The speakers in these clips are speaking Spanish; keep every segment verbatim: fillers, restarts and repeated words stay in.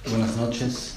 Buenas noches.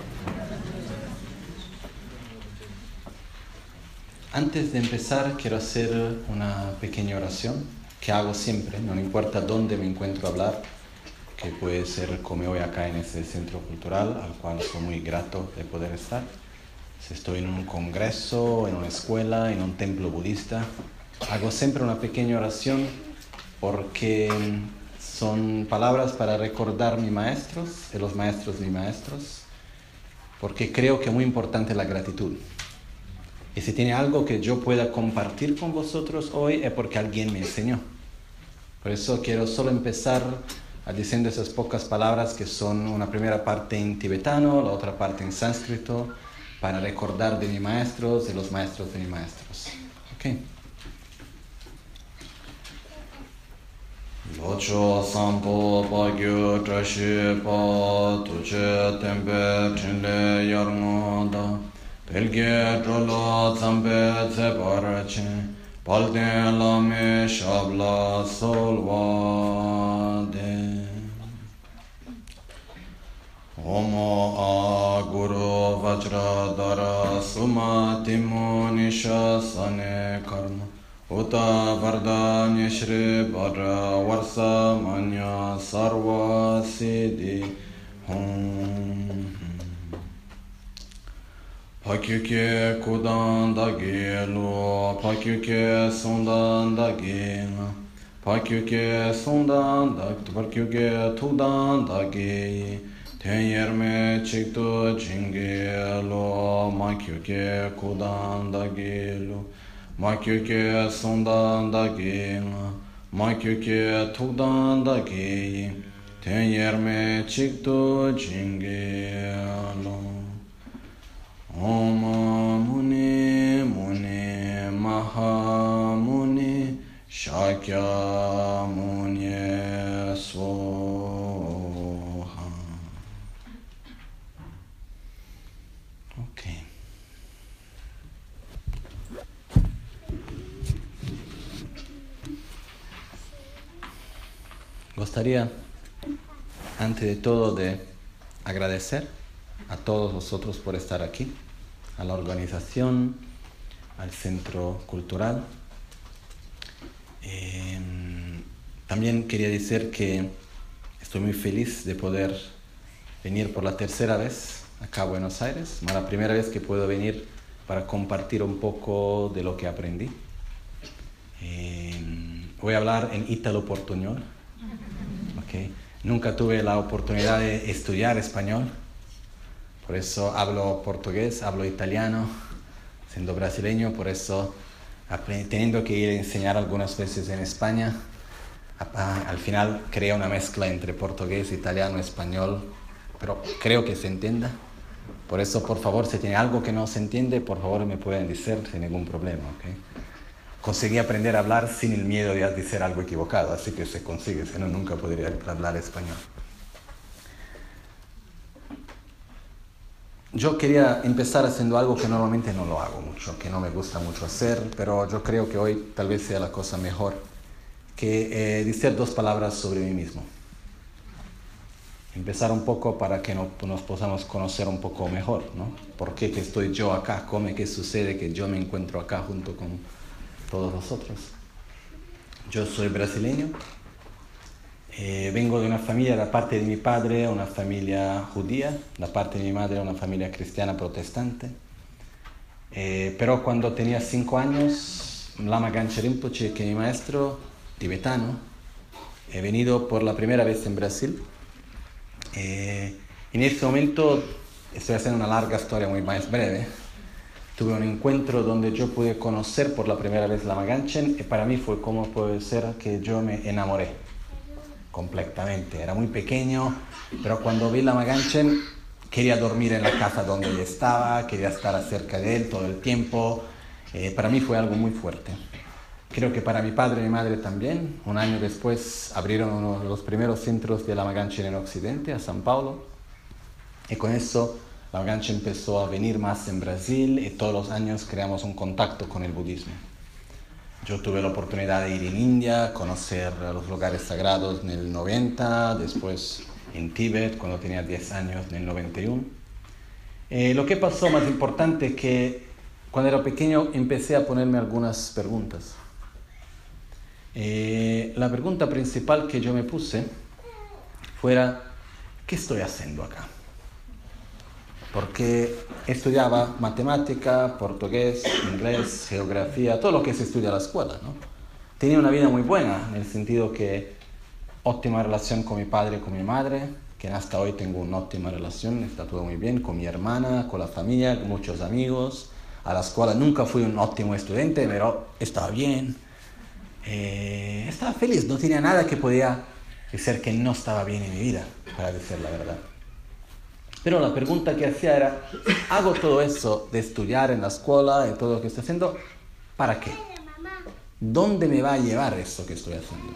Antes de empezar quiero hacer una pequeña oración que hago siempre, no importa dónde me encuentro a hablar, que puede ser como hoy acá en este centro cultural, al cual soy muy grato de poder estar. Si estoy en un congreso, en una escuela, en un templo budista, hago siempre una pequeña oración porque son palabras para recordar mis maestros y los maestros de mis maestros, porque creo que es muy importante la gratitud. Y si tiene algo que yo pueda compartir con vosotros hoy es porque alguien me enseñó. Por eso quiero solo empezar diciendo esas pocas palabras que son una primera parte en tibetano, la otra parte en sánscrito, para recordar de mis maestros y los maestros de mis maestros. ¿Ok? Locho sampo pagyo trashi pa tuche tempe chinle yarngoda pelge trolo zampe tseparache palden lame shabla solvade Omo a guru vajra dara suma timo nisha sane karma Uta varda nishri bara varsa manya sarva siddhi hum Pakyuke kudan dagi lo pakyuke sundan dagi pakyuke sundan dagi pakyuke tudan dagi tenyerme chikto jingi lo makyuke kudan dagi lo Makyuke sundan dagi, makyuke tukdan dagi, tenyerme chikto jingelo. Om muni muni maha muni shakya muni soha. Okay. Gustaría, antes de todo, de agradecer a todos vosotros por estar aquí, a la organización, al Centro Cultural. Eh, también quería decir que estoy muy feliz de poder venir por la tercera vez acá a Buenos Aires, la primera vez que puedo venir para compartir un poco de lo que aprendí. Eh, voy a hablar en ítalo-portuñol. Okay. Nunca tuve la oportunidad de estudiar español, por eso hablo portugués, hablo italiano, siendo brasileño, por eso teniendo que ir a enseñar algunas veces en España, al final crea una mezcla entre portugués, italiano, español, pero creo que se entienda. Por eso, por favor, si tiene algo que no se entiende, por favor me pueden decir sin ningún problema. ¿Okay? Conseguí aprender a hablar sin el miedo de decir algo equivocado, así que se consigue, si no, nunca podría hablar español. Yo quería empezar haciendo algo que normalmente no lo hago mucho, que no me gusta mucho hacer, pero yo creo que hoy tal vez sea la cosa mejor, que eh, decir dos palabras sobre mí mismo. Empezar un poco para que no, nos podamos conocer un poco mejor, ¿no? ¿Por qué que estoy yo acá? ¿Cómo es que sucede que yo me encuentro acá junto con todos vosotros? Yo soy brasileño, eh, vengo de una familia, la parte de mi padre, una familia judía, la parte de mi madre, una familia cristiana protestante. Eh, pero cuando tenía cinco años, Lama Ganchen Rinpoche, que es mi maestro tibetano, he venido por la primera vez en Brasil. Eh, en este momento, estoy haciendo una larga historia muy más breve. Tuve un encuentro donde yo pude conocer por la primera vez Lama Ganchen y para mí fue como puede ser que yo me enamoré completamente. Era muy pequeño, pero cuando vi Lama Ganchen quería dormir en la casa donde él estaba, quería estar cerca de él todo el tiempo. Eh, para mí fue algo muy fuerte. Creo que para mi padre y mi madre también. Un año después abrieron uno de los primeros centros de Lama Ganchen en Occidente, a São Paulo. Y con eso Lama Ganchen empezó a venir más en Brasil y todos los años creamos un contacto con el budismo. Yo tuve la oportunidad de ir en India, conocer los lugares sagrados en el noventa, después en Tíbet cuando tenía diez años, en el noventa y uno. Eh, lo que pasó más importante es que cuando era pequeño empecé a ponerme algunas preguntas. Eh, la pregunta principal que yo me puse fuera, ¿qué estoy haciendo acá? Porque estudiaba matemática, portugués, inglés, geografía, todo lo que se estudia en la escuela, ¿no? Tenía una vida muy buena, en el sentido que óptima relación con mi padre y con mi madre, que hasta hoy tengo una óptima relación, está todo muy bien, con mi hermana, con la familia, con muchos amigos. A la escuela nunca fui un óptimo estudiante, pero estaba bien. Eh, estaba feliz, no tenía nada que podía decir que no estaba bien en mi vida, para decir la verdad. Pero la pregunta que hacía era, ¿hago todo eso de estudiar en la escuela y todo lo que estoy haciendo? ¿Para qué? ¿Dónde me va a llevar eso que estoy haciendo?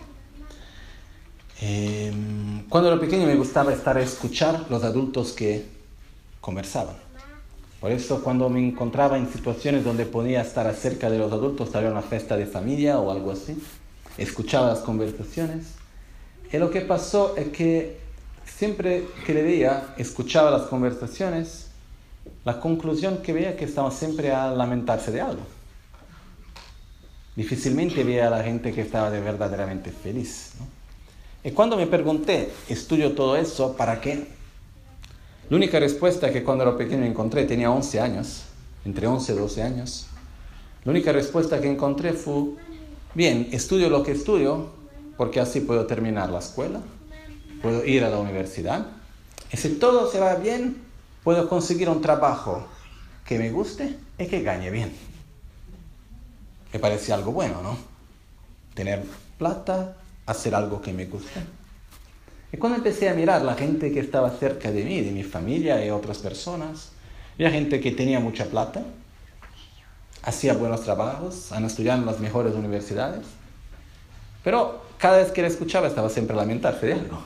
Eh, cuando era pequeño me gustaba estar a escuchar los adultos que conversaban. Por eso cuando me encontraba en situaciones donde podía estar cerca de los adultos, tal vez una fiesta de familia o algo así, escuchaba las conversaciones. Y lo que pasó es que siempre que le veía, escuchaba las conversaciones, la conclusión que veía es que estaba siempre a lamentarse de algo. Difícilmente veía a la gente que estaba de verdaderamente feliz, ¿no? Y cuando me pregunté, ¿estudio todo eso para qué? La única respuesta que cuando era pequeño encontré, tenía once años, entre once y doce años, la única respuesta que encontré fue, bien, estudio lo que estudio, porque así puedo terminar la escuela, puedo ir a la universidad, y si todo se va bien, puedo conseguir un trabajo que me guste y que gane bien. Me parecía algo bueno, ¿no? Tener plata, hacer algo que me guste. Y cuando empecé a mirar la gente que estaba cerca de mí, de mi familia y otras personas, había gente que tenía mucha plata, hacía buenos trabajos, han estudiado en las mejores universidades, pero cada vez que la escuchaba estaba siempre a lamentarse de algo.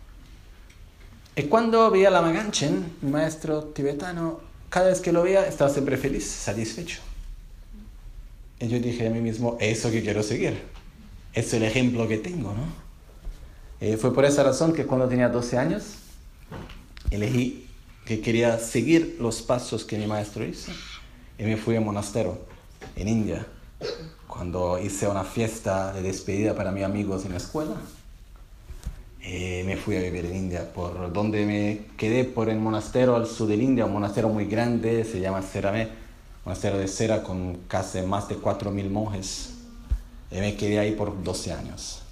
Y cuando veía a Lama Ganchen, mi maestro tibetano, cada vez que lo veía estaba siempre feliz, satisfecho. Y yo dije a mí mismo, es eso que quiero seguir, es el ejemplo que tengo, ¿no? Eh, fue por esa razón que cuando tenía doce años, elegí que quería seguir los pasos que mi maestro hizo y me fui a un monasterio en India. Cuando hice una fiesta de despedida para mis amigos en la escuela, eh, me fui a vivir en India, por donde me quedé por el monasterio al sur de India, un monasterio muy grande, se llama Seramé, monasterio de cera con casi más de cuatro mil monjes, y me quedé ahí por doce años.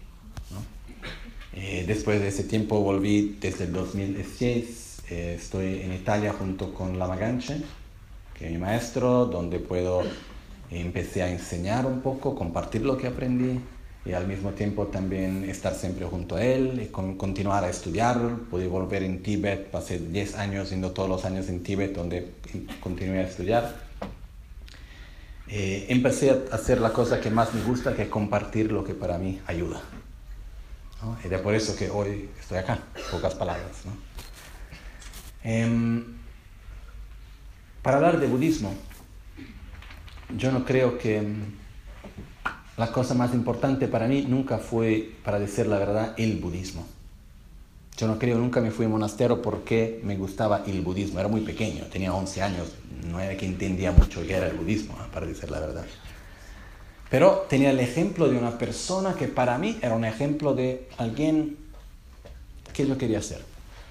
Eh, después de ese tiempo volví desde el dos mil dieciséis, eh, estoy en Italia junto con Lama Ganchen, que es mi maestro, donde puedo, eh, empecé a enseñar un poco, compartir lo que aprendí y al mismo tiempo también estar siempre junto a él y con, continuar a estudiar. Pude volver en Tíbet, pasé diez años yendo todos los años en Tíbet, donde continué a estudiar. Eh, empecé a hacer la cosa que más me gusta, que es compartir lo que para mí ayuda. ¿No? Y es por eso que hoy estoy acá, pocas palabras, ¿no? Eh, para hablar de budismo, yo no creo que la cosa más importante para mí nunca fue, para decir la verdad, el budismo. Yo no creo, nunca me fui a un monasterio porque me gustaba el budismo. Era muy pequeño, tenía once años, no era que entendía mucho qué era el budismo, para decir la verdad. Pero tenía el ejemplo de una persona que para mí era un ejemplo de alguien que yo quería ser.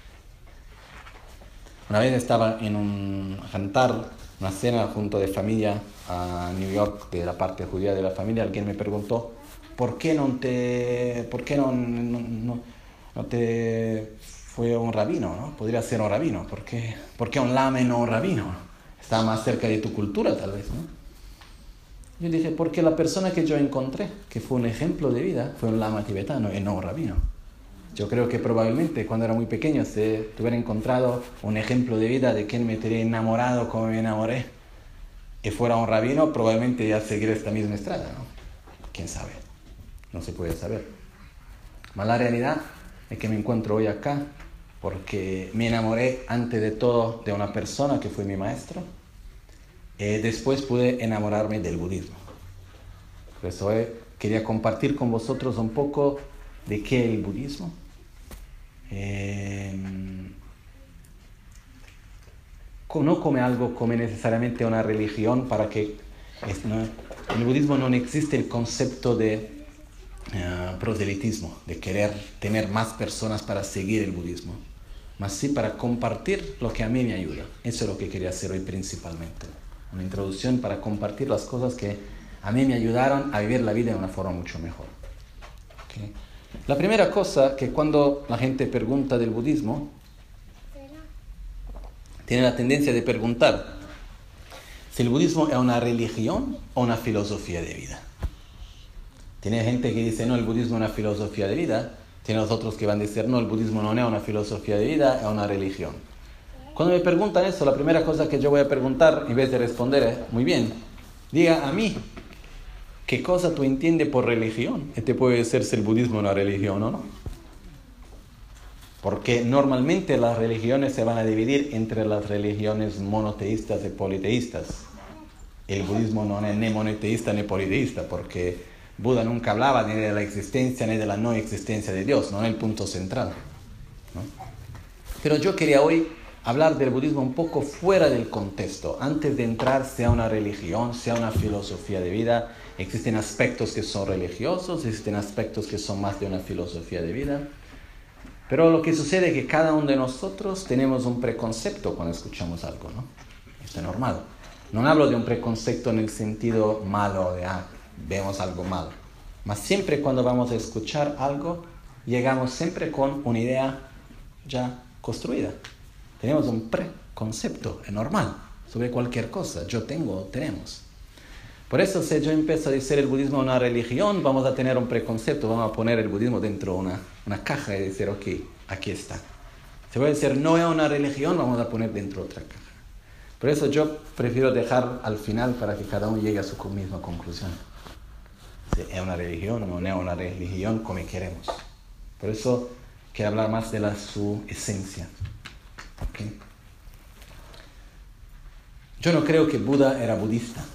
Una vez estaba en un jantar, una cena junto de familia a New York, de la parte judía de la familia. Alguien me preguntó, ¿por qué no te, por qué no, no, no, no te fue un rabino, ¿no? Podría ser un rabino. ¿Por qué, por qué un lama y no un rabino? Está más cerca de tu cultura, tal vez, ¿no? Yo dije, porque la persona que yo encontré, que fue un ejemplo de vida, fue un lama tibetano y no un rabino. Yo creo que probablemente cuando era muy pequeño, si tuviera encontrado un ejemplo de vida de quien me tenía enamorado como me enamoré, y fuera un rabino, probablemente ya seguiría esta misma estrada, ¿no? ¿Quién sabe? No se puede saber. Pero la realidad es que me encuentro hoy acá porque me enamoré antes de todo de una persona que fue mi maestro. Eh, después pude enamorarme del budismo. Por eso eh, quería compartir con vosotros un poco de qué es el budismo. Eh, no come algo come necesariamente una religión para que... Es, ¿no? En el budismo no existe el concepto de uh, proselitismo, de querer tener más personas para seguir el budismo, mas sí para compartir lo que a mí me ayuda. Eso es lo que quería hacer hoy principalmente. Una introducción para compartir las cosas que a mí me ayudaron a vivir la vida de una forma mucho mejor. ¿Okay? La primera cosa que cuando la gente pregunta del budismo, tiene la tendencia de preguntar si el budismo es una religión o una filosofía de vida. Tiene gente que dice, no, el budismo es una filosofía de vida. Tiene los otros que van a decir, no, el budismo no es una filosofía de vida, es una religión. Cuando me preguntan eso, la primera cosa que yo voy a preguntar, en vez de responder es, muy bien, diga a mí, ¿qué cosa tú entiendes por religión? Y te puede decir si el budismo es una religión o no. Porque normalmente las religiones se van a dividir entre las religiones monoteístas y politeístas. El budismo no es ni monoteísta ni politeísta, porque Buda nunca hablaba ni de la existencia ni de la no existencia de Dios, no es el punto central, ¿no? Pero yo quería hoy hablar del budismo un poco fuera del contexto. Antes de entrar, sea una religión, sea una filosofía de vida, existen aspectos que son religiosos, existen aspectos que son más de una filosofía de vida. Pero lo que sucede es que cada uno de nosotros tenemos un preconcepto cuando escuchamos algo, ¿no? Esto es normal. No hablo de un preconcepto en el sentido malo, de, ah, vemos algo malo. Mas siempre cuando vamos a escuchar algo, llegamos siempre con una idea ya construida. Tenemos un preconcepto, es normal, sobre cualquier cosa. Yo tengo, tenemos. Por eso, si yo empiezo a decir el budismo es una religión, vamos a tener un preconcepto, vamos a poner el budismo dentro de una, una caja y decir, ok, aquí está. Si voy a decir no es una religión, vamos a poner dentro de otra caja. Por eso yo prefiero dejar al final para que cada uno llegue a su misma conclusión. Si es una religión o no es una religión, como queremos. Por eso quiero hablar más de la, su esencia. ¿Okay? Yo no creo que Buda era budista.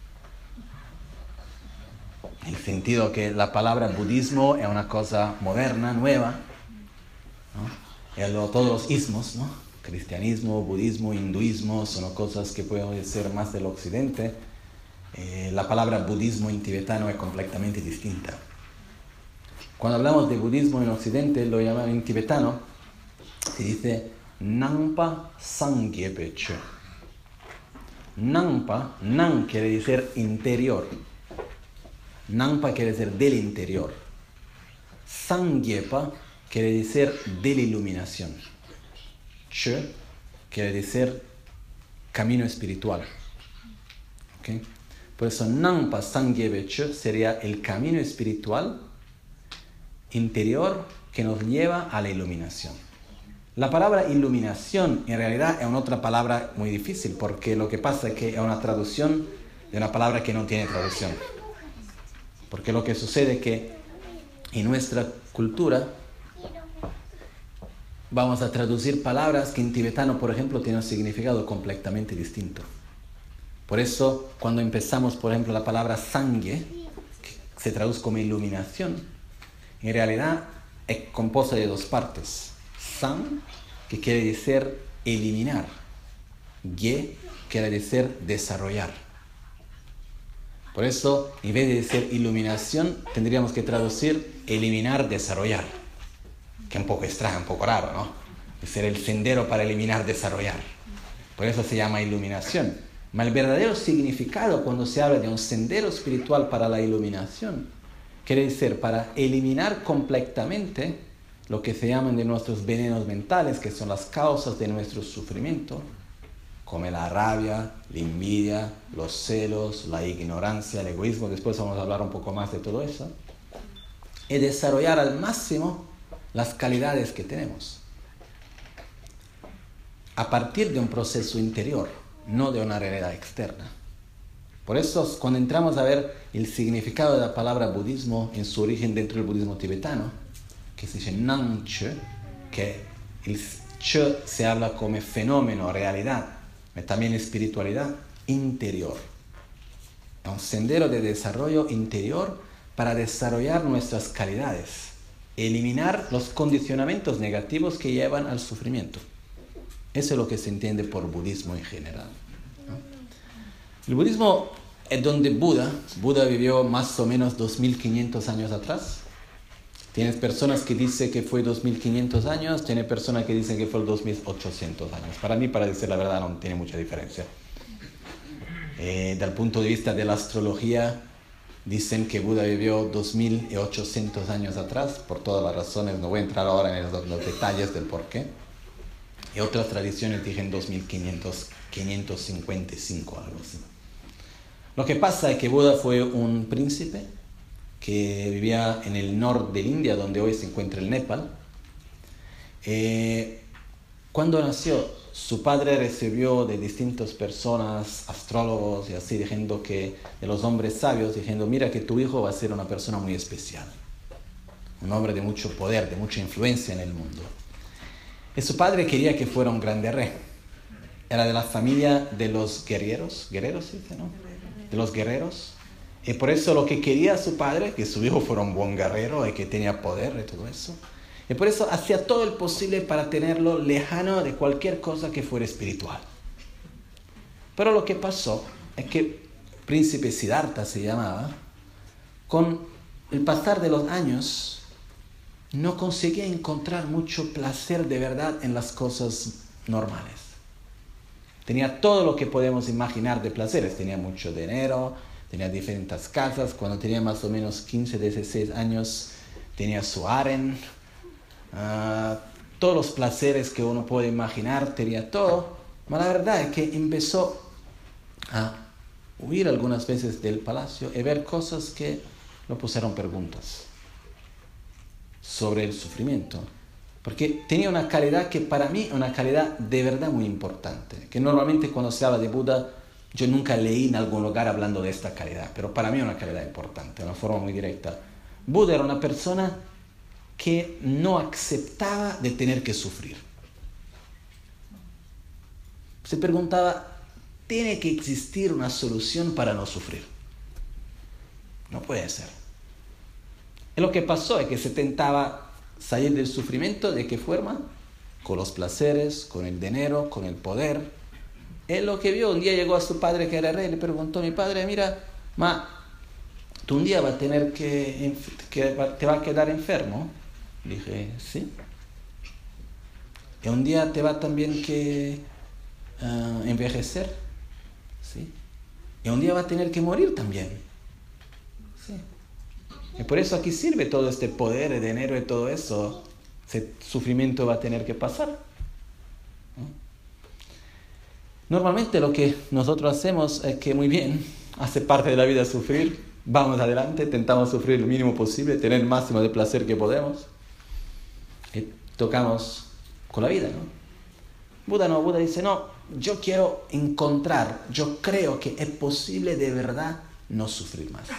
En el sentido que la palabra budismo es una cosa moderna, nueva, ¿no? Y lo, todos los ismos, ¿no? Cristianismo, budismo, hinduismo, son cosas que pueden ser más del occidente. Eh, la palabra budismo en tibetano es completamente distinta. Cuando hablamos de budismo en occidente, lo llaman en tibetano, se dice Nampa Sangyepe Che. Nampa, Nam quiere decir interior. Nampa quiere decir del interior. Sangyepa quiere decir de la iluminación. Che quiere decir camino espiritual. ¿Okay? Por eso Nampa Sangyepa Che sería el camino espiritual interior que nos lleva a la iluminación. La palabra iluminación en realidad es una otra palabra muy difícil, porque lo que pasa es que es una traducción de una palabra que no tiene traducción. Porque lo que sucede es que en nuestra cultura vamos a traducir palabras que en tibetano, por ejemplo, tienen un significado completamente distinto. Por eso, cuando empezamos, por ejemplo, la palabra sangye, que se traduce como iluminación, en realidad es compuesta de dos partes. San, que quiere decir eliminar. Ye, quiere decir desarrollar. Por eso, en vez de decir iluminación, tendríamos que traducir eliminar, desarrollar. Que es un poco extraño, un poco raro, ¿no? Es ser el sendero para eliminar, desarrollar. Por eso se llama iluminación. Pero el verdadero significado cuando se habla de un sendero espiritual para la iluminación, quiere decir para eliminar completamente lo que se llaman de nuestros venenos mentales, que son las causas de nuestro sufrimiento, como la rabia, la envidia, los celos, la ignorancia, el egoísmo. Después vamos a hablar un poco más de todo eso. Y desarrollar al máximo las calidades que tenemos. A partir de un proceso interior, no de una realidad externa. Por eso, cuando entramos a ver el significado de la palabra budismo en su origen dentro del budismo tibetano, que se dice Nam Che, que el Che se habla como fenómeno, realidad, pero también espiritualidad interior. Es un sendero de desarrollo interior para desarrollar nuestras calidades, eliminar los condicionamientos negativos que llevan al sufrimiento. Eso es lo que se entiende por budismo en general, ¿no? El budismo es donde Buda, Buda vivió más o menos dos mil quinientos años atrás. Tienes personas que dicen que fue dos mil quinientos años, tiene personas que dicen que fue dos mil ochocientos años. Para mí, para decir la verdad, no tiene mucha diferencia. Eh, del punto de vista de la astrología, dicen que Buda vivió dos mil ochocientos años atrás, por todas las razones, no voy a entrar ahora en los, los detalles del por qué. Y otras tradiciones dicen dos mil quinientos, quinientos cincuenta y cinco, algo así. Lo que pasa es que Buda fue un príncipe que vivía en el norte de India, donde hoy se encuentra el Nepal. Eh, cuando nació, su padre recibió de distintas personas, astrólogos y así, diciendo que, de los hombres sabios, diciendo, mira que tu hijo va a ser una persona muy especial, un hombre de mucho poder, de mucha influencia en el mundo. Y su padre quería que fuera un grande rey. Era de la familia de los guerreros, guerreros, ¿sí? ¿No? De los guerreros. Y por eso lo que quería su padre, que su hijo fuera un buen guerrero y que tenía poder y todo eso. Y por eso hacía todo el posible para tenerlo lejano de cualquier cosa que fuera espiritual. Pero lo que pasó es que príncipe Siddhartha se llamaba, con el pasar de los años, no conseguía encontrar mucho placer de verdad en las cosas normales. Tenía todo lo que podemos imaginar de placeres. Tenía mucho dinero, tenía diferentes casas. Cuando tenía más o menos quince, dieciséis años, tenía su harem. Uh, todos los placeres que uno puede imaginar, tenía todo. Pero la verdad es que empezó a huir algunas veces del palacio y ver cosas que le pusieron preguntas sobre el sufrimiento. Porque tenía una calidad que para mí, una calidad de verdad muy importante. Que normalmente cuando se habla de Buda, yo nunca leí en algún lugar hablando de esta calidad. Pero para mí es una calidad importante, de una forma muy directa. Buda era una persona que no aceptaba de tener que sufrir. Se preguntaba, ¿tiene que existir una solución para no sufrir? No puede ser. Y lo que pasó es que se tentaba salir del sufrimiento. ¿De qué forma? Con los placeres, con el dinero, con el poder. Él lo que vio, un día llegó a su padre que era rey y le preguntó, mi padre, mira, ma, tú un día vas a tener que, que te va a quedar enfermo. Dije, sí. Y un día te va también que uh, envejecer. Sí. Y un día va a tener que morir también. Sí. Y por eso aquí sirve todo este poder, el dinero y todo eso. Ese sufrimiento va a tener que pasar, ¿no? Normalmente lo que nosotros hacemos es que muy bien, hace parte de la vida sufrir, vamos adelante, intentamos sufrir lo mínimo posible, tener el máximo de placer que podemos. Y tocamos con la vida, ¿no? Buda no, Buda dice, no, yo quiero encontrar, yo creo que es posible de verdad no sufrir más.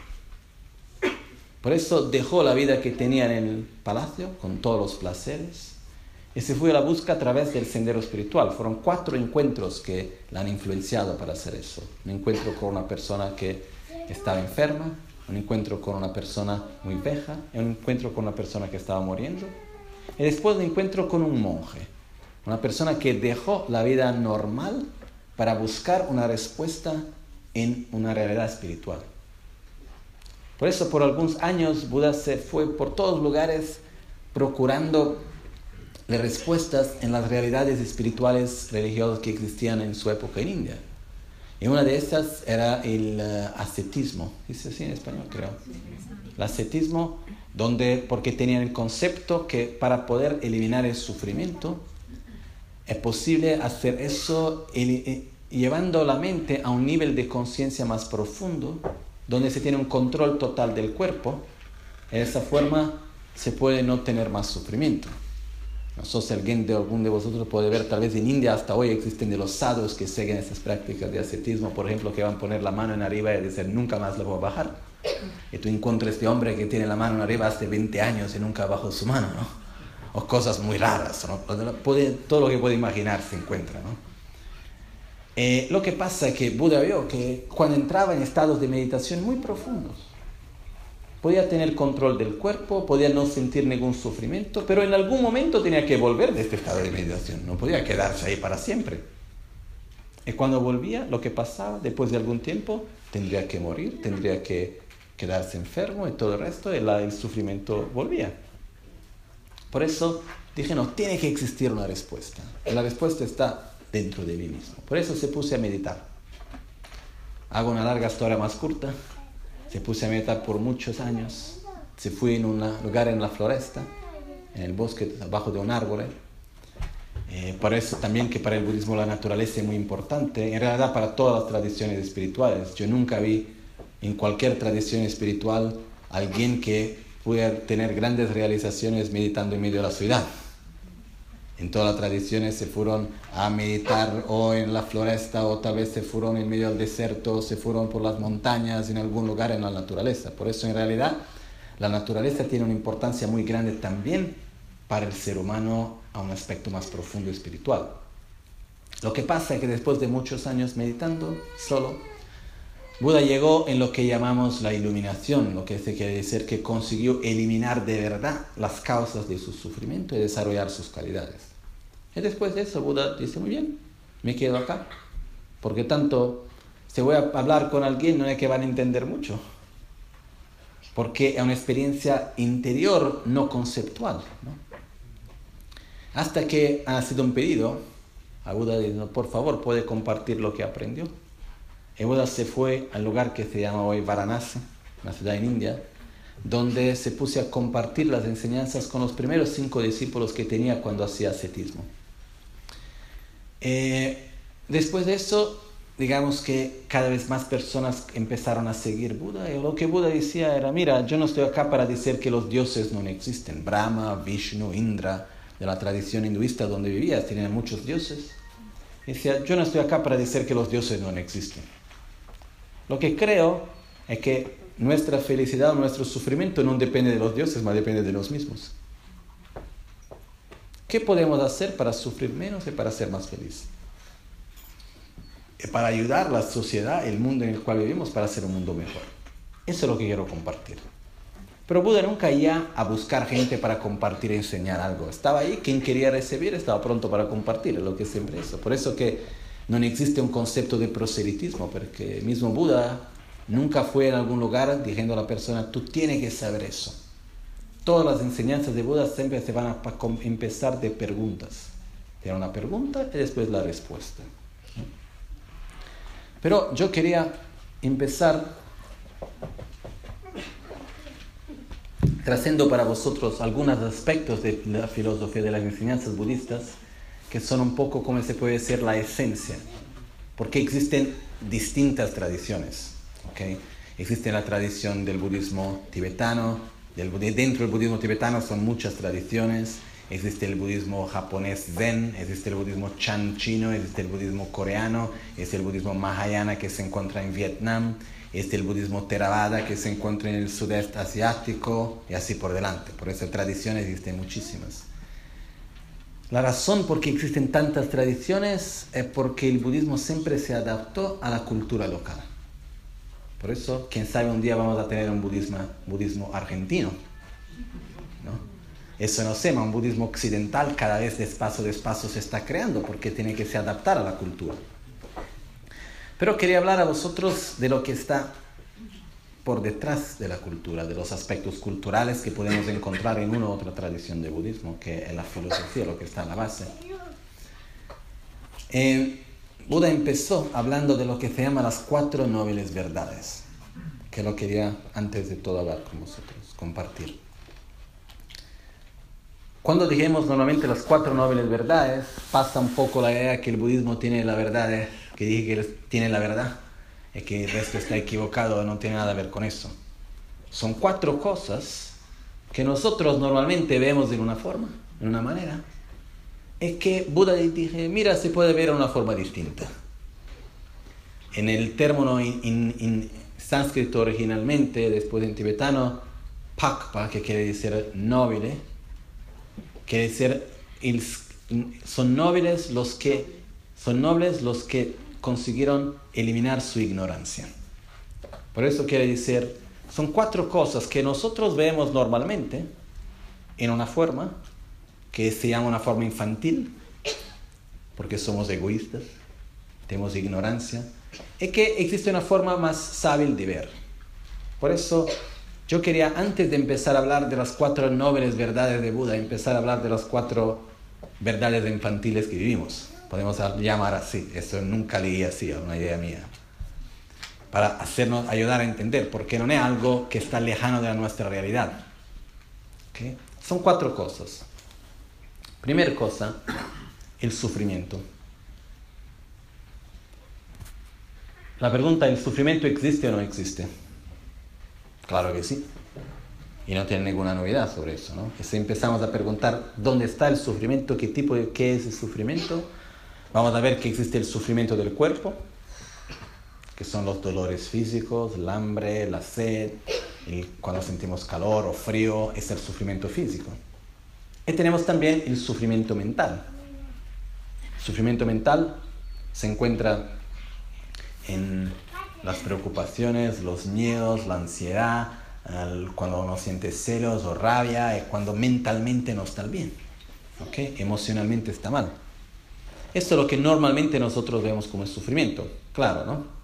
Por eso dejó la vida que tenía en el palacio, con todos los placeres, y se fue a la busca a través del sendero espiritual. Fueron cuatro encuentros que la han influenciado para hacer eso. Un encuentro con una persona que estaba enferma, un encuentro con una persona muy vieja, y un encuentro con una persona que estaba muriendo, y después un encuentro con un monje, una persona que dejó la vida normal para buscar una respuesta en una realidad espiritual. Por eso, por algunos años, Buda se fue por todos lugares procurando las respuestas en las realidades espirituales religiosas que existían en su época en India. Y una de estas era el uh, ascetismo. ¿Dice así en español, creo? El ascetismo, donde, porque tenían el concepto que para poder eliminar el sufrimiento, es posible hacer eso el, llevando la mente a un nivel de conciencia más profundo, donde se tiene un control total del cuerpo. De esa forma se puede no tener más sufrimiento. No sé si alguien de algún de vosotros puede ver, tal vez en India hasta hoy existen de los sadhus que siguen esas prácticas de ascetismo, por ejemplo, que van a poner la mano en arriba y decir, nunca más la voy a bajar. Y tú encuentras este hombre que tiene la mano en arriba hace veinte años y nunca bajó su mano, ¿no? O cosas muy raras, ¿no? Puede, todo lo que puede imaginar se encuentra, ¿no? Eh, lo que pasa es que Buda vio que cuando entraba en estados de meditación muy profundos, podía tener control del cuerpo, podía no sentir ningún sufrimiento, pero en algún momento tenía que volver de este estado de meditación, no podía quedarse ahí para siempre. Y cuando volvía, lo que pasaba, después de algún tiempo, tendría que morir, tendría que quedarse enfermo y todo el resto, y la, el sufrimiento volvía. Por eso dije, no, tiene que existir una respuesta. Y la respuesta está dentro de mí mismo. Por eso se puse a meditar. Hago una larga historia más corta. Se puse a meditar por muchos años. Se fue en un lugar en la floresta, en el bosque, abajo de un árbol. Eh, por eso también que para el budismo la naturaleza es muy importante. En realidad para todas las tradiciones espirituales. Yo nunca vi en cualquier tradición espiritual alguien que pueda tener grandes realizaciones meditando en medio de la ciudad. En todas las tradiciones se fueron a meditar o en la floresta, o tal vez se fueron en medio del desierto, o se fueron por las montañas, en algún lugar en la naturaleza. Por eso en realidad la naturaleza tiene una importancia muy grande también para el ser humano a un aspecto más profundo espiritual. Lo que pasa es que después de muchos años meditando solo, Buda llegó en lo que llamamos la iluminación, lo que quiere decir que consiguió eliminar de verdad las causas de su sufrimiento y desarrollar sus calidades. Y después de eso Buda dice, muy bien, me quedo acá, porque tanto si voy a hablar con alguien no es que van a entender mucho, porque es una experiencia interior, no conceptual, ¿no? Hasta que ha sido un pedido, a Buda dice, por favor, puede compartir lo que aprendió. Y Buda se fue al lugar que se llama hoy Varanasi, una ciudad en India, donde se puso a compartir las enseñanzas con los primeros cinco discípulos que tenía cuando hacía ascetismo. Eh, después de eso, digamos que cada vez más personas empezaron a seguir Buda, y lo que Buda decía era, mira, yo no estoy acá para decir que los dioses no existen. Brahma, Vishnu, Indra, de la tradición hinduista donde vivía, tenían muchos dioses. Decía, yo no estoy acá para decir que los dioses no existen. Lo que creo es que nuestra felicidad o nuestro sufrimiento no depende de los dioses, más depende de los mismos. ¿Qué podemos hacer para sufrir menos y para ser más felices? Y para ayudar a la sociedad, el mundo en el cual vivimos, para hacer un mundo mejor. Eso es lo que quiero compartir. Pero Buda nunca iba a buscar gente para compartir y enseñar algo. Estaba ahí, quien quería recibir estaba pronto para compartir, es lo que siempre hizo. Por eso que no existe un concepto de proselitismo, porque mismo Buda nunca fue en algún lugar diciendo a la persona, tú tienes que saber eso. Todas las enseñanzas de Buda siempre se van a empezar de preguntas. Tiene una pregunta y después la respuesta. Pero yo quería empezar trayendo para vosotros algunos aspectos de la filosofía de las enseñanzas budistas que son un poco, como se puede decir, la esencia. Porque existen distintas tradiciones, ¿okay? Existe la tradición del budismo tibetano, del, dentro del budismo tibetano son muchas tradiciones. Existe el budismo japonés Zen, existe el budismo Chan chino, existe el budismo coreano, existe el budismo Mahayana que se encuentra en Vietnam, existe el budismo Theravada que se encuentra en el sudeste asiático y así por delante. Por eso tradiciones existen muchísimas. La razón por qué existen tantas tradiciones es porque el budismo siempre se adaptó a la cultura local. Por eso, quién sabe, un día vamos a tener un budismo, budismo argentino, ¿no? Eso no sé, un budismo occidental cada vez despacio despacio se está creando porque tiene que se adaptar a la cultura. Pero quería hablar a vosotros de lo que está por detrás de la cultura, de los aspectos culturales que podemos encontrar en una u otra tradición de budismo, que es la filosofía, lo que está en la base. Eh, Buda empezó hablando de lo que se llama las cuatro nobles verdades, que lo quería antes de todo hablar con vosotros, compartir. Cuando dijimos normalmente las cuatro nobles verdades, pasa un poco la idea que el budismo tiene la verdad, que dije que tiene la verdad, y que el resto está equivocado, no tiene nada que ver con eso. Son cuatro cosas que nosotros normalmente vemos de una forma, de una manera, es que Buda dije, mira, se puede ver de una forma distinta. En el término en, en, en sánscrito originalmente, después en tibetano, pakpa, que quiere decir noble, quiere decir, el, son nobles los que, son nobles los que consiguieron eliminar su ignorancia. Por eso quiere decir, Son cuatro cosas que nosotros vemos normalmente en una forma que se llama una forma infantil, porque somos egoístas, tenemos ignorancia, y que existe una forma más sabia de ver. Por eso yo quería, antes de empezar a hablar de las cuatro nobles verdades de Buda, empezar a hablar de las cuatro verdades infantiles que vivimos. Podemos llamar así, eso nunca leí así, es una idea mía. Para hacernos ayudar a entender, porque no es algo que está lejano de nuestra realidad. ¿Okay? Son cuatro cosas. Primera cosa, el sufrimiento. La pregunta, ¿el sufrimiento existe o no existe? Claro que sí. Y no tiene ninguna novedad sobre eso, ¿no? Y si empezamos a preguntar dónde está el sufrimiento, qué tipo de, qué es el sufrimiento, vamos a ver que existe el sufrimiento del cuerpo, que son los dolores físicos, el hambre, la sed, el, cuando sentimos calor o frío, es el sufrimiento físico. Y tenemos también el sufrimiento mental. El sufrimiento mental se encuentra en las preocupaciones, los miedos, la ansiedad, el, cuando uno siente celos o rabia, es cuando mentalmente no está bien, ¿okay? Emocionalmente está mal. Esto es lo que normalmente nosotros vemos como el sufrimiento, claro, ¿no?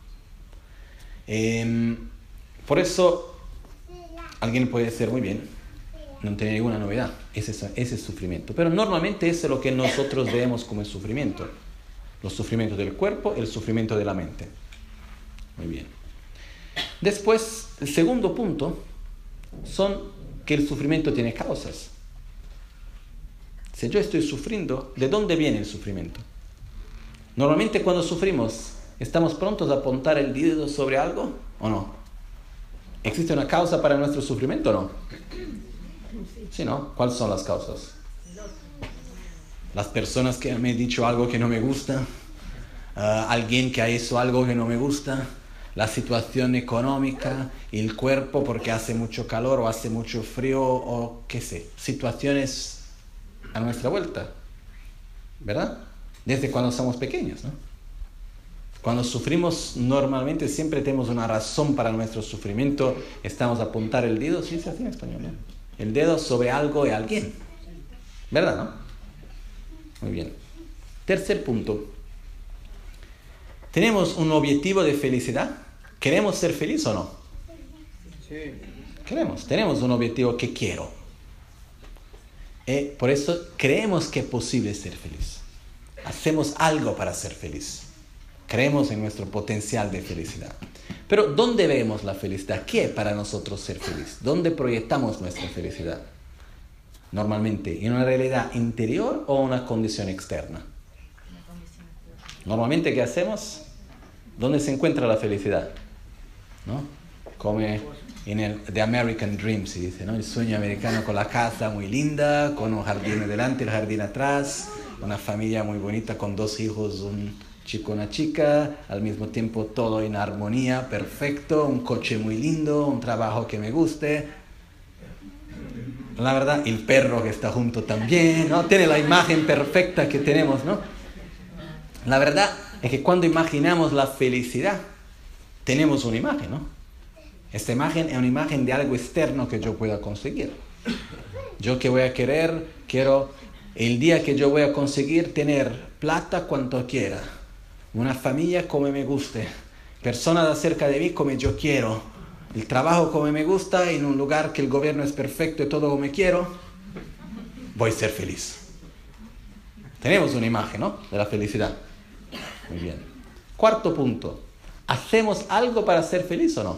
Eh, por eso alguien puede decir muy bien, no tiene ninguna novedad, ese es, ese es sufrimiento, pero normalmente eso es lo que nosotros vemos como el sufrimiento, los sufrimientos del cuerpo, el sufrimiento de la mente. Muy bien. Después, el segundo punto son que el sufrimiento tiene causas. Si yo estoy sufriendo, ¿de dónde viene el sufrimiento? Normalmente cuando sufrimos, ¿estamos prontos a apuntar el dedo sobre algo o no? ¿Existe una causa para nuestro sufrimiento o no? Sí, ¿no? ¿Cuáles son las causas? Las personas que me han dicho algo que no me gusta, uh, alguien que ha hecho algo que no me gusta, la situación económica, el cuerpo porque hace mucho calor o hace mucho frío o qué sé, situaciones a nuestra vuelta, ¿verdad? Desde cuando somos pequeños, ¿no? Cuando sufrimos normalmente siempre tenemos una razón para nuestro sufrimiento, estamos a apuntar el dedo, sí, se hace en español, ¿no? El dedo sobre algo y alguien, ¿verdad, no? Muy bien. Tercer punto. ¿Tenemos un objetivo de felicidad? ¿Queremos ser felices o no? Sí. Queremos. Tenemos un objetivo que quiero. Y por eso creemos que es posible ser feliz. Hacemos algo para ser feliz. Creemos en nuestro potencial de felicidad. Pero ¿dónde vemos la felicidad? ¿Qué es para nosotros ser feliz? ¿Dónde proyectamos nuestra felicidad? Normalmente, ¿en una realidad interior o una condición externa? Normalmente, ¿qué hacemos? ¿Dónde se encuentra la felicidad? ¿No? Como en el The American Dream, se dice, ¿no? El sueño americano con la casa muy linda, con un jardín delante, el jardín atrás, una familia muy bonita con dos hijos, un chico, una chica, al mismo tiempo todo en armonía, perfecto, un coche muy lindo, un trabajo que me guste. La verdad, el perro que está junto también, ¿no? Tiene la imagen perfecta que tenemos, ¿no? La verdad es que cuando imaginamos la felicidad, tenemos una imagen, ¿no? Esta imagen es una imagen de algo externo que yo pueda conseguir. Yo que voy a querer, quiero el día que yo voy a conseguir tener plata cuanto quiera, una familia como me guste, personas cerca de mí como yo quiero, el trabajo como me gusta, en un lugar que el gobierno es perfecto y todo como quiero, voy a ser feliz. Tenemos una imagen, ¿no? De la felicidad. Muy bien. Cuarto punto. ¿Hacemos algo para ser feliz o no?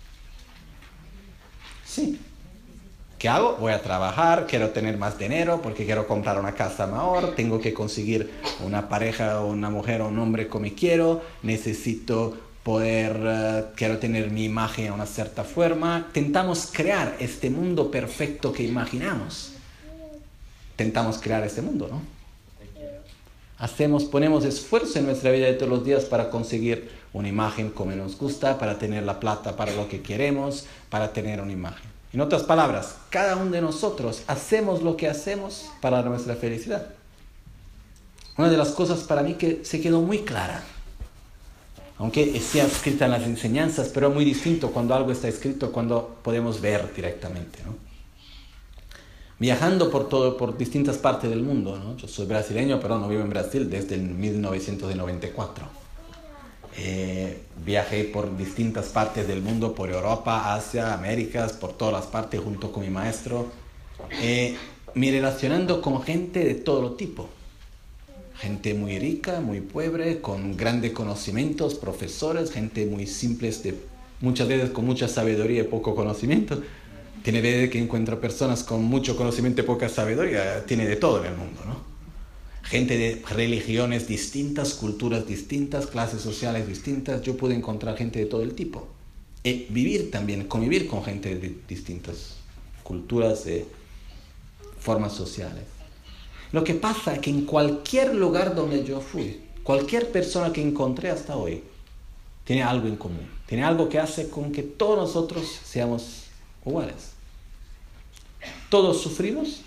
Sí. ¿Qué hago? Voy a trabajar, quiero tener más dinero porque quiero comprar una casa mejor, tengo que conseguir una pareja o una mujer o un hombre como quiero, necesito poder, uh, quiero tener mi imagen de una cierta forma. Tentamos crear este mundo perfecto que imaginamos. Tentamos crear este mundo, ¿no? Hacemos, ponemos esfuerzo en nuestra vida de todos los días para conseguir una imagen como nos gusta, para tener la plata para lo que queremos, para tener una imagen. En otras palabras, cada uno de nosotros hacemos lo que hacemos para nuestra felicidad. Una de las cosas para mí que se quedó muy clara Aunque sea escrita en las enseñanzas, pero es muy distinto cuando algo está escrito, cuando podemos ver directamente, ¿no? Viajando por todo, por distintas partes del mundo, ¿no? Yo soy brasileño, pero no vivo en Brasil desde el mil novecientos noventa y cuatro. Eh, viajé por distintas partes del mundo, por Europa, Asia, Américas, por todas las partes junto con mi maestro, eh, me relacionando con gente de todo tipo. Gente muy rica, muy pobre, con grandes conocimientos, profesores, gente muy simple, de, muchas veces con mucha sabiduría y poco conocimiento. Tiene veces que encuentra personas con mucho conocimiento y poca sabiduría, tiene de todo en el mundo, ¿no? Gente de religiones distintas, culturas distintas, clases sociales distintas. Yo pude encontrar gente de todo el tipo. Y vivir también, convivir con gente de distintas culturas, de formas sociales. Lo que pasa es que en cualquier lugar donde yo fui, cualquier persona que encontré hasta hoy, tiene algo en común. Tiene algo que hace con que todos nosotros seamos iguales. Todos sufrimos.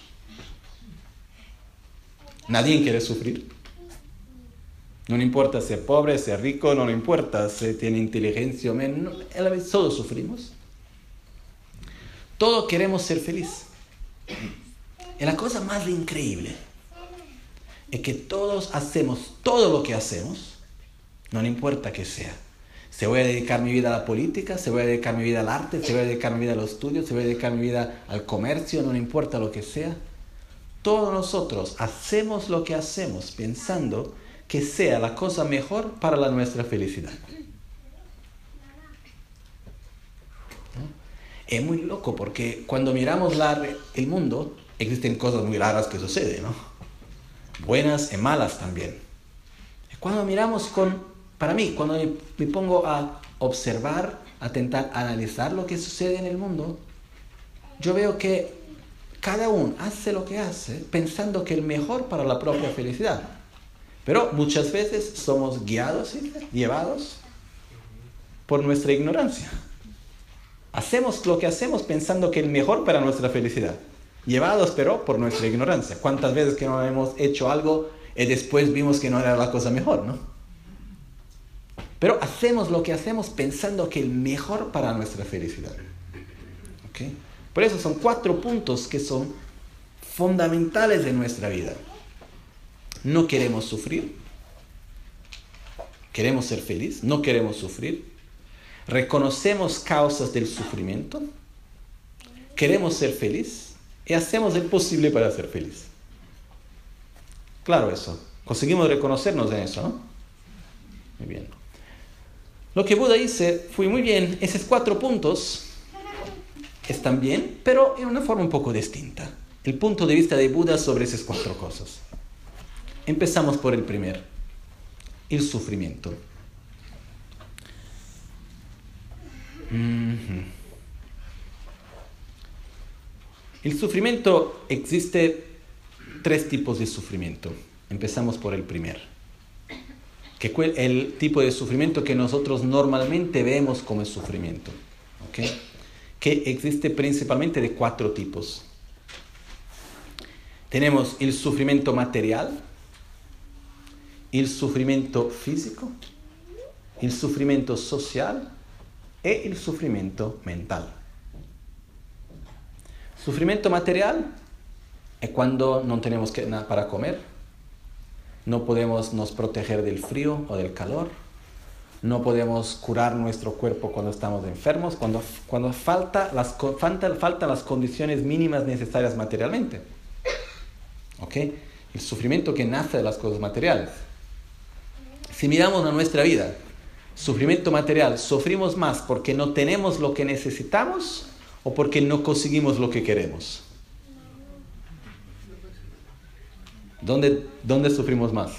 Nadie quiere sufrir. No importa si es pobre, si es rico, no le importa si tiene inteligencia o menos. Todos sufrimos. Todos queremos ser felices. Y la cosa más increíble es que todos hacemos todo lo que hacemos, no importa qué sea. Se voy a dedicar mi vida a la política, se voy a dedicar mi vida al arte, se voy a dedicar mi vida a los estudios, se voy a dedicar mi vida al comercio, no importa lo que sea. Todos nosotros hacemos lo que hacemos pensando que sea la cosa mejor para la nuestra felicidad. ¿No? Es muy loco porque cuando miramos la, el mundo, existen cosas muy raras que suceden, ¿no? Buenas y malas también. Cuando miramos con, para mí, cuando me, me pongo a observar, a intentar analizar lo que sucede en el mundo, yo veo que cada uno hace lo que hace pensando que es el mejor para la propia felicidad. Pero muchas veces somos guiados y llevados por nuestra ignorancia. Hacemos lo que hacemos pensando que es el mejor para nuestra felicidad. Llevados, pero por nuestra ignorancia. ¿Cuántas veces que no hemos hecho algo y después vimos que no era la cosa mejor, ¿no? Pero hacemos lo que hacemos pensando que es el mejor para nuestra felicidad. ¿Okay? Por eso son cuatro puntos que son fundamentales de nuestra vida. No queremos sufrir. Queremos ser felices. No queremos sufrir. Reconocemos causas del sufrimiento. Queremos ser felices. Y hacemos el posible para ser felices. Claro eso. Conseguimos reconocernos en eso, ¿no? Muy bien. Lo que Buda dice fue muy bien. Esos cuatro puntos están bien, pero en una forma un poco distinta. El punto de vista de Buda sobre esas cuatro cosas. Empezamos por el primero, el sufrimiento. Mm-hmm. El sufrimiento, existe tres tipos de sufrimiento. Empezamos por el primero, que es el tipo de sufrimiento que nosotros normalmente vemos como sufrimiento, ¿okay? Que existe principalmente de cuatro tipos. Tenemos el sufrimiento material, el sufrimiento físico, el sufrimiento social y el sufrimiento mental. Sufrimiento material es cuando no tenemos que, nada para comer, no podemos nos proteger del frío o del calor, no podemos curar nuestro cuerpo cuando estamos enfermos, cuando, cuando falta las, falta, falta las condiciones mínimas necesarias materialmente. ¿Okay? El sufrimiento que nace de las cosas materiales. Si miramos a nuestra vida, sufrimiento material, ¿sufrimos más porque no tenemos lo que necesitamos o porque no conseguimos lo que queremos? ¿Dónde, dónde sufrimos más?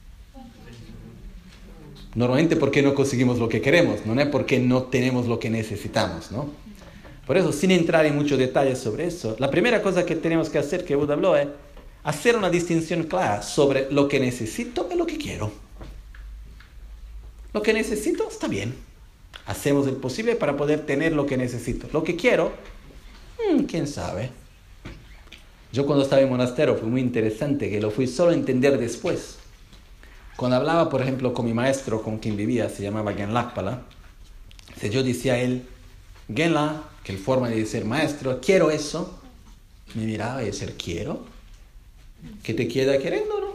Normalmente porque no conseguimos lo que queremos, no es porque no tenemos lo que necesitamos, ¿no? Por eso, sin entrar en muchos detalles sobre eso, la primera cosa que tenemos que hacer, que Buda habló, es hacer una distinción clara sobre lo que necesito y lo que quiero. Lo que necesito está bien. Hacemos el posible para poder tener lo que necesito. Lo que quiero, hmm, quién sabe. Yo cuando estaba en monasterio fue muy interesante, que lo fui solo a entender después. Cuando hablaba, por ejemplo, con mi maestro con quien vivía, se llamaba Genlakpala, si yo decía a él, Genla, que es forma de decir maestro, quiero eso, me miraba y decía, ¿quiero? ¿Qué te queda queriendo, no?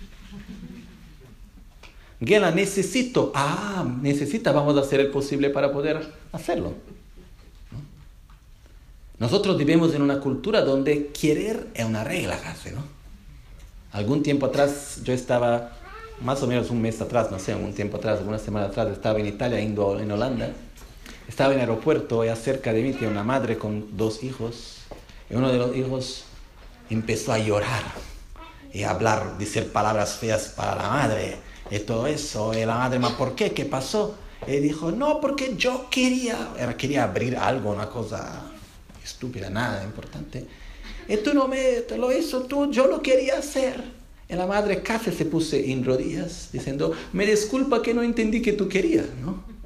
Genla, necesito. Ah, necesita, vamos a hacer el posible para poder hacerlo. ¿No? Nosotros vivimos en una cultura donde querer es una regla casi, ¿no? Algún tiempo atrás, yo estaba, más o menos un mes atrás, no sé, un tiempo atrás, una semana atrás, estaba en Italia, indo en Holanda. Estaba en el aeropuerto y cerca de mí tenía una madre con dos hijos. Y uno de los hijos empezó a llorar y a hablar, decir palabras feas para la madre y todo eso. Y la madre, ¿ma por qué? ¿Qué pasó? Y dijo, no, porque yo quería, era, quería abrir algo, una cosa estúpida, nada importante. Y tú no me te lo hizo, tú, yo lo quería hacer. Y la madre casi se puso en rodillas diciendo, me disculpa que no entendí que tú querías, ¿no?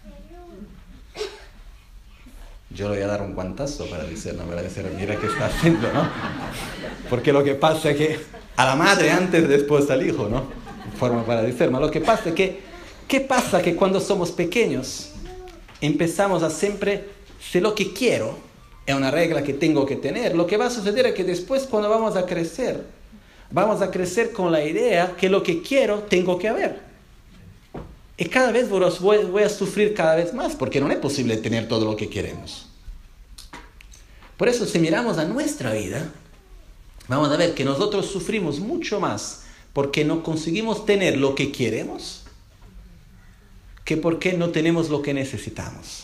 Yo le voy a dar un guantazo para decir, no, para decir, mira qué está haciendo, ¿no? Porque lo que pasa es que a la madre antes, después al hijo, ¿no? Forma para decir, pero lo que pasa es que, ¿qué pasa? Que cuando somos pequeños empezamos a siempre, sé lo que quiero, es una regla que tengo que tener. Lo que va a suceder es que después cuando vamos a crecer, vamos a crecer con la idea que lo que quiero tengo que haber. Y cada vez voy, voy a sufrir cada vez más, porque no es posible tener todo lo que queremos. Por eso, si miramos a nuestra vida, vamos a ver que nosotros sufrimos mucho más porque no conseguimos tener lo que queremos que porque no tenemos lo que necesitamos.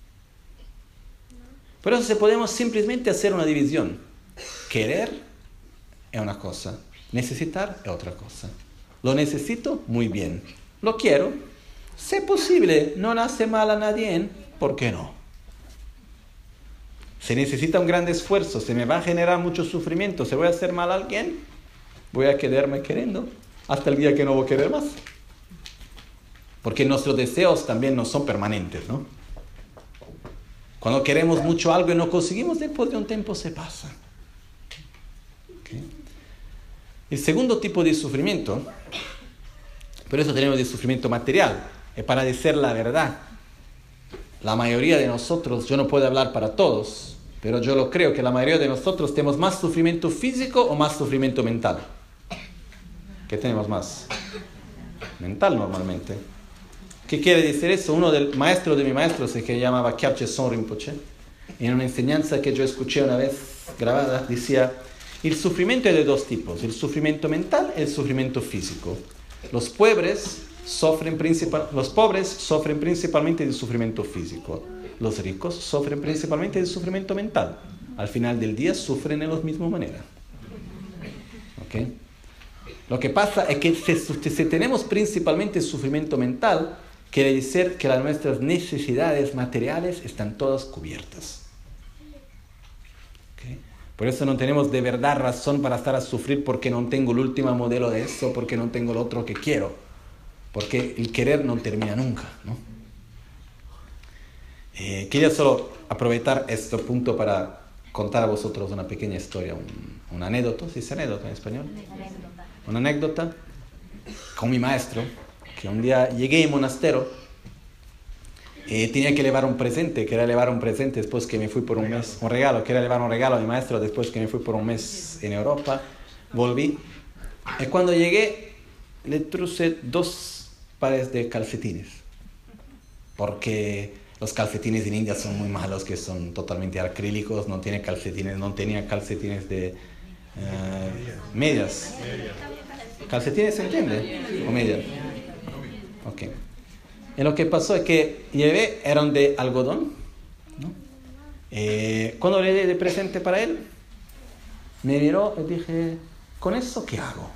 Por eso, si podemos simplemente hacer una división. Querer es una cosa, necesitar es otra cosa. Lo necesito, muy bien. Lo quiero. Si es posible, no le hace mal a nadie, ¿por qué no? Se necesita un gran esfuerzo, se me va a generar mucho sufrimiento, se voy a hacer mal a alguien, voy a quedarme queriendo hasta el día que no voy a querer más. Porque nuestros deseos también no son permanentes, ¿no? Cuando queremos mucho algo y no conseguimos, después de un tiempo se pasa. ¿Okay? El segundo tipo de sufrimiento, por eso tenemos el sufrimiento material, es para decir la verdad. La mayoría de nosotros, yo no puedo hablar para todos, pero yo lo creo que la mayoría de nosotros tenemos más sufrimiento físico o más sufrimiento mental. ¿Qué tenemos más? Mental normalmente. ¿Qué quiere decir eso? Uno del maestro de mi maestro se que llamaba Kyabche Son Rinpoche, en una enseñanza que yo escuché una vez grabada, decía, el sufrimiento es de dos tipos, el sufrimiento mental y el sufrimiento físico. Los pobres sufren principal, los pobres sufren principalmente del sufrimiento físico. Los ricos sufren principalmente del sufrimiento mental. Al final del día sufren de la misma manera. ¿Okay? Lo que pasa es que si, si tenemos principalmente el sufrimiento mental, quiere decir que las nuestras necesidades materiales están todas cubiertas. ¿Okay? Por eso no tenemos de verdad razón para estar a sufrir porque no tengo el último modelo de eso, porque no tengo el otro que quiero. Porque el querer no termina nunca, ¿no? Eh, quería solo aprovechar este punto para contar a vosotros una pequeña historia, un, una anécdota, ¿sí es anécdota en español? Anécdota. Una anécdota con mi maestro, que un día llegué al monasterio y tenía que llevar un presente, quería llevar un presente después que me fui por un mes, un regalo, quería llevar un regalo a mi maestro después que me fui por un mes en Europa, volví, y cuando llegué le traje dos pares de calcetines, porque los calcetines en India son muy malos, que son totalmente acrílicos, no tiene calcetines, no tenía calcetines de uh, medias. ¿Calcetines se entiende? ¿O medias? Ok. Y lo que pasó es que llevé, eran de algodón, ¿no? Eh, cuando le di de presente para él, me miró y dije, ¿con eso qué hago?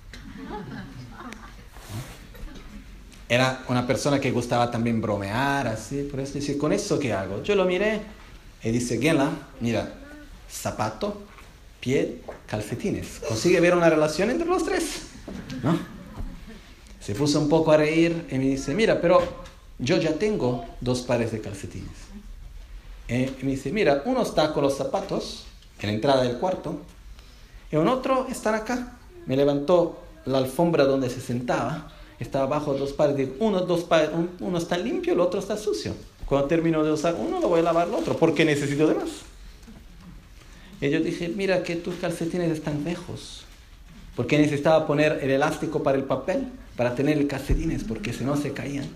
Era una persona que gustaba también bromear, así, por eso dice, ¿con eso qué hago? Yo lo miré y dice, Genla, mira, zapato, pie, calcetines. ¿Consigue ver una relación entre los tres? ¿No? Se puso un poco a reír y me dice, mira, pero yo ya tengo dos pares de calcetines. Y me dice, mira, uno está con los zapatos en la entrada del cuarto y un otro está acá. Me levantó la alfombra donde se sentaba estaba bajo dos pares. Digo, uno, dos pares, uno está limpio, el otro está sucio. Cuando termino de usar uno, lo voy a lavar el otro, porque necesito de más. Y yo dije, mira que tus calcetines están viejos. Porque necesitaba poner el elástico para el papel, para tener el calcetines, porque si no se caían.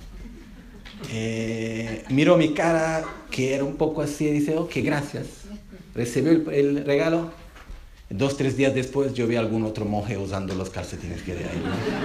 Eh, miró mi cara, que era un poco así, y dice, ok, gracias. Recibió el, el regalo. Dos, tres días después yo vi a algún otro monje usando los calcetines que de ahí.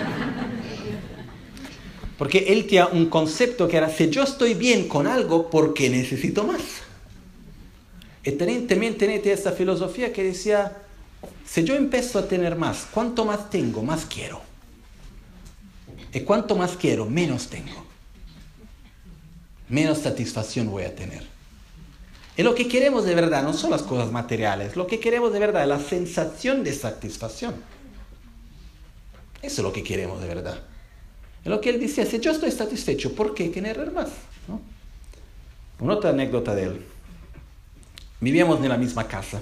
Porque él tenía un concepto que era, si yo estoy bien con algo, ¿por qué necesito más? Y también tenía esa filosofía que decía, si yo empiezo a tener más, cuanto más tengo, más quiero. Y cuanto más quiero, menos tengo. Menos satisfacción voy a tener. Y lo que queremos de verdad no son las cosas materiales, lo que queremos de verdad es la sensación de satisfacción. Eso es lo que queremos de verdad. Y lo que él decía, si yo estoy satisfecho, ¿por qué querer más? ¿No? Una otra anécdota de él. Vivíamos en la misma casa.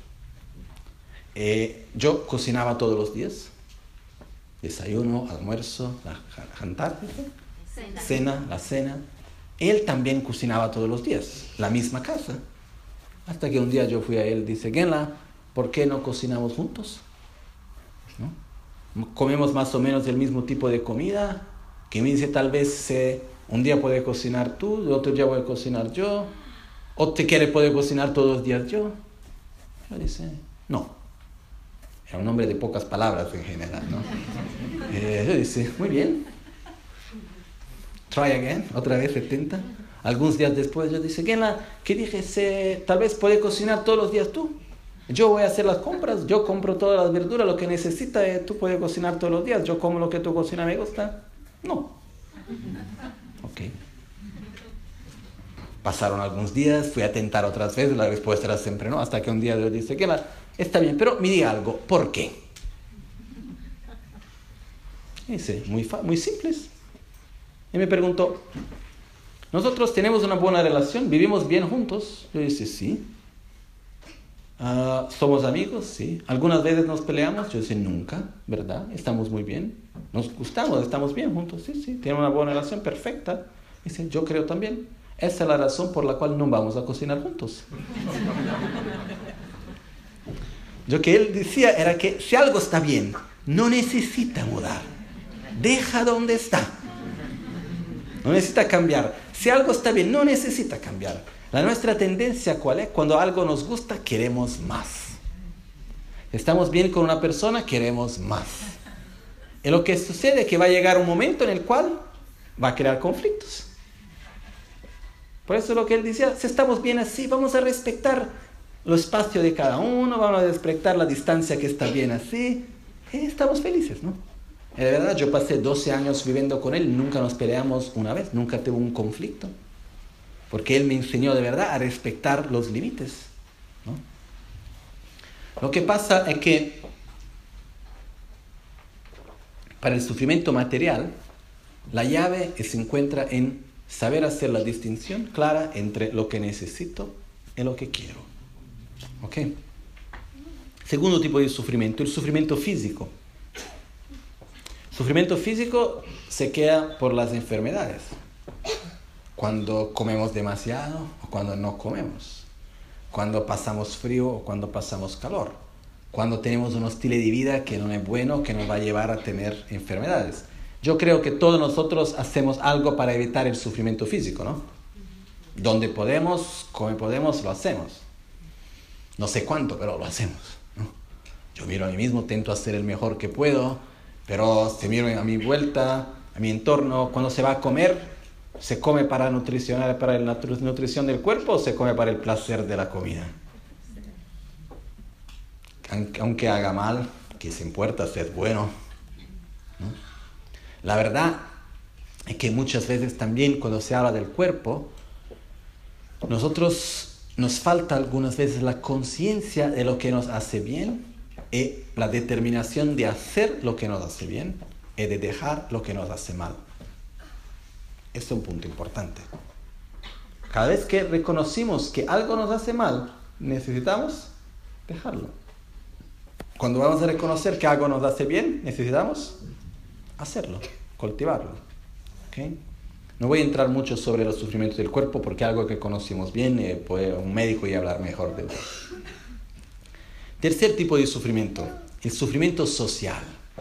Eh, yo cocinaba todos los días. Desayuno, almuerzo, la jantar, cena. cena, la cena. Él también cocinaba todos los días, la misma casa. Hasta que un día yo fui a él y dice, Genla, ¿por qué no cocinamos juntos? ¿No? Comemos más o menos el mismo tipo de comida. Que me dice, tal vez eh, un día puede cocinar tú, el otro día voy a cocinar yo. ¿O te quiere poder cocinar todos los días yo? Yo dice, no. Era un hombre de pocas palabras en general, ¿no? eh, yo dice, muy bien. Try again, otra vez setenta. Algunos días después yo dice, ¿qué dije? Se, tal vez puede cocinar todos los días tú. Yo voy a hacer las compras, yo compro todas las verduras, lo que necesita, eh, tú puedes cocinar todos los días. Yo como lo que tú cocinas, ¿me gusta? No. Ok. Pasaron algunos días, fui a tentar otras veces, la respuesta era siempre no, hasta que un día yo dice, ¿qué está bien, pero me diga algo, ¿por qué? Y dice, muy, fa- muy simples. Y me preguntó, ¿nosotros tenemos una buena relación? ¿Vivimos bien juntos? Yo dije, sí. Uh, ¿Somos amigos? Sí. ¿Algunas veces nos peleamos? Yo dije, nunca, ¿verdad? Estamos muy bien. Nos gustamos, estamos bien juntos. Sí, sí, tenemos una buena relación perfecta. Dice, yo creo también. Esa es la razón por la cual no vamos a cocinar juntos. Lo que él decía era que si algo está bien, no necesita mudar. Deja donde está. No necesita cambiar. Si algo está bien, no necesita cambiar. La nuestra tendencia, ¿cuál es? Cuando algo nos gusta, queremos más. Estamos bien con una persona, queremos más. Y lo que sucede es que va a llegar un momento en el cual va a crear conflictos. Por eso lo que él decía, si estamos bien así, vamos a respetar el espacio de cada uno, vamos a respetar la distancia que está bien así. Y estamos felices, ¿no? De verdad, yo pasé doce años viviendo con él, nunca nos peleamos una vez, nunca tuve un conflicto. Porque él me enseñó de verdad a respetar los límites, ¿no? Lo que pasa es que para el sufrimiento material, la llave se encuentra en saber hacer la distinción clara entre lo que necesito y lo que quiero. ¿Ok? Segundo tipo de sufrimiento, el sufrimiento físico. Sufrimiento físico se queda por las enfermedades. Cuando comemos demasiado o cuando no comemos. Cuando pasamos frío o cuando pasamos calor. Cuando tenemos un estilo de vida que no es bueno, que nos va a llevar a tener enfermedades. Yo creo que todos nosotros hacemos algo para evitar el sufrimiento físico, ¿no? Donde podemos, como podemos, lo hacemos. No sé cuánto, pero lo hacemos, ¿no? Yo miro a mí mismo, intento hacer el mejor que puedo, pero si miro a mi vuelta, a mi entorno, cuando se va a comer, ¿se come para nutricionar, para la nutrición del cuerpo o se come para el placer de la comida? Aunque haga mal, ¿qué se importa si es bueno? ¿No? La verdad es que muchas veces también cuando se habla del cuerpo, nosotros nos falta algunas veces la conciencia de lo que nos hace bien y la determinación de hacer lo que nos hace bien y de dejar lo que nos hace mal. Este es un punto importante. Cada vez que reconocimos que algo nos hace mal, necesitamos dejarlo. Cuando vamos a reconocer que algo nos hace bien, necesitamos hacerlo. cultivarlo. ¿Okay? No voy a entrar mucho sobre los sufrimientos del cuerpo porque es algo que conocemos bien, eh, puede un médico ya hablar mejor de eso. Tercer tipo de sufrimiento, el sufrimiento social.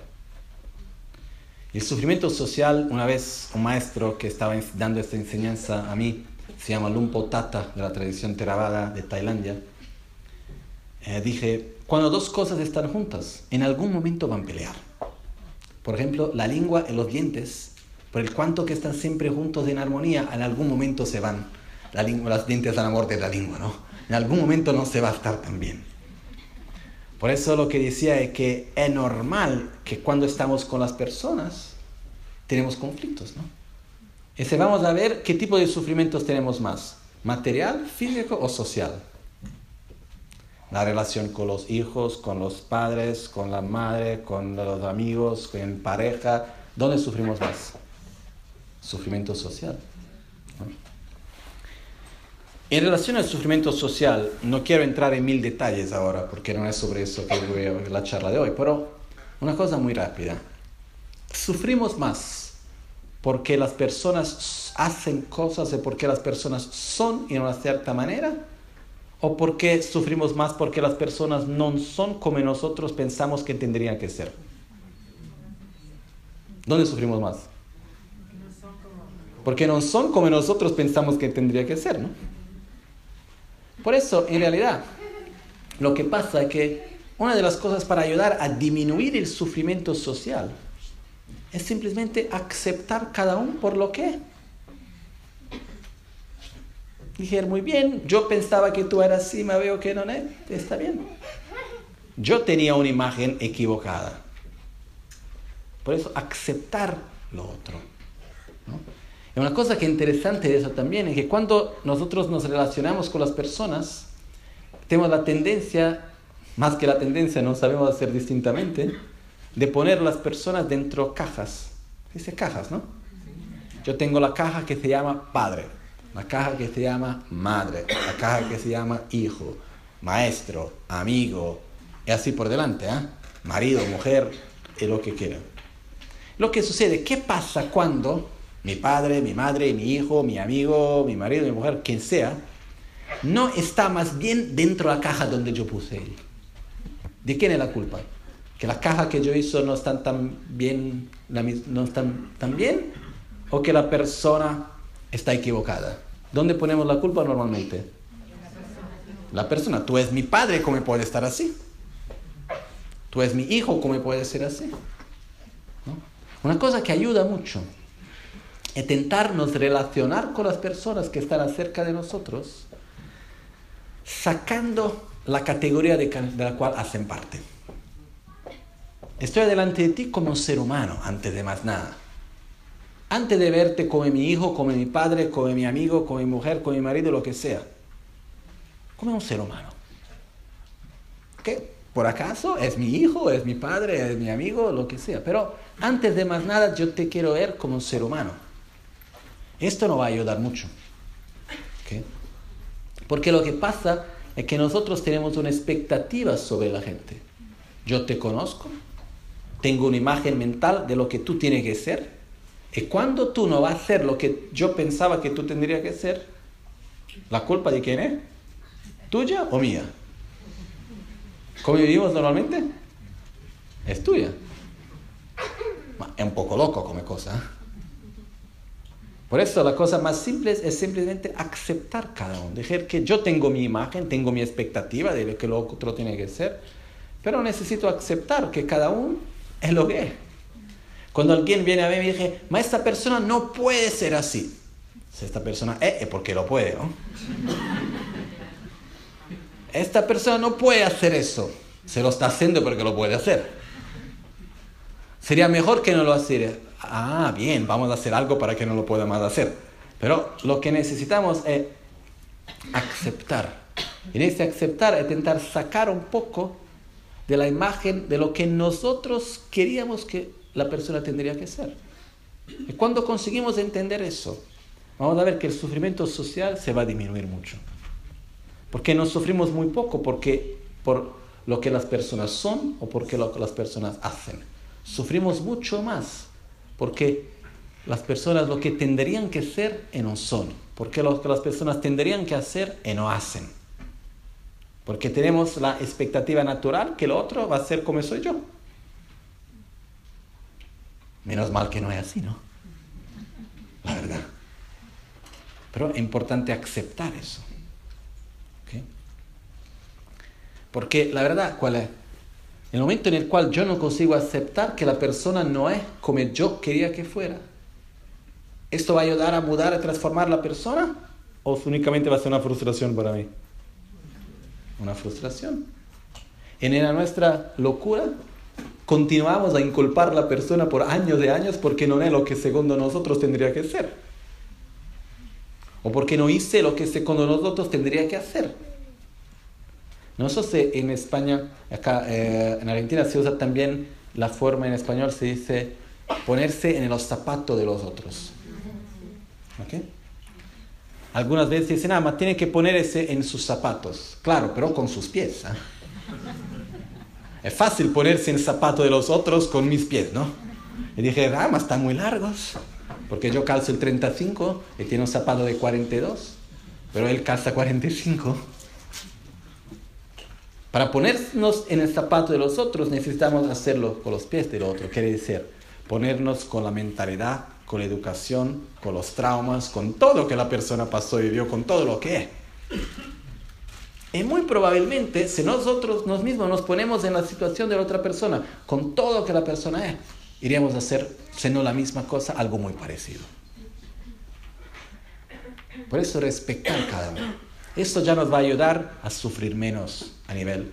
El sufrimiento social, una vez un maestro que estaba dando esta enseñanza a mí, se llama Lumpo Tata, de la tradición Theravada de Tailandia, eh, dije, cuando dos cosas están juntas, en algún momento van a pelear. Por ejemplo, la lengua y los dientes, por el cuanto que están siempre juntos en armonía, en algún momento se van. La lengua, los dientes dan la muerte de la lengua, ¿no? En algún momento no se va a estar tan bien. Por eso lo que decía es que es normal que cuando estamos con las personas tenemos conflictos, ¿no? Ese vamos a ver qué tipo de sufrimientos tenemos más, material, físico o social. La relación con los hijos, con los padres, con la madre, con los amigos, con pareja, ¿dónde sufrimos más? Sufrimiento social, ¿no? En relación al sufrimiento social, no quiero entrar en mil detalles ahora, porque no es sobre eso que voy a ver la charla de hoy, pero una cosa muy rápida. Sufrimos más porque las personas hacen cosas y porque las personas son en una cierta manera, o porque sufrimos más porque las personas no son como nosotros pensamos que tendrían que ser. ¿Dónde sufrimos más? Porque no son como nosotros pensamos que tendría que ser, ¿no? Por eso, en realidad, lo que pasa es que una de las cosas para ayudar a disminuir el sufrimiento social es simplemente aceptar cada uno por lo que es. Dije, muy bien, yo pensaba que tú eras así, me veo que no es, está bien. Yo tenía una imagen equivocada. Por eso, aceptar lo otro, ¿no? Y una cosa que es interesante de eso también es que cuando nosotros nos relacionamos con las personas, tenemos la tendencia, más que la tendencia, no sabemos hacer distintamente, de poner las personas dentro de cajas. Dice cajas, ¿no? Yo tengo la caja que se llama padre, la caja que se llama madre, la caja que se llama hijo, maestro, amigo, y así por delante, ¿eh? Marido, mujer, y lo que quieran. Lo que sucede, ¿qué pasa cuando mi padre, mi madre, mi hijo, mi amigo, mi marido, mi mujer, quien sea, no está más bien dentro de la caja donde yo puse él? ¿De quién es la culpa? ¿Que la caja que yo hizo no están tan bien, no están tan bien? ¿O que la persona está equivocada? ¿Dónde ponemos la culpa normalmente? La persona. Tú eres mi padre, ¿cómo puede estar así? Tú eres mi hijo, ¿cómo puede ser así? ¿No? Una cosa que ayuda mucho es intentarnos relacionar con las personas que están cerca de nosotros, sacando la categoría de, de la cual hacen parte. Estoy delante de ti como un ser humano, antes de más nada. Antes de verte como mi hijo, como mi padre, como mi amigo, como mi mujer, como mi marido, lo que sea. Como un ser humano. ¿Qué? Por acaso es mi hijo, es mi padre, es mi amigo, lo que sea. Pero antes de más nada yo te quiero ver como un ser humano. Esto nos va a ayudar mucho. ¿Okay? Porque lo que pasa es que nosotros tenemos una expectativa sobre la gente. Yo te conozco, tengo una imagen mental de lo que tú tienes que ser, y cuando tú no vas a hacer lo que yo pensaba que tú tendrías que ser, ¿la culpa de quién es? ¿Tuya o mía? ¿Cómo vivimos normalmente? Es tuya. Es un poco loco como cosa, ¿eh? Por eso la cosa más simple es simplemente aceptar cada uno. Dejar que yo tengo mi imagen, tengo mi expectativa de lo que lo otro tiene que ser, pero necesito aceptar que cada uno es lo que es. Cuando alguien viene a mí y me dice, ma, esta persona no puede ser así. Si esta persona es, es porque lo puede, ¿no? Esta persona no puede hacer eso. Se lo está haciendo porque lo puede hacer. Sería mejor que no lo hiciera. Ah, bien, vamos a hacer algo para que no lo pueda más hacer. Pero lo que necesitamos es aceptar. Y en ese aceptar es intentar sacar un poco de la imagen de lo que nosotros queríamos que la persona tendría que ser. Y cuando conseguimos entender eso, vamos a ver que el sufrimiento social se va a disminuir mucho. Porque no sufrimos muy poco porque por lo que las personas son o porque lo que las personas hacen. Sufrimos mucho más Porque las personas lo que tendrían que ser y no son. Porque lo que las personas tendrían que hacer y no hacen. Porque tenemos la expectativa natural que el otro va a ser como soy yo. Menos mal que no es así, ¿no? La verdad. Pero es importante aceptar eso. ¿Okay? Porque la verdad, ¿cuál es? En el momento en el cual yo no consigo aceptar que la persona no es como yo quería que fuera, ¿esto va a ayudar a mudar, a transformar la persona? ¿O únicamente va a ser una frustración para mí? Una frustración. En la nuestra locura, continuamos a inculpar a la persona por años de años porque no es lo que según nosotros tendría que ser. O porque no hice lo que según nosotros tendría que hacer. No sé si en España, acá eh, en Argentina se usa también la forma en español, se dice ponerse en los zapatos de los otros. ¿Ok? Algunas veces dicen, ah, más tiene que ponerse en sus zapatos. Claro, pero con sus pies. ¿eh? Es fácil ponerse en el zapato de los otros con mis pies, ¿no? Y dije, ah, más están muy largos. Porque yo calzo el treinta y cinco y tiene un zapato de cuarenta y dos. Pero él calza cuarenta y cinco. Para ponernos en el zapato de los otros necesitamos hacerlo con los pies del otro. Quiere decir, ponernos con la mentalidad, con la educación, con los traumas, con todo lo que la persona pasó y vivió, con todo lo que es. Y muy probablemente, si nosotros nos mismos nos ponemos en la situación de la otra persona, con todo lo que la persona es, iríamos a hacer, si no la misma cosa, algo muy parecido. Por eso respetar cada uno. Esto ya nos va a ayudar a sufrir menos a nivel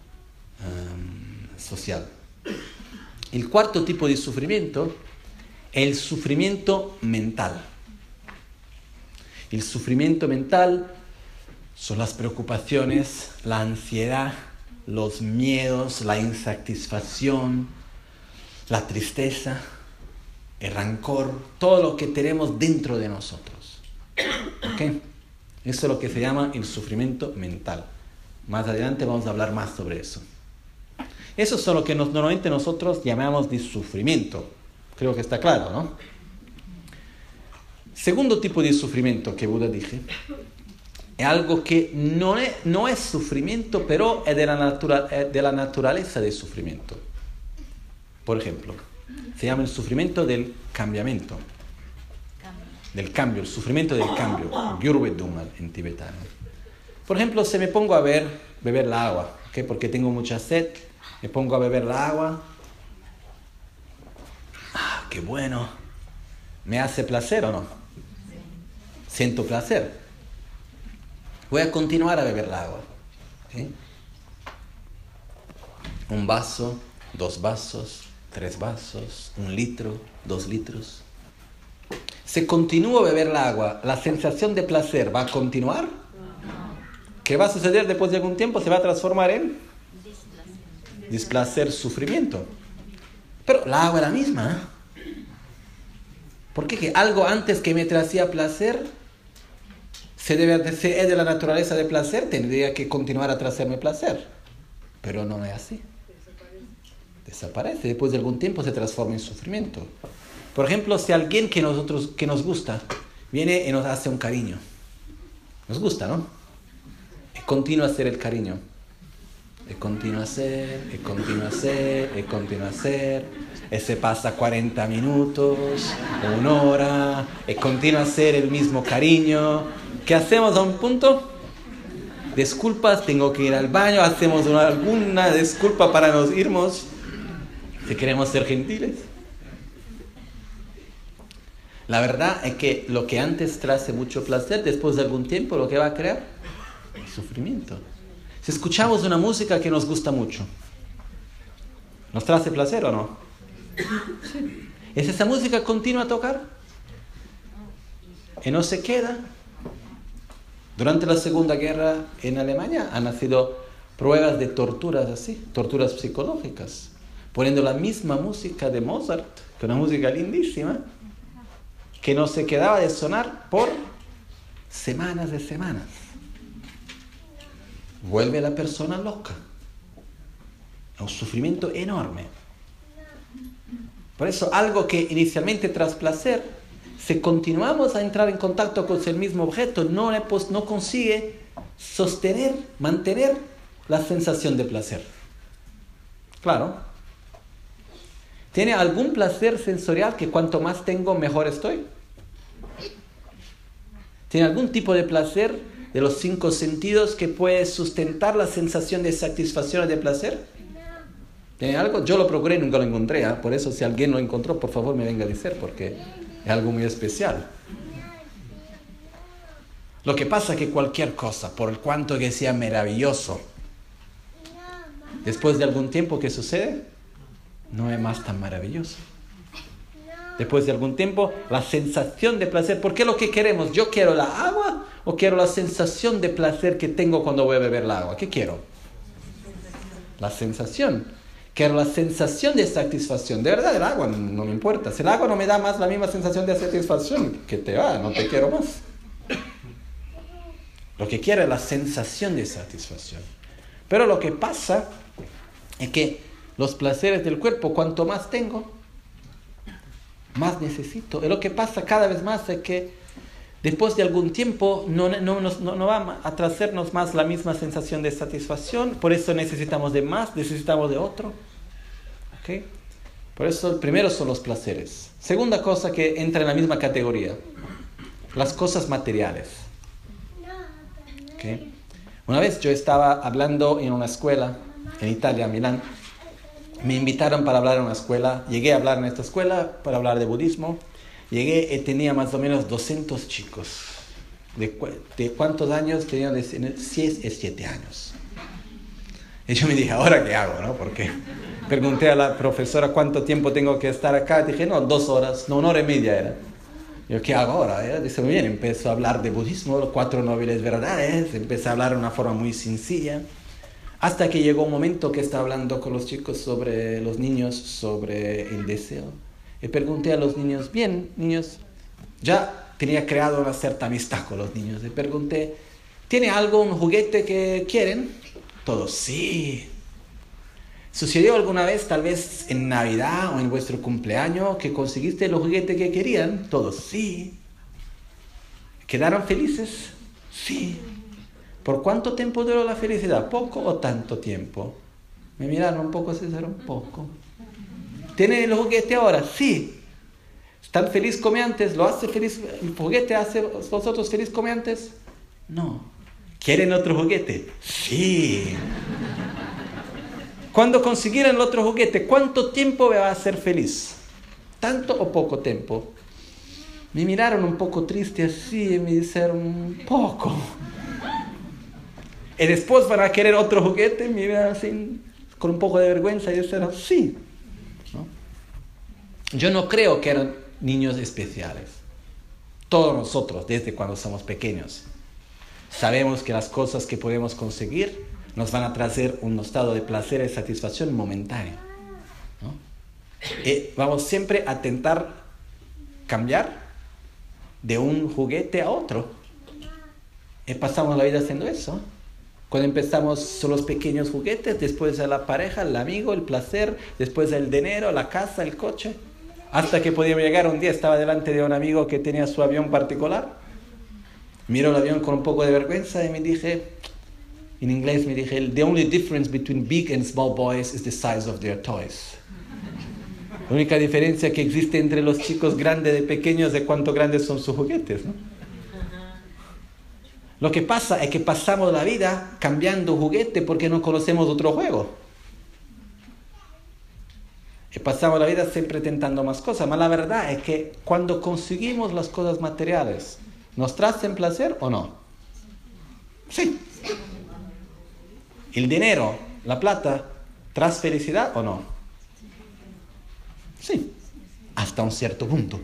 um, social. El cuarto tipo de sufrimiento, el sufrimiento mental. El sufrimiento mental son las preocupaciones, la ansiedad, los miedos, la insatisfacción, la tristeza, el rancor, todo lo que tenemos dentro de nosotros. ¿Ok? Eso es lo que se llama el sufrimiento mental. Más adelante vamos a hablar más sobre eso. Eso es lo que nos, normalmente nosotros llamamos de sufrimiento. Creo que está claro, ¿no? Segundo tipo de sufrimiento que Buda dije, es algo que no es, no es sufrimiento, pero es de la, natura, es de la naturaleza del sufrimiento. Por ejemplo, se llama el sufrimiento del cambiamiento. Del cambio, el sufrimiento del cambio. Gyurvedungal en tibetano. Por ejemplo, si me pongo a ver, beber la agua, ¿okay? Porque tengo mucha sed, me pongo a beber la agua. ¡Ah, qué bueno! ¿Me hace placer o no? Siento placer. Voy a continuar a beber el agua. ¿Okay? Un vaso, dos vasos, tres vasos, un litro, dos litros. Si continúo a beber el agua, ¿la sensación de placer va a continuar? ¿Qué va a suceder después de algún tiempo? Se va a transformar en displacer, sufrimiento. Pero el agua es la misma. ¿eh? ¿Por qué? Que algo antes que me traía placer, se debe de ser de la naturaleza de placer, tendría que continuar a traerme placer. Pero no es así. Desaparece. Después de algún tiempo se transforma en sufrimiento. Por ejemplo, si alguien que, nosotros, que nos gusta viene y nos hace un cariño. Nos gusta, ¿no? Y continúa a hacer el cariño. Y continúa a hacer, y continúa a hacer, y continúa a hacer. Y se pasa cuarenta minutos, una hora, y continúa a hacer el mismo cariño. ¿Qué hacemos a un punto? Disculpas, tengo que ir al baño, hacemos una, alguna disculpa para nos irnos. Si queremos ser gentiles. La verdad es que lo que antes trae mucho placer, después de algún tiempo lo que va a crear es sufrimiento. Si escuchamos una música que nos gusta mucho, ¿nos trae placer o no? Sí. ¿Es esa música continua a tocar? Y no se queda. Durante la Segunda Guerra en Alemania han nacido pruebas de torturas así, torturas psicológicas, poniendo la misma música de Mozart, que es una música lindísima, que no se quedaba de sonar por semanas de semanas. Vuelve la persona loca. Es un sufrimiento enorme. Por eso algo que inicialmente tras placer, si continuamos a entrar en contacto con el mismo objeto, no, le, pues, no consigue sostener, mantener la sensación de placer. Claro. ¿Tiene algún placer sensorial que cuanto más tengo, mejor estoy? ¿Tiene algún tipo de placer de los cinco sentidos que puede sustentar la sensación de satisfacción o de placer? ¿Tiene algo? Yo lo procuré y nunca lo encontré, ¿eh? Por eso si alguien lo encontró, por favor me venga a decir, porque es algo muy especial. Lo que pasa es que cualquier cosa, por cuanto que sea maravilloso, después de algún tiempo, ¿qué sucede? No es más tan maravilloso. Después de algún tiempo, la sensación de placer, ¿por qué lo que queremos? ¿Yo quiero la agua o quiero la sensación de placer que tengo cuando voy a beber la agua? ¿Qué quiero? La sensación. Quiero la sensación de satisfacción. De verdad, el agua no, no me importa. Si el agua no me da más la misma sensación de satisfacción, que te va, no te quiero más. Lo que quiero es la sensación de satisfacción. Pero lo que pasa es que los placeres del cuerpo, cuanto más tengo, más necesito. Y lo que pasa cada vez más es que después de algún tiempo no, no, no, no va a traernos más la misma sensación de satisfacción. Por eso necesitamos de más, necesitamos de otro. ¿Okay? Por eso el primero son los placeres. Segunda cosa que entra en la misma categoría, las cosas materiales. ¿Okay? Una vez yo estaba hablando en una escuela en Italia, en Milán. Me invitaron para hablar en una escuela. Llegué a hablar en esta escuela para hablar de budismo. Llegué y tenía más o menos doscientos chicos. ¿De, cu- de cuántos años? Tenían de seis y siete años. Y yo me dije, ¿ahora qué hago? ¿No? Porque pregunté a la profesora cuánto tiempo tengo que estar acá. Dije, no, dos horas, no, una hora y media era. Yo, ¿qué hago ahora? Ella dice, muy bien, empezó a hablar de budismo, los cuatro nobles verdades. Empecé a hablar de una forma muy sencilla. Hasta que llegó un momento que estaba hablando con los chicos sobre los niños, sobre el deseo. Y pregunté a los niños, bien, niños, ya tenía creado una cierta amistad con los niños. Y pregunté, ¿tiene algo, un juguete que quieren? Todos, sí. ¿Sucedió alguna vez, tal vez en Navidad o en vuestro cumpleaños, que conseguiste los juguetes que querían? Todos, sí. ¿Quedaron felices? Sí. ¿Por cuánto tiempo duró la felicidad? ¿Poco o tanto tiempo? Me miraron un poco, César, un poco. ¿Tienen el juguete ahora? Sí. ¿Están feliz como antes? ¿Lo hace feliz? ¿El juguete hace vosotros feliz como antes? No. ¿Quieren otro juguete? Sí. Cuando consiguieran el otro juguete, ¿cuánto tiempo me va a hacer feliz? ¿Tanto o poco tiempo? Me miraron un poco triste así y me dijeron, poco. Y después van a querer otro juguete, me miran así, con un poco de vergüenza y dijeron, sí. ¿No? Yo no creo que eran niños especiales. Todos nosotros, desde cuando somos pequeños, sabemos que las cosas que podemos conseguir nos van a traer un estado de placer y satisfacción momentáneo, ¿no? Y vamos siempre a intentar cambiar de un juguete a otro. Y pasamos la vida haciendo eso. Cuando empezamos son los pequeños juguetes, después a la pareja, el amigo, el placer, después el dinero, la casa, el coche. Hasta que podíamos llegar un día, estaba delante de un amigo que tenía su avión particular. Miro el avión con un poco de vergüenza y me dije, en inglés me dije, the only difference between big and small boys is the size of their toys. La única diferencia que existe entre los chicos grandes y pequeños es cuánto grandes son sus juguetes, ¿no? Lo que pasa es que pasamos la vida cambiando juguete porque no conocemos otro juego. Y pasamos la vida siempre tentando más cosas. Pero la verdad es que cuando conseguimos las cosas materiales, ¿nos traen placer o no? Sí. ¿El dinero, la plata, trae felicidad o no? Sí. Hasta un cierto punto.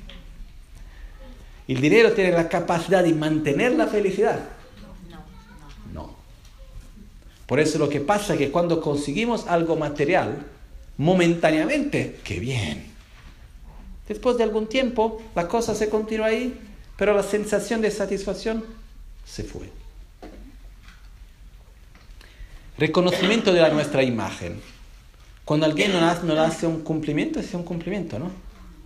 ¿El dinero tiene la capacidad de mantener la felicidad? No. No. Por eso lo que pasa es que cuando conseguimos algo material, momentáneamente, ¡qué bien! Después de algún tiempo, la cosa se continúa ahí, pero la sensación de satisfacción se fue. Reconocimiento de la nuestra imagen. Cuando alguien nos hace, nos hace un cumplimiento, es un cumplimiento, ¿no?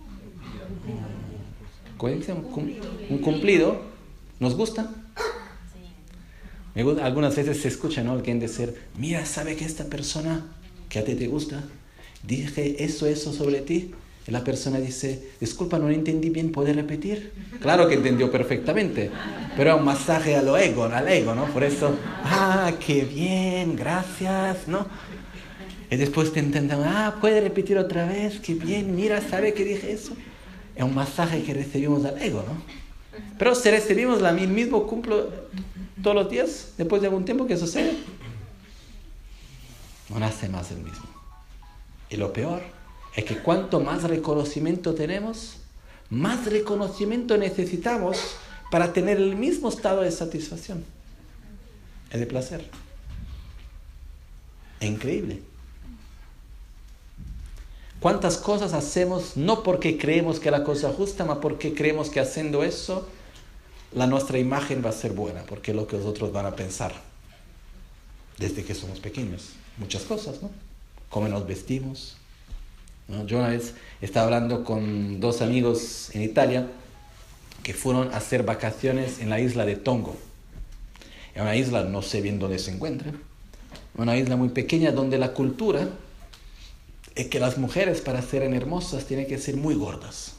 ¿Cómo dice? Un, un cumplido. ¿Nos gusta? Me gusta? Algunas veces se escucha, ¿no? Alguien decir, mira, ¿sabe que esta persona que a ti te gusta, dije eso, eso sobre ti? Y la persona dice, disculpa, no entendí bien, ¿puedes repetir? Claro que entendió perfectamente, pero es un masaje al ego, al ego, ¿no? Por eso, ah, qué bien, gracias, ¿no? Y después te intentan, ah, ¿puede repetir otra vez? Qué bien, mira, ¿sabe que dije eso? Es un masaje que recibimos al ego, ¿no? Pero si recibimos la, el mismo cumplo todos los días, después de algún tiempo, ¿qué sucede? No nace más el mismo. Y lo peor es que cuanto más reconocimiento tenemos, más reconocimiento necesitamos para tener el mismo estado de satisfacción y de placer. Es increíble. ¿Cuántas cosas hacemos no porque creemos que la cosa es justa, sino porque creemos que haciendo eso la nuestra imagen va a ser buena, porque es lo que los otros van a pensar desde que somos pequeños? Muchas cosas, ¿no? Cómo nos vestimos, ¿no? Yo una vez estaba hablando con dos amigos en Italia que fueron a hacer vacaciones en la isla de Tongo. Es una isla, no sé bien dónde se encuentra, una isla muy pequeña donde la cultura es que las mujeres, para ser hermosas, tienen que ser muy gordas.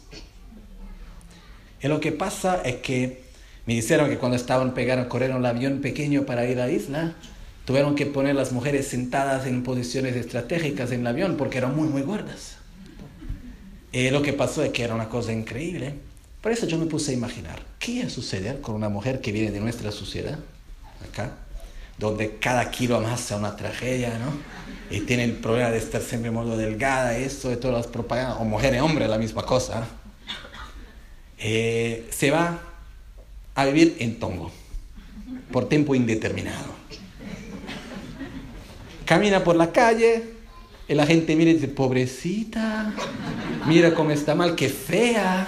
Y lo que pasa es que me dijeron que cuando estaban pegaron, corrieron el avión pequeño para ir a la isla, tuvieron que poner las mujeres sentadas en posiciones estratégicas en el avión porque eran muy, muy gordas. Y lo que pasó es que era una cosa increíble. Por eso yo me puse a imaginar, ¿qué va a suceder con una mujer que viene de nuestra sociedad, acá, donde cada kilo más sea una tragedia, ¿no? Y tiene el problema de estar siempre muy delgada, eso, de todas las propagandas, o mujer y hombre, la misma cosa. Eh, se va a vivir en Tongo, por tiempo indeterminado. Camina por la calle, y la gente mira y dice, pobrecita, mira cómo está mal, qué fea,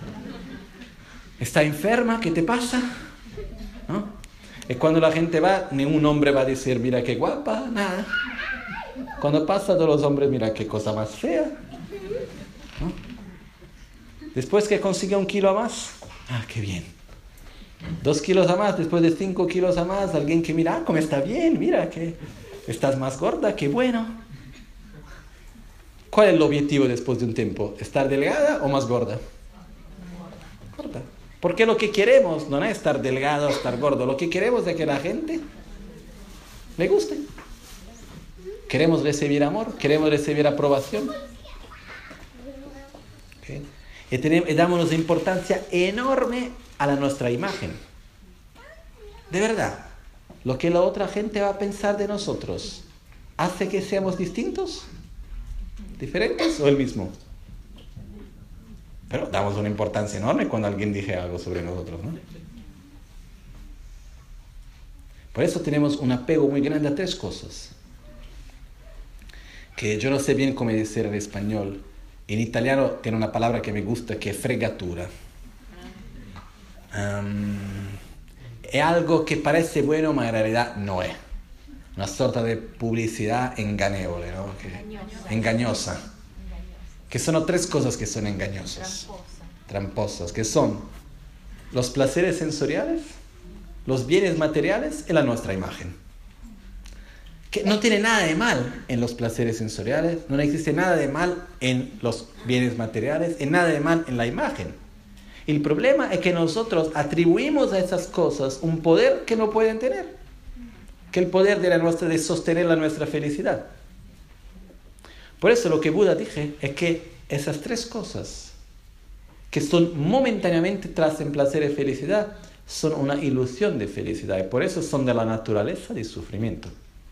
está enferma, ¿qué te pasa? ¿No? Y cuando la gente va, ningún hombre va a decir, mira qué guapa, nada. Cuando pasa, todos los hombres, mira qué cosa más fea, ¿no? Después que consigue un kilo a más, ah, qué bien. Dos kilos a más, después de cinco kilos a más, alguien que mira, ah, cómo está bien, mira que estás más gorda, qué bueno. ¿Cuál es el objetivo después de un tiempo? ¿Estar delgada o más gorda? Gorda. Porque lo que queremos no es estar delgado o estar gordo, lo que queremos es que la gente le guste. Queremos recibir amor, queremos recibir aprobación. ¿Okay? Y, tenemos, y damos una importancia enorme a la nuestra imagen. De verdad, lo que la otra gente va a pensar de nosotros, ¿hace que seamos distintos? ¿Diferentes o el mismo? Pero damos una importancia enorme cuando alguien dice algo sobre nosotros, ¿no? Por eso tenemos un apego muy grande a tres cosas. Que yo no sé bien cómo decir en español. En italiano tiene una palabra que me gusta, que es fregatura. Um, es algo que parece bueno, pero en realidad no es. Una sorta de publicidad engañable, ¿no? Que, engañosa. engañosa. Que son tres cosas que son engañosas. Tramposa. Tramposas. Que son los placeres sensoriales, los bienes materiales y la nuestra imagen. Que no tiene nada de mal en los placeres sensoriales, no existe nada de mal en los bienes materiales, y nada de mal en la imagen. El problema es que nosotros atribuimos a esas cosas un poder que no pueden tener, que el poder de, la nuestra, de sostener la nuestra felicidad. Por eso lo que Buda dije es que esas tres cosas, que son momentáneamente traen placer y felicidad, son una ilusión de felicidad, y por eso son de la naturaleza del sufrimiento.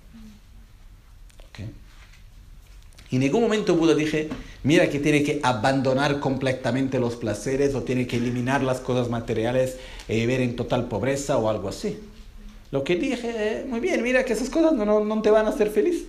Y en ningún momento Buda dije, mira que tiene que abandonar completamente los placeres o tiene que eliminar las cosas materiales y vivir en total pobreza o algo así. Lo que dije, eh, muy bien, mira que esas cosas no, no, no te van a hacer feliz.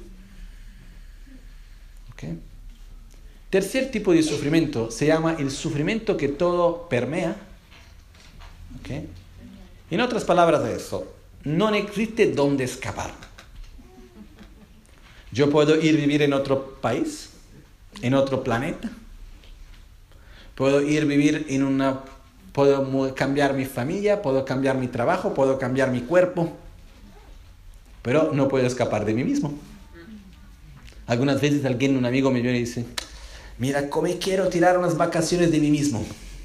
¿Okay? Tercer tipo de sufrimiento se llama el sufrimiento que todo permea. ¿Okay? En otras palabras de eso, no existe dónde escapar. Yo puedo ir a vivir en otro país, en otro planeta. Puedo ir a vivir en una... Puedo cambiar mi familia, puedo cambiar mi trabajo, puedo cambiar mi cuerpo. Pero no puedo escapar de mí mismo. Algunas veces alguien, un amigo me viene y dice, mira, cómo quiero tirar unas vacaciones de mí mismo.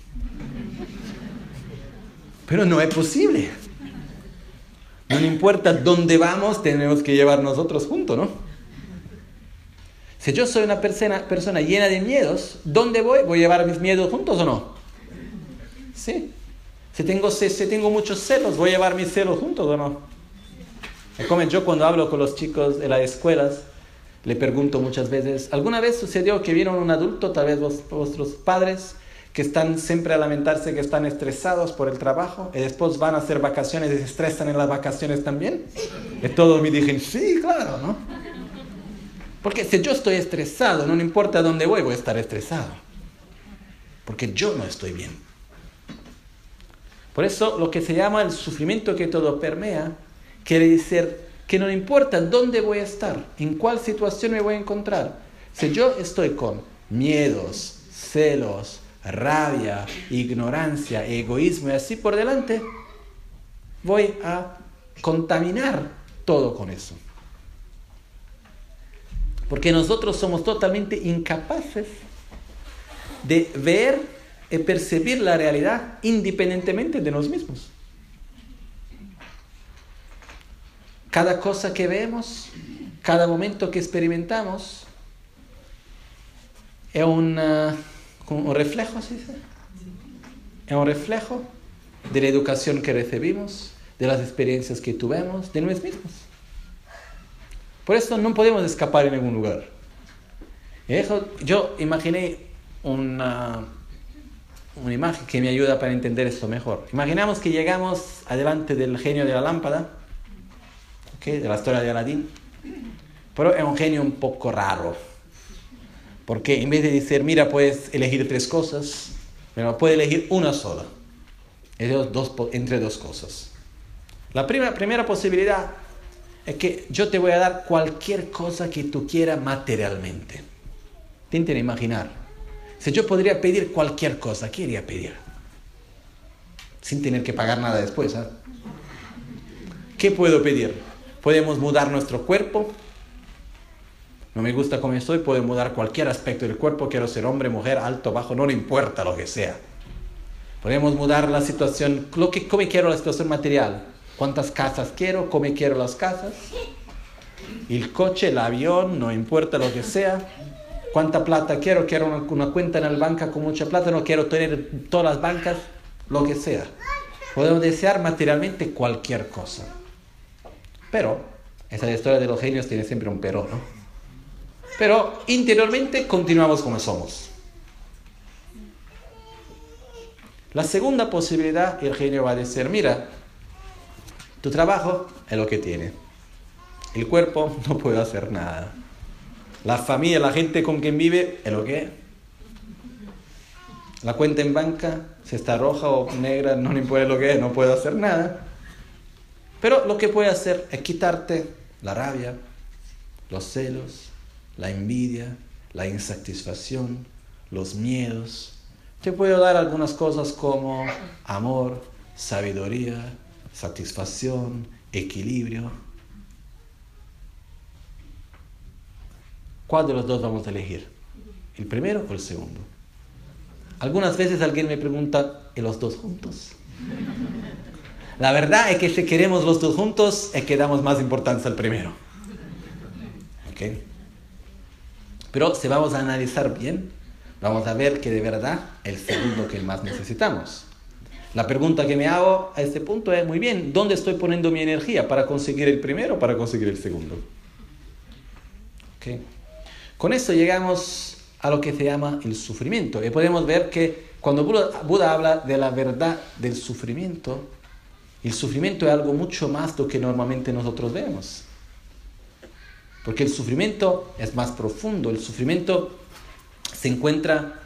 Pero no es posible. No importa dónde vamos, tenemos que llevar nosotros juntos, ¿no? Si yo soy una persona, persona llena de miedos, ¿dónde voy? ¿Voy a llevar mis miedos juntos o no? Sí. Si tengo, si, si tengo muchos celos, ¿voy a llevar mis celos juntos o no? Como yo cuando hablo con los chicos de las escuelas, le pregunto muchas veces, ¿alguna vez sucedió que vieron un adulto, tal vez vos, vuestros padres, que están siempre a lamentarse que están estresados por el trabajo y después van a hacer vacaciones y se estresan en las vacaciones también? Y todos me dijeron, sí, claro, ¿no? Porque si yo estoy estresado, no importa dónde voy, voy a estar estresado. Porque yo no estoy bien. Por eso lo que se llama el sufrimiento que todo permea, quiere decir que no importa dónde voy a estar, en cuál situación me voy a encontrar. Si yo estoy con miedos, celos, rabia, ignorancia, egoísmo y así por delante, voy a contaminar todo con eso. Porque nosotros somos totalmente incapaces de ver y percibir la realidad independientemente de nosotros mismos. Cada cosa que vemos, cada momento que experimentamos, es un, uh, un reflejo, ¿sí? Es un reflejo de la educación que recibimos, de las experiencias que tuvimos, de nosotros mismos. Por eso no podemos escapar en ningún lugar. Yo imaginé una, una imagen que me ayuda para entender esto mejor. Imaginamos que llegamos adelante del genio de la lámpara, ¿okay? De la historia de Aladín, pero es un genio un poco raro. Porque en vez de decir, mira, puedes elegir tres cosas, pero puedes elegir una sola, dos, entre dos cosas. La primera, primera posibilidad es que yo te voy a dar cualquier cosa que tú quieras materialmente. Intenten imaginar. Si yo podría pedir cualquier cosa, ¿qué iría a pedir? Sin tener que pagar nada después, ¿eh? ¿Qué puedo pedir? Podemos mudar nuestro cuerpo. No me gusta como estoy, puedo mudar cualquier aspecto del cuerpo. Quiero ser hombre, mujer, alto, bajo, no le importa lo que sea. Podemos mudar la situación, lo que, cómo quiero la situación material. ¿Cuántas casas quiero? ¿Cómo quiero las casas? El coche, el avión, no importa lo que sea. ¿Cuánta plata quiero? Quiero una, una cuenta en el banco con mucha plata. No quiero tener todas las bancas, lo que sea. Podemos desear materialmente cualquier cosa. Pero, esa historia de los genios tiene siempre un pero, ¿no? Pero interiormente continuamos como somos. La segunda posibilidad, el genio va a decir, mira, tu trabajo es lo que tiene. El cuerpo no puede hacer nada. La familia, la gente con quien vive es lo que es. La cuenta en banca, si está roja o negra, no le importa lo que es, no puede hacer nada. Pero lo que puede hacer es quitarte la rabia, los celos, la envidia, la insatisfacción, los miedos. Te puedo dar algunas cosas como amor, sabiduría, satisfacción, equilibrio. ¿Cuál de los dos vamos a elegir? ¿El primero o el segundo? Algunas veces alguien me pregunta, ¿y los dos juntos? La verdad es que si queremos los dos juntos, es que damos más importancia al primero. ¿Okay? Pero si vamos a analizar bien, vamos a ver que de verdad el segundo que más necesitamos. La pregunta que me hago a este punto es, muy bien, ¿dónde estoy poniendo mi energía? ¿Para conseguir el primero o para conseguir el segundo? ¿Okay? Con eso llegamos a lo que se llama el sufrimiento. Y podemos ver que cuando Buda, Buda habla de la verdad del sufrimiento, el sufrimiento es algo mucho más de lo que normalmente nosotros vemos. Porque el sufrimiento es más profundo. El sufrimiento se encuentra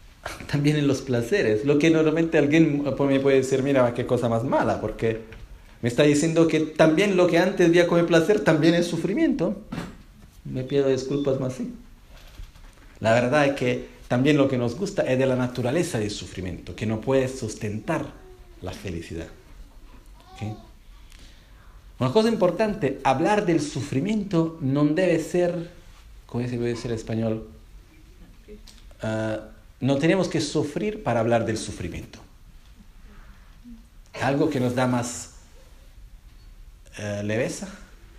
también en los placeres. Lo que normalmente alguien me puede decir, mira, qué cosa más mala, porque Me está diciendo que también lo que antes veía como placer también es sufrimiento. Me pido disculpas más, sí. La verdad es que también lo que nos gusta es de la naturaleza del sufrimiento, que no puede sustentar la felicidad. ¿Okay? Una cosa importante, hablar del sufrimiento no debe ser, ¿cómo se puede decir en español? Uh, no tenemos que sufrir para hablar del sufrimiento. Algo que nos da más uh, leveza,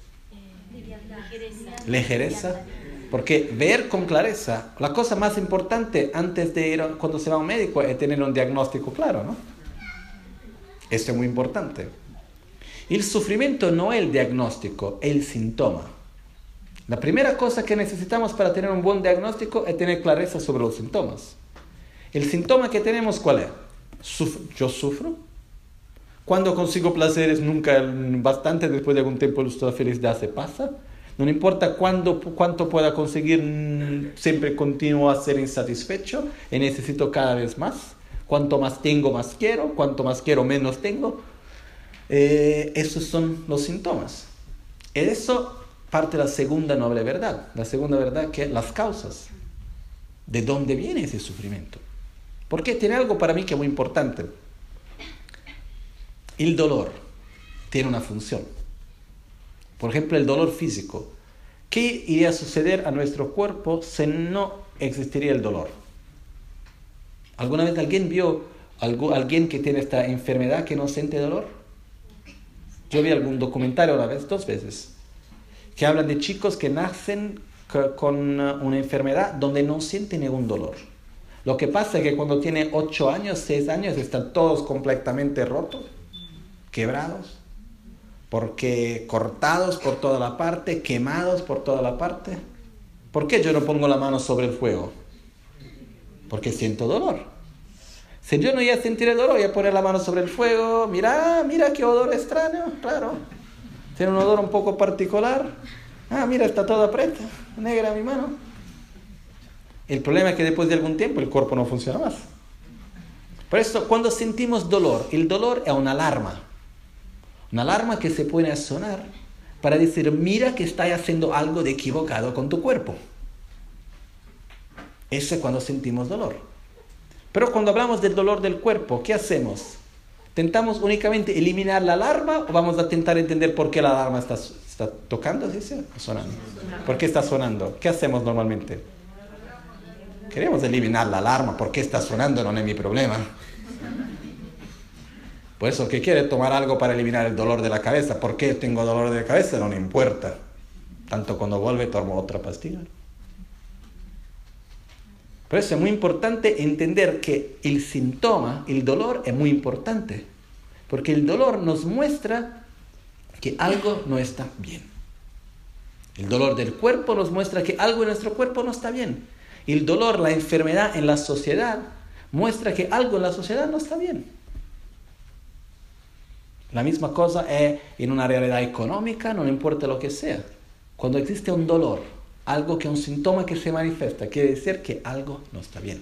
ligereza, porque ver con clareza, la cosa más importante antes de ir, a, cuando se va a un médico, es tener un diagnóstico claro, ¿no? Esto es muy importante. El sufrimiento no es el diagnóstico, es el síntoma. La primera cosa que necesitamos para tener un buen diagnóstico es tener clareza sobre los síntomas. ¿El síntoma que tenemos cuál es? Suf- ¿Yo sufro? Cuando consigo placeres nunca bastante, después de algún tiempo la felicidad se pasa. No importa cuándo, cuánto pueda conseguir, siempre continúo a ser insatisfecho y necesito cada vez más. Cuanto más tengo, más quiero. Cuanto más quiero, menos tengo. Eh, esos son los síntomas. Eso parte de la segunda noble verdad. La segunda verdad que es las causas. ¿De dónde viene ese sufrimiento? Porque tiene algo para mí que es muy importante. El dolor tiene una función. Por ejemplo, el dolor físico. ¿Qué iría a suceder a nuestro cuerpo si no existiría el dolor? ¿Alguna vez alguien vio algo, alguien que tiene esta enfermedad que no siente dolor? Yo vi algún documentario una vez, dos veces, que hablan de chicos que nacen con una enfermedad donde no sienten ningún dolor. Lo que pasa es que cuando tienen ocho años, seis años, están todos completamente rotos, quebrados, porque cortados por toda la parte, quemados por toda la parte. ¿Por qué yo no pongo la mano sobre el fuego? Porque siento dolor. Si yo no iba a sentir el dolor, voy a poner la mano sobre el fuego. Mira, mira qué odor extraño, claro. Tiene un odor un poco particular. Ah, mira, está toda preta, negra mi mano. El problema es que después de algún tiempo el cuerpo no funciona más. Por eso, cuando sentimos dolor, el dolor es una alarma. Una alarma que se pone a sonar para decir, mira que estás haciendo algo de equivocado con tu cuerpo. Eso es cuando sentimos dolor. Pero cuando hablamos del dolor del cuerpo, ¿qué hacemos? ¿Tentamos únicamente eliminar la alarma o vamos a intentar entender por qué la alarma está, está tocando? ¿Sí? ¿Sí? ¿Sonando? ¿Por qué está sonando? ¿Qué hacemos normalmente? Queremos eliminar la alarma. ¿Por qué está sonando? No es mi problema. Por eso, ¿qué quiere tomar algo para eliminar el dolor de la cabeza? ¿Por qué tengo dolor de cabeza? No me importa. Tanto cuando vuelve tomo otra pastilla. Por eso es muy importante entender que el síntoma, el dolor, es muy importante. Porque el dolor nos muestra que algo no está bien. El dolor del cuerpo nos muestra que algo en nuestro cuerpo no está bien. El dolor, la enfermedad en la sociedad, muestra que algo en la sociedad no está bien. La misma cosa es en una realidad económica, no importa lo que sea. Cuando existe un dolor, algo que es un síntoma que se manifiesta, quiere decir que algo no está bien.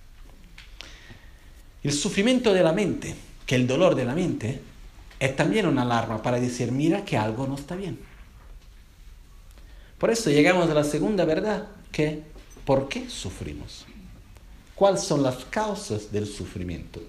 El sufrimiento de la mente, que el dolor de la mente, es también una alarma para decir, mira que algo no está bien. Por eso llegamos a la segunda verdad, que ¿por qué sufrimos? ¿Cuáles son las causas del sufrimiento?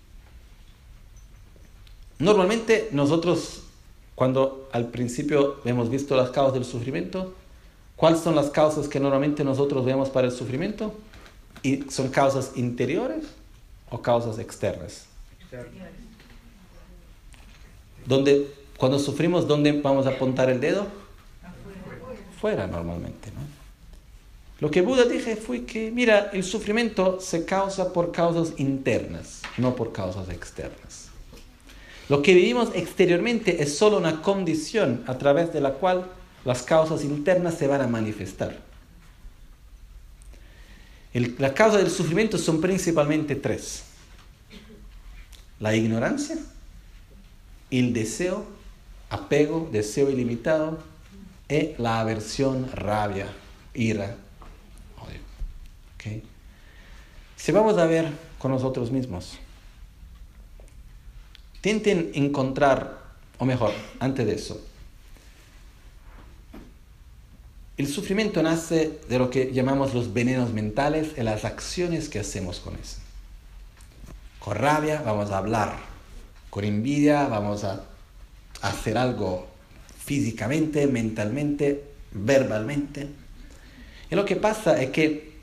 Normalmente nosotros, cuando al principio hemos visto las causas del sufrimiento, ¿cuáles son las causas que normalmente nosotros vemos para el sufrimiento? ¿Y son causas interiores o causas externas? Externas. ¿Dónde, cuando sufrimos, ¿dónde vamos a apuntar el dedo? Fuera normalmente, ¿no? Lo que Buda dije fue que, mira, el sufrimiento se causa por causas internas, no por causas externas. Lo que vivimos exteriormente es solo una condición a través de la cual las causas internas se van a manifestar. El, las causas del sufrimiento son principalmente tres. La ignorancia, el deseo, apego, deseo ilimitado, y la aversión, rabia, ira, odio. ¿Okay? Si vamos a ver con nosotros mismos, intenten encontrar o mejor, antes de eso, el sufrimiento nace de lo que llamamos los venenos mentales y las acciones que hacemos con eso. Con rabia vamos a hablar, con envidia vamos a hacer algo físicamente, mentalmente, verbalmente. Y lo que pasa es que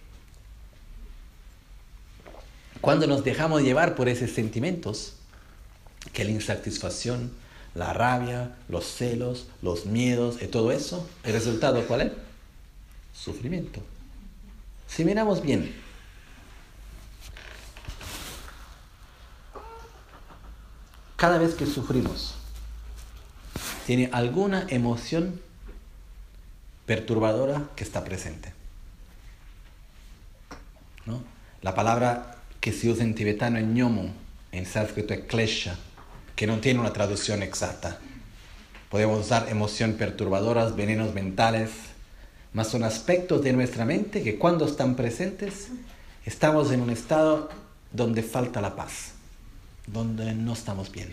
cuando nos dejamos llevar por esos sentimientos, que la insatisfacción, la rabia, los celos, los miedos y todo eso, ¿el resultado cuál es? Sufrimiento. Si miramos bien, cada vez que sufrimos, tiene alguna emoción perturbadora que está presente, ¿no? La palabra que se usa en tibetano es ñomo, en sánscrito es klesha, que no tiene una traducción exacta. Podemos usar emociones perturbadoras, venenos mentales, mas son aspectos de nuestra mente que cuando están presentes, estamos en un estado donde falta la paz, donde no estamos bien.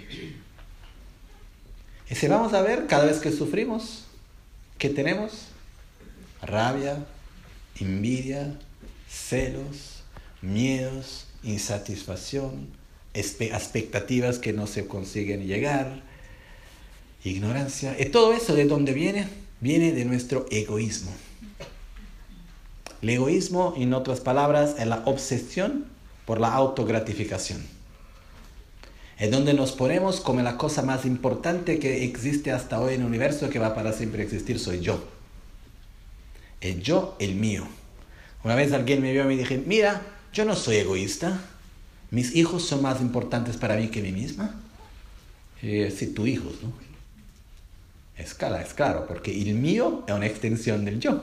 Y si vamos a ver, cada vez que sufrimos, ¿qué tenemos? Rabia, envidia, celos, miedos, insatisfacción, expectativas que no se consiguen llegar, ignorancia. ¿Y todo eso de dónde viene? Viene de nuestro egoísmo. El egoísmo, en otras palabras, es la obsesión por la autogratificación. Es donde nos ponemos como la cosa más importante que existe hasta hoy en el universo, que va para siempre existir, soy yo. El yo, el mío. Una vez alguien me vio y me dije, mira, yo no soy egoísta. Mis hijos son más importantes para mí que mí misma. Eh, sí, tus hijos, ¿no? Es claro, es claro, porque el mío es una extensión del yo.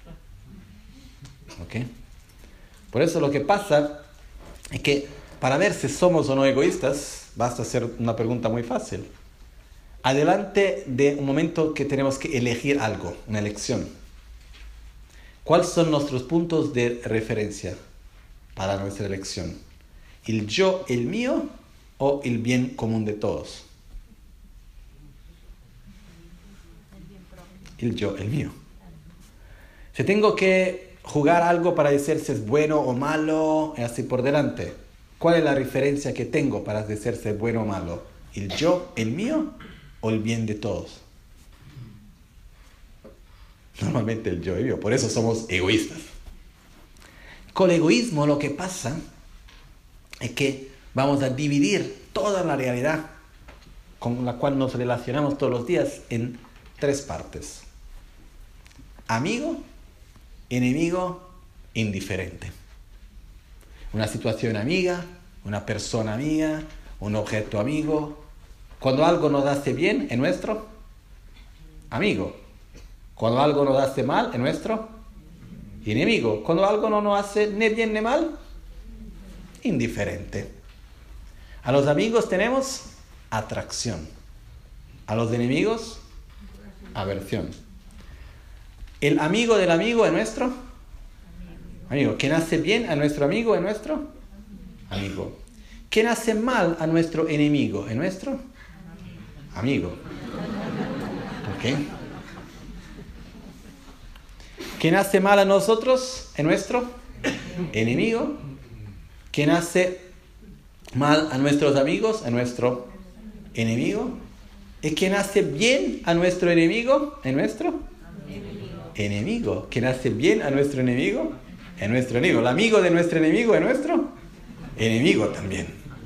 ¿Ok? Por eso lo que pasa es que para ver si somos o no egoístas, basta hacer una pregunta muy fácil. Adelante de un momento que tenemos que elegir algo, una elección. ¿Cuáles son nuestros puntos de referencia para nuestra elección? ¿El yo, el mío, o el bien común de todos? El yo, el mío. Si tengo que jugar algo para decir si es bueno o malo, así por delante, ¿cuál es la referencia que tengo para decir si es bueno o malo? ¿El yo, el mío, o el bien de todos? Normalmente el yo, el mío. Por eso somos egoístas. Con el egoísmo lo que pasa es que vamos a dividir toda la realidad con la cual nos relacionamos todos los días en tres partes. Amigo, enemigo, indiferente. Una situación amiga, una persona amiga, un objeto amigo. Cuando algo nos hace bien, es nuestro amigo. Cuando algo nos hace mal, es nuestro enemigo. Cuando algo no nos hace ni bien ni mal, indiferente. A los amigos tenemos atracción. A los enemigos, aversión. El amigo del amigo es nuestro amigo. ¿Quién hace bien a nuestro amigo es nuestro amigo? ¿Quién hace mal a nuestro enemigo es nuestro amigo? ¿Ok? ¿Quién hace mal a nosotros es nuestro enemigo? ¿Quién hace mal a nuestros amigos es nuestro enemigo? ¿Y quién hace bien a nuestro enemigo es nuestro enemigo? enemigo? ¿Quién hace bien a nuestro enemigo es nuestro enemigo? ¿El amigo de nuestro enemigo es nuestro enemigo también?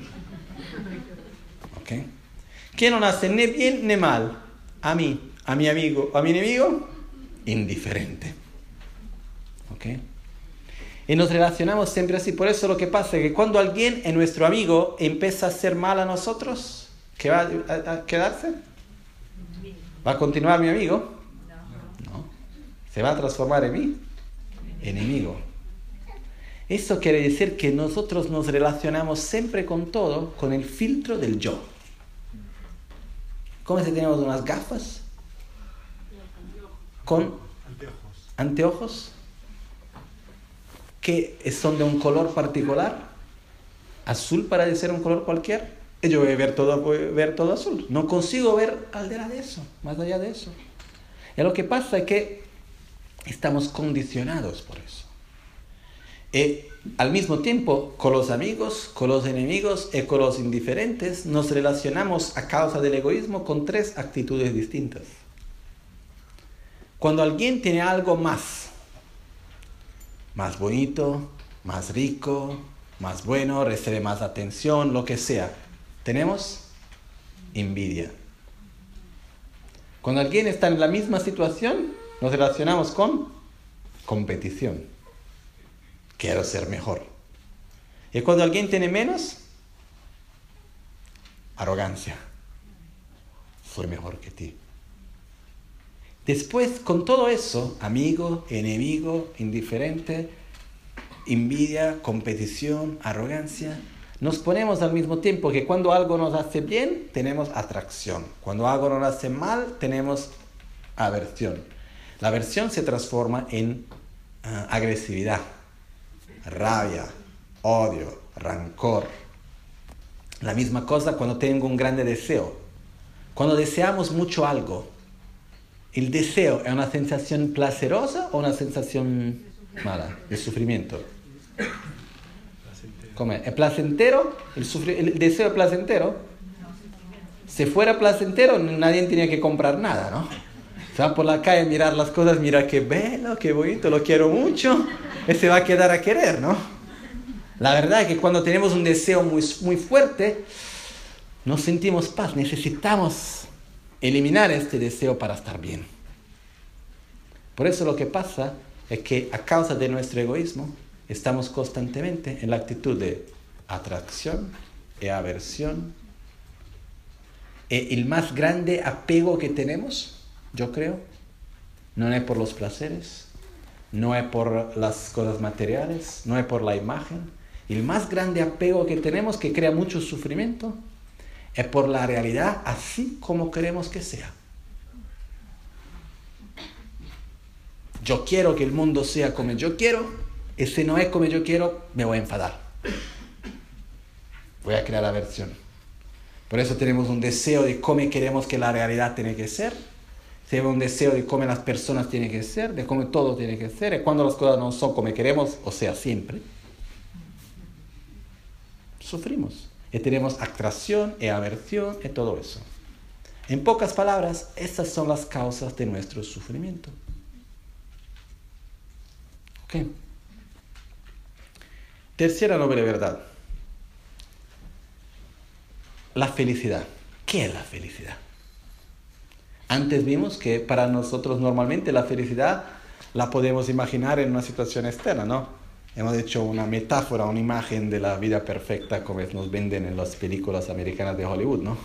¿Ok? ¿Quién no hace ni bien ni mal a mí, a mi amigo o a mi enemigo? Indiferente. ¿Ok? Y nos relacionamos siempre así. Por eso lo que pasa es que cuando alguien es nuestro amigo empieza a hacer mal a nosotros, ¿qué va a, a quedarse? ¿Va a continuar mi amigo? No. ¿Se va a transformar en mi enemigo? Eso quiere decir que nosotros nos relacionamos siempre con todo con el filtro del yo. ¿Cómo si tenemos unas gafas? Con anteojos que son de un color particular, azul para decir un color cualquier, y yo voy a ver todo, voy a ver todo azul. No consigo ver al de eso, más allá de eso. Y lo que pasa es que estamos condicionados por eso. Y al mismo tiempo, con los amigos, con los enemigos y con los indiferentes, nos relacionamos a causa del egoísmo con tres actitudes distintas. Cuando alguien tiene algo más, más bonito, más rico, más bueno, recibe más atención, lo que sea, tenemos envidia. Cuando alguien está en la misma situación, nos relacionamos con competición. Quiero ser mejor. Y cuando alguien tiene menos, arrogancia. Soy mejor que ti. Después, con todo eso, amigo, enemigo, indiferente, envidia, competición, arrogancia, nos ponemos al mismo tiempo que cuando algo nos hace bien, tenemos atracción. Cuando algo nos hace mal, tenemos aversión. La aversión se transforma en uh, agresividad, rabia, odio, rancor. La misma cosa cuando tengo un grande deseo. Cuando deseamos mucho algo, ¿el deseo es una sensación placerosa o una sensación mala, de sufrimiento? ¿Cómo es? ¿Es placentero? ¿El, sufri- ¿El deseo es placentero? Si fuera placentero, nadie tenía que comprar nada, ¿no? Se va por la calle a mirar las cosas, mira qué bello, qué bonito, lo quiero mucho, y se va a quedar a querer, ¿no? La verdad es que cuando tenemos un deseo muy, muy fuerte, no sentimos paz, necesitamos eliminar este deseo para estar bien. Por eso lo que pasa es que a causa de nuestro egoísmo, estamos constantemente en la actitud de atracción y aversión. Y el más grande apego que tenemos, yo creo, no es por los placeres, no es por las cosas materiales, no es por la imagen. El más grande apego que tenemos, que crea mucho sufrimiento, es por la realidad así como queremos que sea. Yo quiero que el mundo sea como yo quiero, y si no es como yo quiero, me voy a enfadar. Voy a crear aversión. Por eso tenemos un deseo de cómo queremos que la realidad tiene que ser. Tenemos un deseo de cómo las personas tienen que ser, de cómo todo tiene que ser. Y cuando las cosas no son como queremos, o sea, siempre, sufrimos. Y tenemos atracción y aversión y todo eso. En pocas palabras, estas son las causas de nuestro sufrimiento. ¿Ok? Tercera noble verdad. La felicidad. ¿Qué es la felicidad? Antes vimos que para nosotros normalmente la felicidad la podemos imaginar en una situación externa, ¿no? Hemos hecho una metáfora, una imagen de la vida perfecta como nos venden en las películas americanas de Hollywood, ¿no?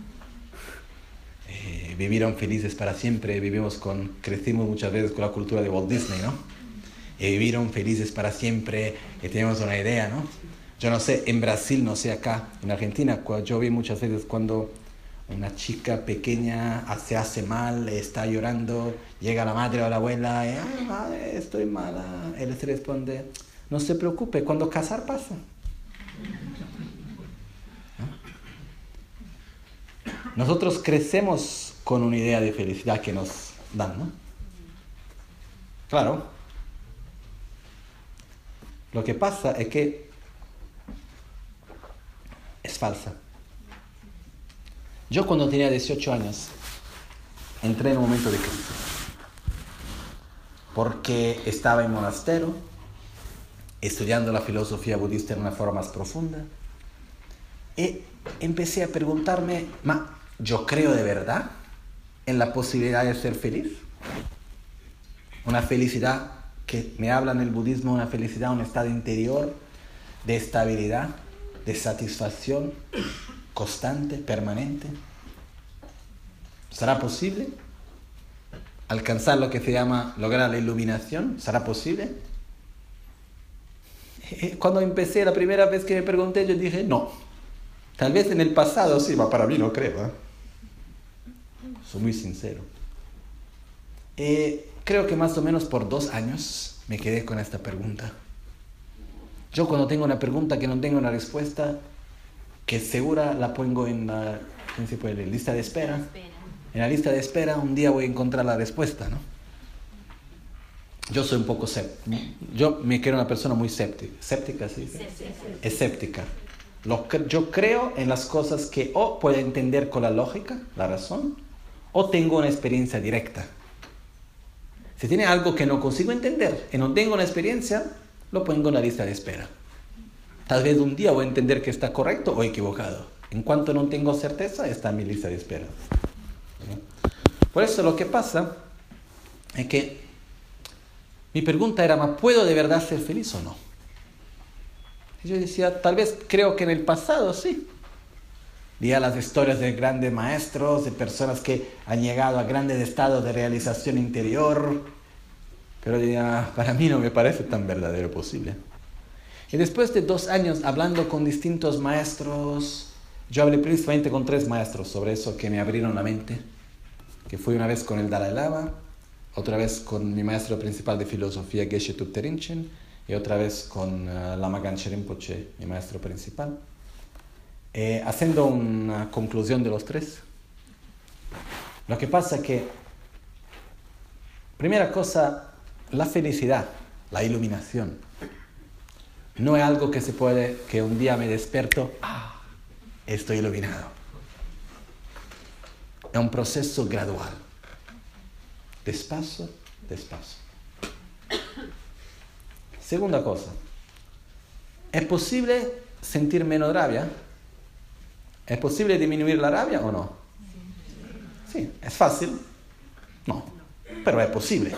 Eh, vivieron felices para siempre, vivimos con, crecimos muchas veces con la cultura de Walt Disney, ¿no? Y vivieron felices para siempre, y tenemos una idea, ¿no? Yo no sé, en Brasil, no sé, acá, en Argentina, yo vi muchas veces cuando una chica pequeña se hace mal, está llorando, llega la madre o la abuela, y, ay, madre, estoy mala. Él se responde, no se preocupe, cuando casar pasa. ¿No? Nosotros crecemos con una idea de felicidad que nos dan, ¿no? Claro. Lo que pasa es que es falsa. Yo cuando tenía dieciocho años entré en un momento de crisis porque estaba en monasterio estudiando la filosofía budista en una forma más profunda y empecé a preguntarme, ¿ma yo creo de verdad en la posibilidad de ser feliz? Una felicidad que me habla en el budismo, una felicidad, un estado interior de estabilidad, de satisfacción constante, permanente. ¿Será posible alcanzar lo que se llama lograr la iluminación? ¿Será posible? Cuando empecé, la primera vez que me pregunté, yo dije, no. Tal vez en el pasado sí, pero para mí no creo, ¿eh? Soy muy sincero. Eh, creo que más o menos por dos años me quedé con esta pregunta. Yo cuando tengo una pregunta que no tengo una respuesta, que segura la pongo en la, ¿cómo se puede? Lista de espera. En la lista de espera un día voy a encontrar la respuesta, ¿no? Yo soy un poco escéptico. Yo me quiero una persona muy escéptica. ¿Escéptica, sí? Sí, sí, sí. Escéptica. Lo, yo creo en las cosas que o puedo entender con la lógica, la razón, o tengo una experiencia directa. Si tiene algo que no consigo entender y no tengo una experiencia, lo pongo en la lista de espera. Tal vez un día voy a entender que está correcto o equivocado. En cuanto no tengo certeza, está en mi lista de espera. Por eso lo que pasa es que mi pregunta era, ¿puedo de verdad ser feliz o no? Y yo decía, tal vez creo que en el pasado sí. Leía las historias de grandes maestros, de personas que han llegado a grandes estados de realización interior. Pero decía, para mí no me parece tan verdadero posible. Y después de dos años hablando con distintos maestros, yo hablé principalmente con tres maestros sobre eso que me abrieron la mente. Que fui una vez con el Dalai Lama, otra vez con mi maestro principal de filosofía, Geshe Thupten Rinchen, y otra vez con uh, Lama Ganchen Rinpoche, mi maestro principal. Eh, haciendo una conclusión de los tres. Lo que pasa es que, primera cosa, la felicidad, la iluminación, no es algo que se puede, que un día me despierto, ah, estoy iluminado. Es un proceso gradual. Despacio, despacio. Segunda cosa. ¿Es posible sentir menos rabia? ¿Es posible disminuir la rabia o no? Sí. ¿Es fácil? No. Pero es posible.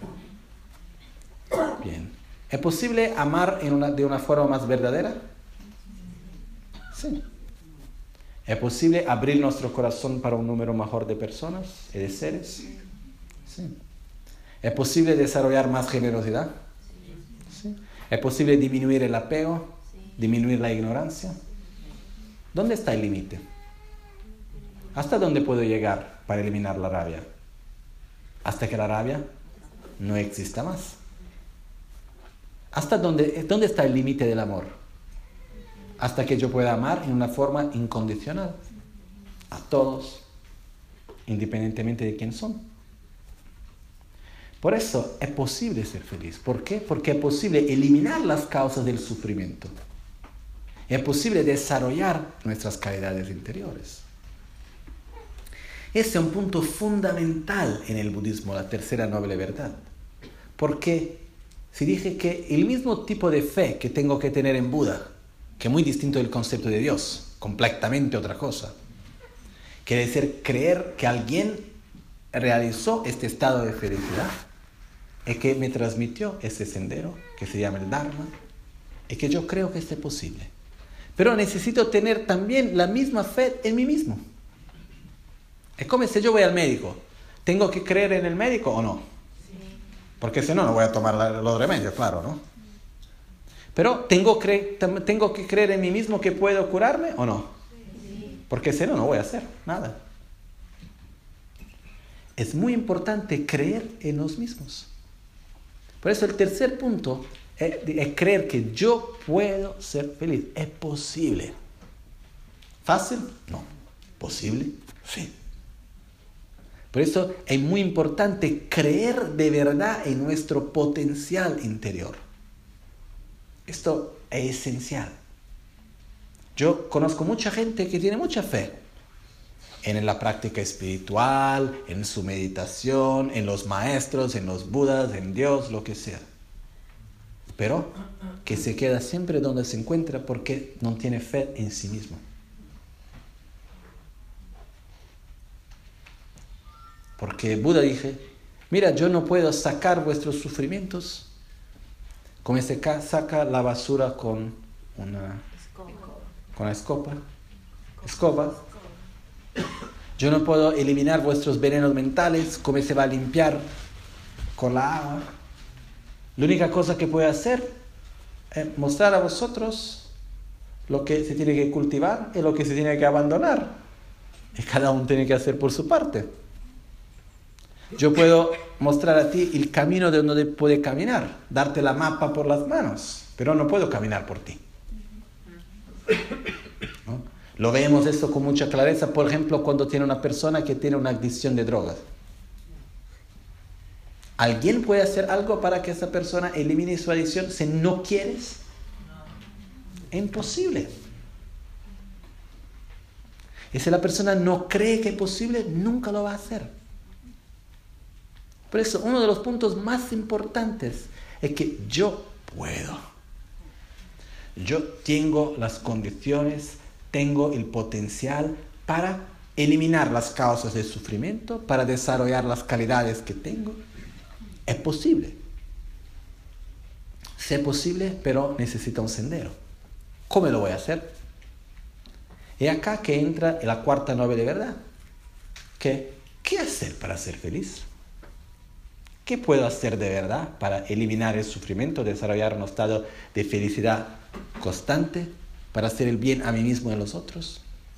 Bien. ¿Es posible amar en una, de una forma más verdadera? Sí. ¿Es posible abrir nuestro corazón para un número mayor de personas y de seres? Sí. ¿Es posible desarrollar más generosidad? Sí. ¿Es posible disminuir el apego? ¿Disminuir la ignorancia? ¿Dónde está el límite? ¿Hasta dónde puedo llegar para eliminar la rabia? Hasta que la rabia no exista más. ¿Hasta dónde, dónde está el límite del amor? Hasta que yo pueda amar en una forma incondicional a todos, independientemente de quién son. Por eso es posible ser feliz. ¿Por qué? Porque es posible eliminar las causas del sufrimiento. Es posible desarrollar nuestras calidades interiores. Ese es un punto fundamental en el budismo, la tercera noble verdad. Porque si dije que el mismo tipo de fe que tengo que tener en Buda, que es muy distinto del concepto de Dios, completamente otra cosa, quiere decir creer que alguien realizó este estado de felicidad y que me transmitió ese sendero que se llama el Dharma y que yo creo que es posible. Pero necesito tener también la misma fe en mí mismo. Es como si yo voy al médico. ¿Tengo que creer en el médico o no? Porque si no, no voy a tomar los remedios, claro, ¿no? Pero ¿tengo, cre- ¿tengo que creer en mí mismo que puedo curarme o no? Porque si no, no voy a hacer nada. Es muy importante creer en los mismos. Por eso el tercer punto es, es creer que yo puedo ser feliz. Es posible. ¿Fácil? No. ¿Posible? Sí. Por eso es muy importante creer de verdad en nuestro potencial interior. Esto es esencial. Yo conozco mucha gente que tiene mucha fe en la práctica espiritual, en su meditación, en los maestros, en los budas, en Dios, lo que sea. Pero que se queda siempre donde se encuentra porque no tiene fe en sí mismo. Porque Buda dije, mira, yo no puedo sacar vuestros sufrimientos como se saca la basura con una escoba. Con la escoba. escoba. Yo no puedo eliminar vuestros venenos mentales como se va a limpiar con la agua. La única cosa que puedo hacer es mostrar a vosotros lo que se tiene que cultivar y lo que se tiene que abandonar. Y cada uno tiene que hacer por su parte. Yo puedo mostrar a ti el camino de donde puedes caminar, darte la mapa por las manos, pero no puedo caminar por ti. ¿No? Lo vemos esto con mucha clareza, por ejemplo, cuando tiene una persona que tiene una adicción de drogas. ¿Alguien puede hacer algo para que esa persona elimine su adicción si no quieres? Es imposible. Y si la persona no cree que es posible, nunca lo va a hacer. Por eso, uno de los puntos más importantes es que yo puedo. Yo tengo las condiciones, tengo el potencial para eliminar las causas del sufrimiento, para desarrollar las calidades que tengo. Es posible. Sí es posible, pero necesita un sendero. ¿Cómo lo voy a hacer? Y acá que entra la cuarta novela de verdad. ¿Qué, ¿Qué hacer para ser feliz? ¿Qué puedo hacer de verdad para eliminar el sufrimiento, desarrollar un estado de felicidad constante, para hacer el bien a mí mismo y a los otros?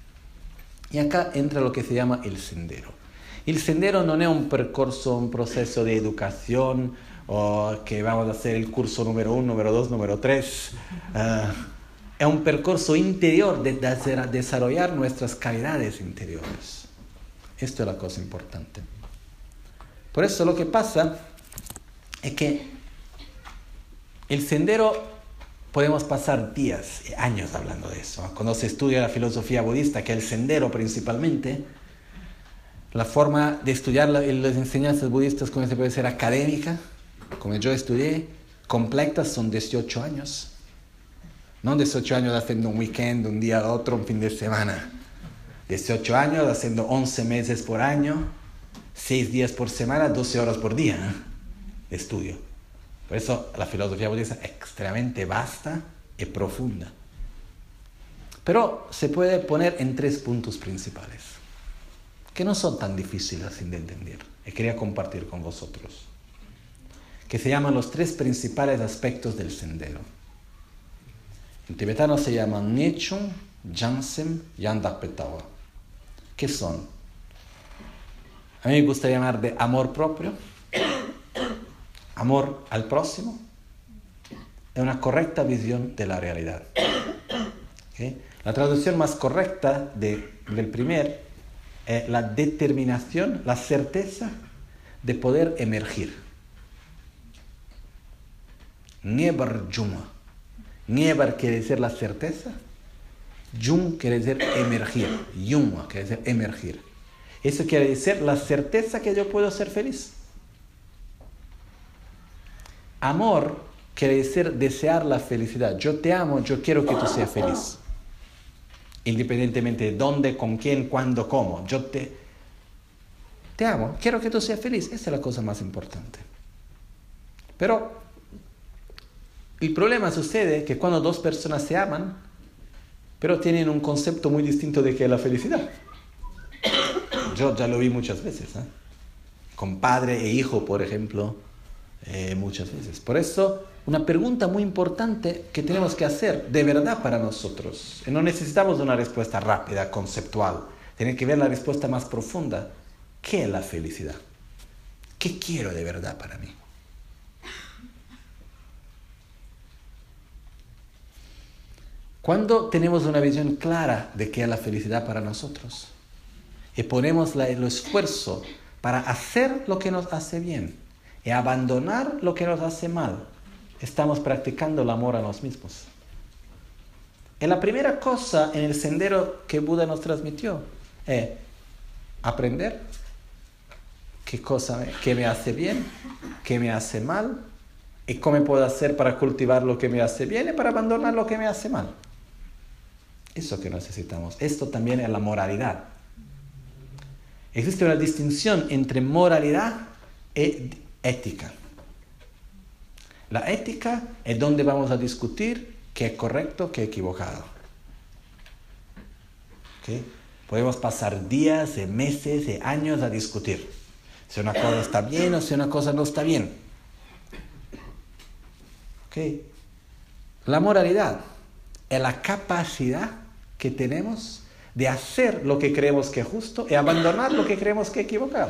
Y acá entra lo que se llama el sendero. El sendero no es un percorso, un proceso de educación, o que vamos a hacer el curso número uno, número dos, número tres. Uh, es un percorso interior de, de desarrollar nuestras calidades interiores. Esto es la cosa importante. Por eso lo que pasa es que el sendero podemos pasar días, años hablando de eso. Cuando se estudia la filosofía budista, que es el sendero principalmente, la forma de estudiar la, las enseñanzas budistas, como se puede ser académica, como yo estudié, completas, son dieciocho años. No dieciocho años haciendo un weekend, un día a otro, un fin de semana. dieciocho años haciendo once meses por año, seis días por semana, doce horas por día de estudio. Por eso la filosofía budista es extremadamente vasta y profunda. Pero se puede poner en tres puntos principales, que no son tan difíciles de entender, y quería compartir con vosotros, que se llaman los tres principales aspectos del sendero. En tibetano se llaman Nechung, Jansem y Andapetawa. ¿Qué son? A mí me gusta llamar de amor propio, amor al próximo, y una correcta visión de la realidad. ¿Okay? La traducción más correcta de, del primer es la determinación, la certeza de poder emergir. Niebar Juma. Niebar quiere decir la certeza, Jum quiere decir emergir, Yuma quiere decir emergir. Eso quiere decir la certeza que yo puedo ser feliz. Amor quiere decir desear la felicidad. Yo te amo, yo quiero que tú seas feliz. Independientemente de dónde, con quién, cuándo, cómo. Yo te, te amo, quiero que tú seas feliz. Esa es la cosa más importante. Pero el problema sucede que cuando dos personas se aman, pero tienen un concepto muy distinto de qué es la felicidad. Yo ya lo vi muchas veces, ¿eh? Con padre e hijo, por ejemplo, eh, muchas veces. Por eso, una pregunta muy importante que tenemos que hacer de verdad para nosotros. Y no necesitamos una respuesta rápida, conceptual. Tiene que ver la respuesta más profunda. ¿Qué es la felicidad? ¿Qué quiero de verdad para mí? Cuando tenemos una visión clara de qué es la felicidad para nosotros y ponemos la, el esfuerzo para hacer lo que nos hace bien y abandonar lo que nos hace mal, estamos practicando el amor a nos mismos. Y la primera cosa en el sendero que Buda nos transmitió es aprender qué cosa me, qué me hace bien, qué me hace mal y cómo puedo hacer para cultivar lo que me hace bien y para abandonar lo que me hace mal. Eso que necesitamos. Esto también es la moralidad. Existe una distinción entre moralidad y ética. La ética es donde vamos a discutir qué es correcto, qué es equivocado. ¿Okay? Podemos pasar días, y meses, y años a discutir si una cosa está bien o si una cosa no está bien. ¿Okay? La moralidad es la capacidad que tenemos de hacer lo que creemos que es justo y abandonar lo que creemos que es equivocado.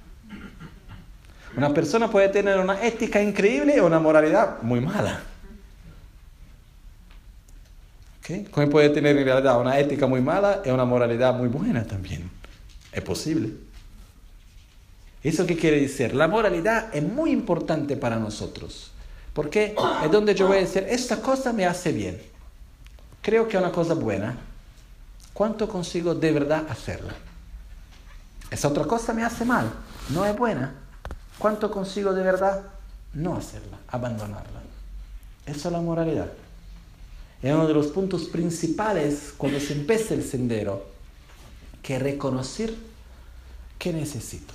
Una persona puede tener una ética increíble o una moralidad muy mala. ¿Ok? ¿Okay? Come puede tener en realidad una ética muy mala y una moralidad muy buena también. Es posible. ¿Eso qué quiere decir? La moralidad es muy importante para nosotros. Porque es donde yo voy a decir, esta cosa me hace bien. Creo que es una cosa buena. ¿Cuánto consigo de verdad hacerla? Esa otra cosa me hace mal. No es buena. ¿Cuánto consigo de verdad no hacerla? Abandonarla. Eso es la moralidad. Es uno de los puntos principales cuando se empieza el sendero, que es reconocer qué necesito.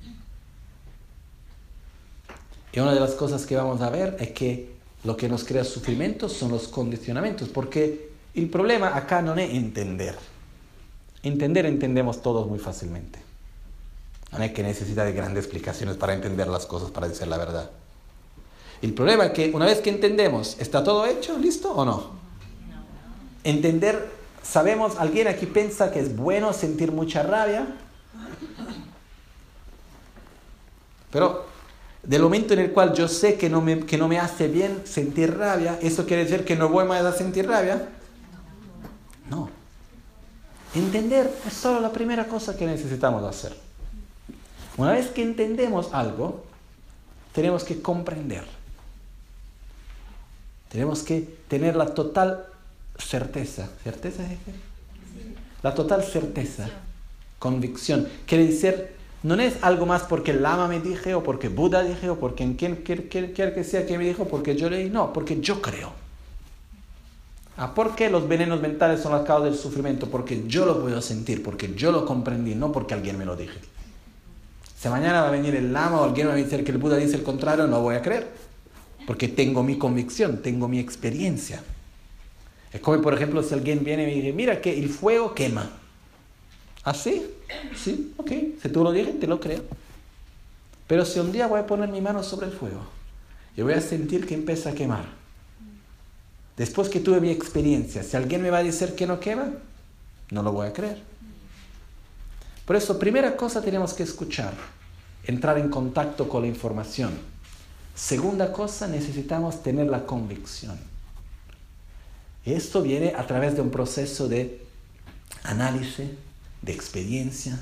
Y una de las cosas que vamos a ver es que lo que nos crea sufrimiento son los condicionamientos, porque el problema acá no es entender. Entender entendemos todos muy fácilmente. No es que necesita de grandes explicaciones para entender las cosas, para decir la verdad. El problema es que una vez que entendemos, ¿está todo hecho? ¿Listo o no? Entender, sabemos, ¿alguien aquí piensa que es bueno sentir mucha rabia? Pero del momento en el cual yo sé que no me, que no me hace bien sentir rabia, ¿eso quiere decir que no voy más a sentir rabia? No. Entender es solo la primera cosa que necesitamos hacer. Una vez que entendemos algo, tenemos que comprender. Tenemos que tener la total certeza. ¿Certeza es qué? La total certeza. Convicción. Quiere decir, no es algo más porque el Lama me dije, o porque Buda dije, o porque quien quiera que sea que me dijo, porque yo leí. No, porque yo creo. Ah, ¿por qué los venenos mentales son las causas del sufrimiento? Porque yo lo puedo sentir, porque yo lo comprendí, no porque alguien me lo dije. Si mañana va a venir el Lama o alguien me va a decir que el Buda dice el contrario, no voy a creer. Porque tengo mi convicción, tengo mi experiencia. Es como, por ejemplo, si alguien viene y me dice, mira que el fuego quema. ¿Ah, sí? Sí, ok. Si tú lo dices, te lo creo. Pero si un día voy a poner mi mano sobre el fuego y voy a sentir que empieza a quemar, después que tuve mi experiencia, si alguien me va a decir que no quema, no lo voy a creer. Por eso, primera cosa tenemos que escuchar, entrar en contacto con la información. Segunda cosa, necesitamos tener la convicción. Esto viene a través de un proceso de análisis, de experiencia.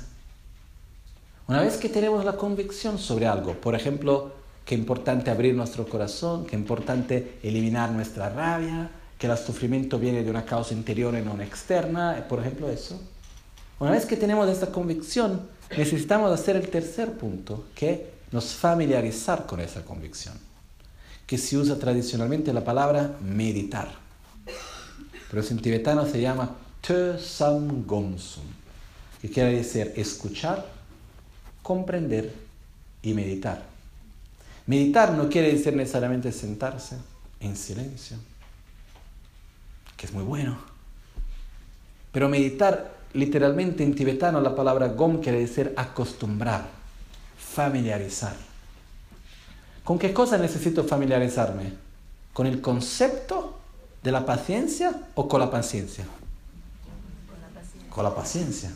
Una vez que tenemos la convicción sobre algo, por ejemplo, que es importante abrir nuestro corazón, que es importante eliminar nuestra rabia, que el sufrimiento viene de una causa interior y no externa, por ejemplo eso. Una vez que tenemos esta convicción, necesitamos hacer el tercer punto, que es nos familiarizar con esa convicción, que se usa tradicionalmente la palabra meditar. Pero en tibetano se llama Te Sam Gomsum, que quiere decir escuchar, comprender y meditar. Meditar no quiere decir necesariamente sentarse en silencio, que es muy bueno. Pero meditar, literalmente en tibetano, la palabra gom quiere decir acostumbrar, familiarizar. ¿Con qué cosa necesito familiarizarme? ¿Con el concepto de la paciencia o con la paciencia? Con la paciencia. Con la paciencia.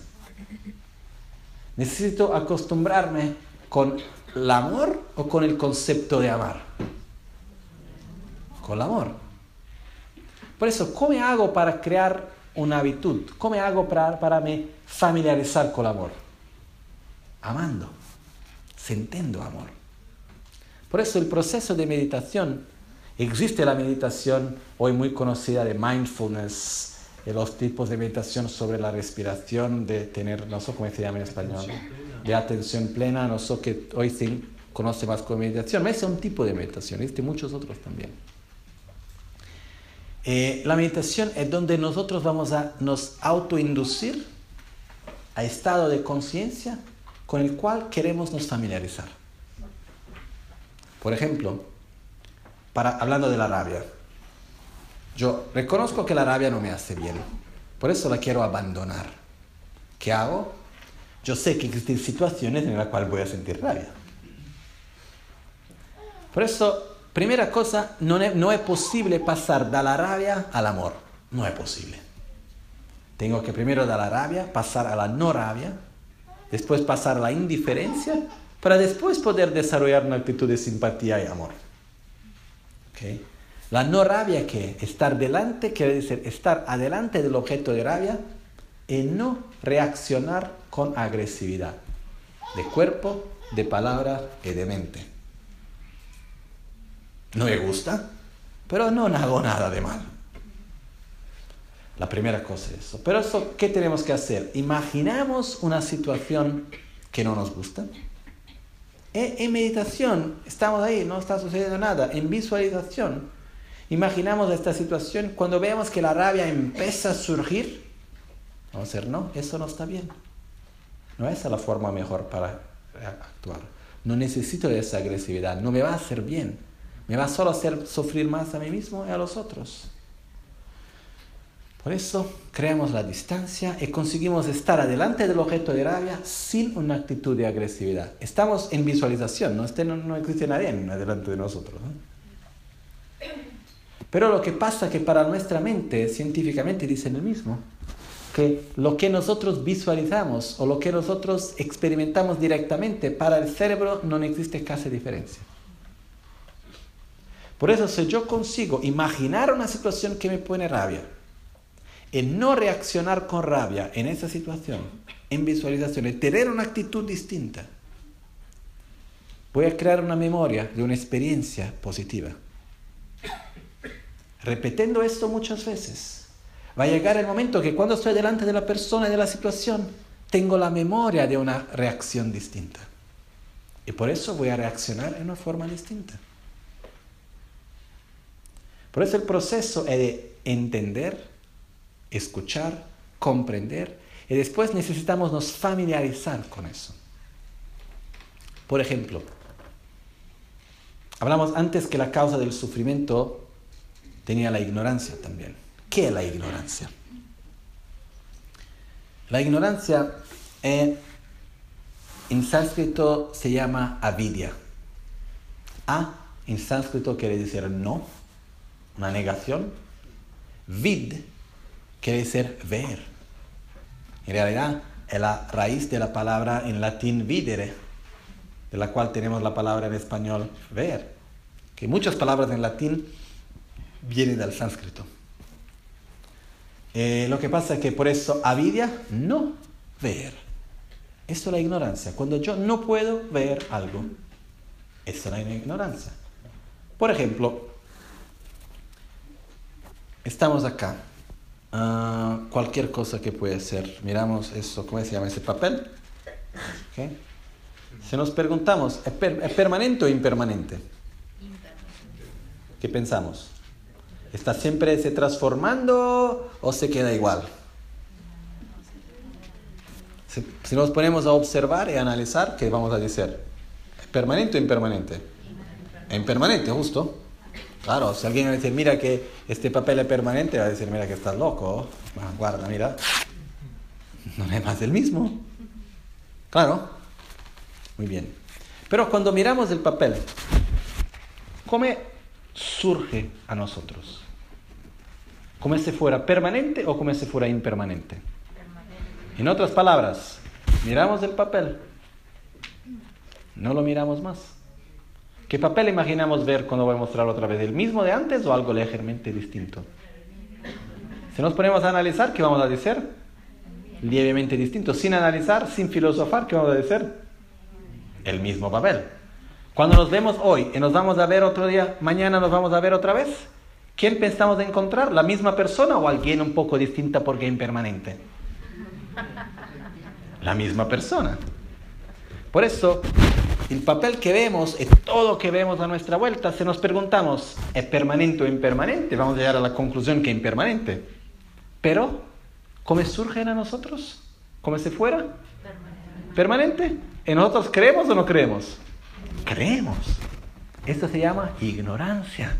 ¿Necesito acostumbrarme con el amor o con el concepto de amar? Con el amor. Por eso, ¿cómo hago para crear una habitud? ¿Cómo hago para, para me familiarizar con el amor? Amando, sintiendo amor. Por eso el proceso de meditación, existe la meditación hoy muy conocida de mindfulness, de los tipos de meditación sobre la respiración, de tener, no sé cómo se llama en español, de atención plena, no sé que hoy se conoce más como meditación, pero ese es un tipo de meditación, existe muchos otros también. Eh, la meditación es donde nosotros vamos a nos autoinducir a estado de conciencia con el cual queremos nos familiarizar. Por ejemplo, para, hablando de la rabia, yo reconozco que la rabia no me hace bien, por eso la quiero abandonar. ¿Qué hago? Yo sé que existen situaciones en las cuales voy a sentir rabia. Por eso, primera cosa, no es, no es posible pasar de la rabia al amor. No es posible. Tengo que primero de la rabia pasar a la no rabia, después pasar a la indiferencia, para después poder desarrollar una actitud de simpatía y amor. ¿Okay? La no rabia, ¿qué? Estar delante, quiere decir estar adelante del objeto de rabia y no reaccionar con agresividad, de cuerpo, de palabra y de mente. No me gusta, pero no hago nada de mal. La primera cosa es eso. Pero eso, ¿qué tenemos que hacer? Imaginamos una situación que no nos gusta. E, en meditación, estamos ahí, no está sucediendo nada. En visualización, imaginamos esta situación. Cuando vemos que la rabia empieza a surgir, vamos a decir, no, eso no está bien. No es la forma mejor para actuar. No necesito de esa agresividad, no me va a hacer bien. Me va solo a hacer sufrir más a mí mismo y a los otros. Por eso creamos la distancia y conseguimos estar adelante del objeto de rabia sin una actitud de agresividad. Estamos en visualización, no, este no, no existe nadie delante de nosotros, ¿no? Pero lo que pasa es que para nuestra mente, científicamente dicen el mismo, que lo que nosotros visualizamos o lo que nosotros experimentamos directamente, para el cerebro no existe casi diferencia. Por eso, si yo consigo imaginar una situación que me pone rabia, y no reaccionar con rabia en esa situación, en visualización, y tener una actitud distinta, voy a crear una memoria de una experiencia positiva. Repitiendo esto muchas veces, va a llegar el momento que cuando estoy delante de la persona y de la situación, tengo la memoria de una reacción distinta. Y por eso voy a reaccionar en una forma distinta. Por eso el proceso es de entender, escuchar, comprender, y después necesitamos nos familiarizar con eso. Por ejemplo, hablamos antes que la causa del sufrimiento tenía la ignorancia también. ¿Qué es la ignorancia? La ignorancia eh, en sánscrito se llama avidya. A en sánscrito quiere decir no, una negación. Vid quiere decir ver. En realidad es la raíz de la palabra en latín videre, de la cual tenemos la palabra en español ver. Que muchas palabras en latín vienen del sánscrito. Eh, lo que pasa es que por eso avidya, no ver. Esto es la ignorancia. Cuando yo no puedo ver algo, eso es la ignorancia. Por ejemplo, estamos acá. Uh, cualquier cosa que puede ser. Miramos eso, ¿cómo se llama ese papel? ¿Okay? Si nos preguntamos, ¿es, per- ¿es permanente o impermanente? ¿Qué pensamos? ¿Está siempre se transformando o se queda igual? Si, si nos ponemos a observar y a analizar, ¿qué vamos a decir? ¿Es permanente o impermanente? Es impermanente, justo. Claro, si alguien va a decir, mira que este papel es permanente, va a decir, mira que estás loco. Ah, guarda, mira. No es más el mismo. Claro. Muy bien. Pero cuando miramos el papel, ¿cómo surge a nosotros? ¿Como si fuera permanente o como si fuera impermanente? Permanente. En otras palabras, miramos el papel, no lo miramos más. ¿Qué papel imaginamos ver cuando voy a mostrarlo otra vez? ¿El mismo de antes o algo ligeramente distinto? Si nos ponemos a analizar, ¿qué vamos a decir? Levemente distinto. Sin analizar, sin filosofar, ¿qué vamos a decir? El mismo papel. Cuando nos vemos hoy y nos vamos a ver otro día, mañana nos vamos a ver otra vez, ¿quién pensamos encontrar? ¿La misma persona o alguien un poco distinta porque es impermanente? La misma persona. Por eso, el papel que vemos y todo que vemos a nuestra vuelta, si nos preguntamos, ¿es permanente o impermanente? Vamos a llegar a la conclusión que es impermanente. Pero, ¿cómo surgen a nosotros? ¿Como si fuera? Permanente. ¿Permanente? ¿Y nosotros creemos o no creemos? Creemos. Esto se llama ignorancia.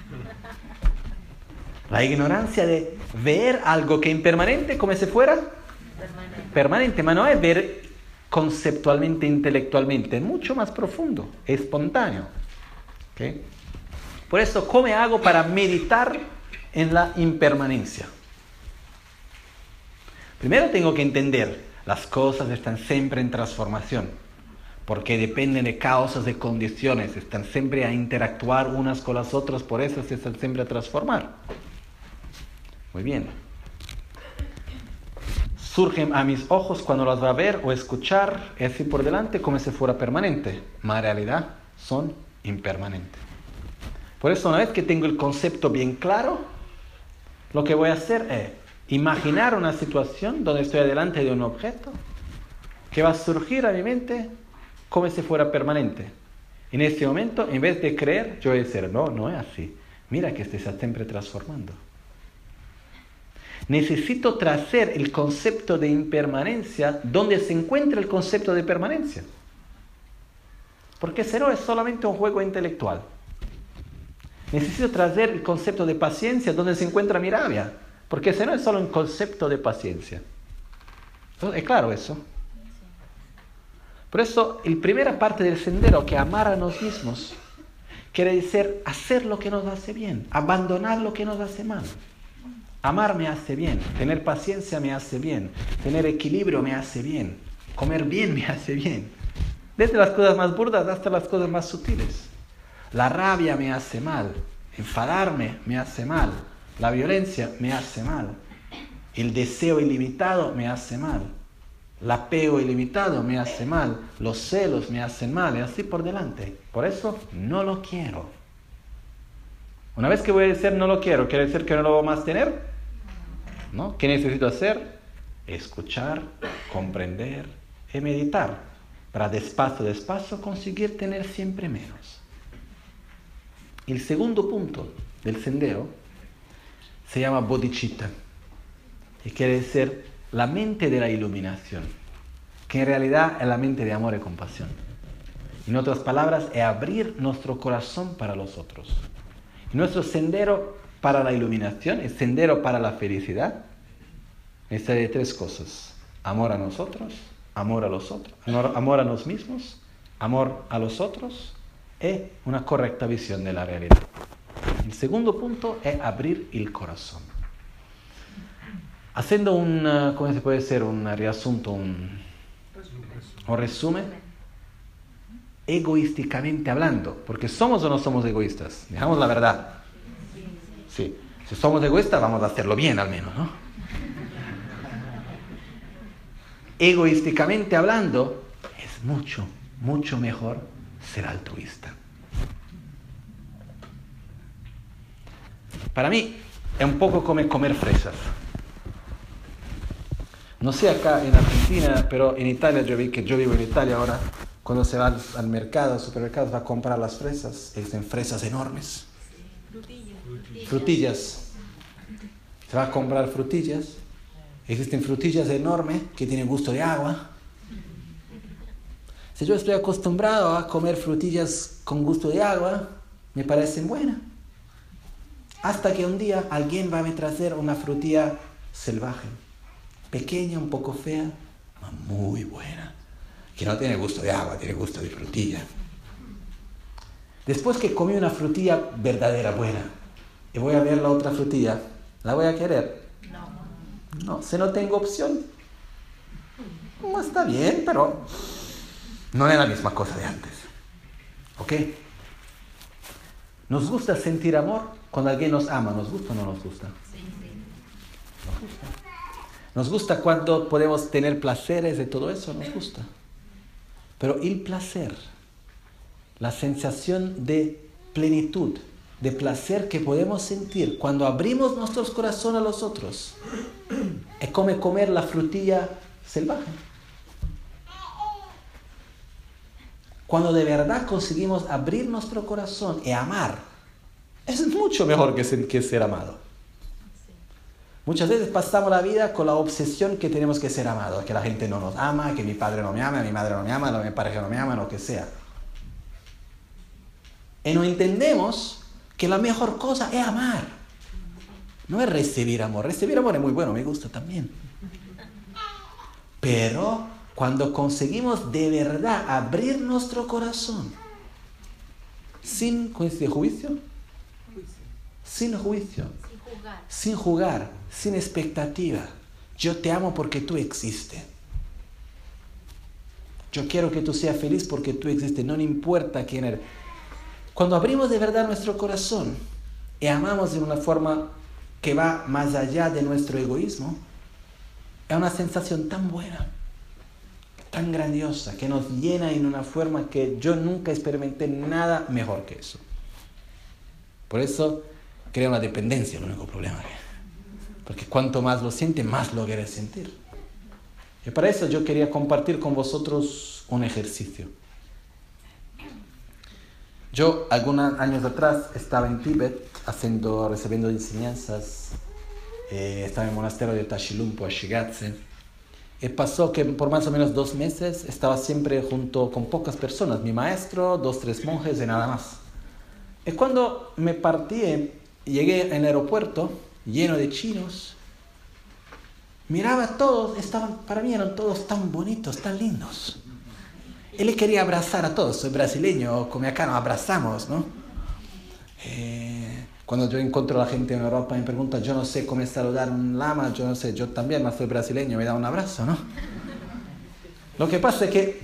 La ignorancia de ver algo que es impermanente como si fuera permanente. Permanente, pero no es ver conceptualmente, intelectualmente, es mucho más profundo, es espontáneo. ¿Okay? Por eso, ¿cómo hago para meditar en la impermanencia? Primero tengo que entender, las cosas están siempre en transformación. porque dependen de causas, de condiciones, están siempre a interactuar unas con las otras, por eso se están siempre a transformar. Muy bien. Surgen a mis ojos cuando las va a ver o escuchar, es así por delante como si fuera permanente, mas en realidad son impermanentes. Por eso, una vez que tengo el concepto bien claro, lo que voy a hacer es imaginar una situación donde estoy delante de un objeto que va a surgir a mi mente como si fuera permanente. En ese momento, en vez de creer, yo voy a decir, no, no es así. Mira que se está siempre transformando. Necesito traer el concepto de impermanencia donde se encuentra el concepto de permanencia. Porque si no es solamente un juego intelectual. Necesito traer el concepto de paciencia donde se encuentra mi rabia. Porque si no es solo un concepto de paciencia. Entonces, ¿es claro eso? Por eso, la primera parte del sendero, que amar a nosotros mismos, quiere decir hacer lo que nos hace bien, abandonar lo que nos hace mal. Amar me hace bien, tener paciencia me hace bien, tener equilibrio me hace bien, comer bien me hace bien. Desde las cosas más burdas hasta las cosas más sutiles. La rabia me hace mal, enfadarme me hace mal, la violencia me hace mal, el deseo ilimitado me hace mal. El apego ilimitado me hace mal, los celos me hacen mal, y así por delante. Por eso no lo quiero. Una vez que voy a decir no lo quiero, ¿quiere decir que no lo voy a más tener? ¿No? ¿Qué necesito hacer? Escuchar, comprender y meditar, para despacio, despacio conseguir tener siempre menos. El segundo punto del sendero se llama bodhicitta, y quiere decir la mente de la iluminación, que en realidad es la mente de amor y compasión. En otras palabras, es abrir nuestro corazón para los otros. Y nuestro sendero para la iluminación, el sendero para la felicidad, está de tres cosas: amor a nosotros, amor a los otros, amor a nosotros mismos, amor a los otros, y una correcta visión de la realidad. El segundo punto es abrir el corazón. Haciendo un, ¿cómo se puede decir? Un reasunto, un, un resumen, egoísticamente hablando, porque somos o no somos egoístas, digamos la verdad. Sí, si somos egoístas vamos a hacerlo bien al menos, ¿no? Egoísticamente hablando, es mucho, mucho mejor ser altruista. Para mí, es un poco como comer fresas. No sé acá en Argentina, pero en Italia, yo vi que yo vivo en Italia ahora, cuando se va al, al mercado, al supermercado, va a comprar las fresas, existen fresas enormes. Frutillas. Frutillas. Se va a comprar frutillas. Existen frutillas enormes que tienen gusto de agua. Si yo estoy acostumbrado a comer frutillas con gusto de agua, me parecen buenas. Hasta que un día alguien va a traer una frutilla salvaje. Pequeña, un poco fea, muy buena, que no tiene gusto de agua, tiene gusto de frutilla. Después que comí una frutilla verdadera, buena, y voy a ver la otra frutilla, ¿la voy a querer? No. No, si no tengo opción, no está bien, pero no es la misma cosa de antes. ¿Ok? ¿Nos gusta sentir amor cuando alguien nos ama? ¿Nos gusta o no nos gusta? Sí, sí. Nos gusta. Nos gusta cuando podemos tener placeres y todo eso, nos gusta. Pero el placer, la sensación de plenitud, de placer que podemos sentir cuando abrimos nuestros corazones a los otros, es como comer la frutilla salvaje. Cuando de verdad conseguimos abrir nuestro corazón y amar, es mucho mejor que ser, que ser amado. Muchas veces pasamos la vida con la obsesión que tenemos que ser amados, que la gente no nos ama, que mi padre no me ama, mi madre no me ama, mi pareja no me ama, lo que sea. Y no entendemos que la mejor cosa es amar. No es recibir amor. Recibir amor es muy bueno, me gusta también. Pero cuando conseguimos de verdad abrir nuestro corazón, sin juicio, juicio, sin juicio, sin jugar, sin expectativa. Yo te amo porque tú existes. Yo quiero que tú seas feliz porque tú existes, no importa quién eres. Cuando abrimos de verdad nuestro corazón y amamos de una forma que va más allá de nuestro egoísmo, es una sensación tan buena, tan grandiosa, que nos llena en una forma que yo nunca experimenté nada mejor que eso. Por eso crea una dependencia, el único problema. Porque cuanto más lo sientes, más lo quieres sentir. Y para eso yo quería compartir con vosotros un ejercicio. Yo, algunos años atrás, estaba en Tíbet haciendo, recibiendo enseñanzas. Eh, estaba en el monasterio de Tashilhunpo, Shigatse. Y pasó que por más o menos dos meses estaba siempre junto con pocas personas. Mi maestro, dos, tres monjes y nada más. Y cuando me partí, llegué al aeropuerto lleno de chinos, miraba a todos, estaban, para mí eran todos tan bonitos, tan lindos. Él le quería abrazar a todos, soy brasileño, como acá nos abrazamos, ¿no? Eh, cuando yo encuentro a la gente en Europa me preguntan, yo no sé cómo saludar a un lama, yo no sé, yo también, soy brasileño, me da un abrazo, ¿no? Lo que pasa es que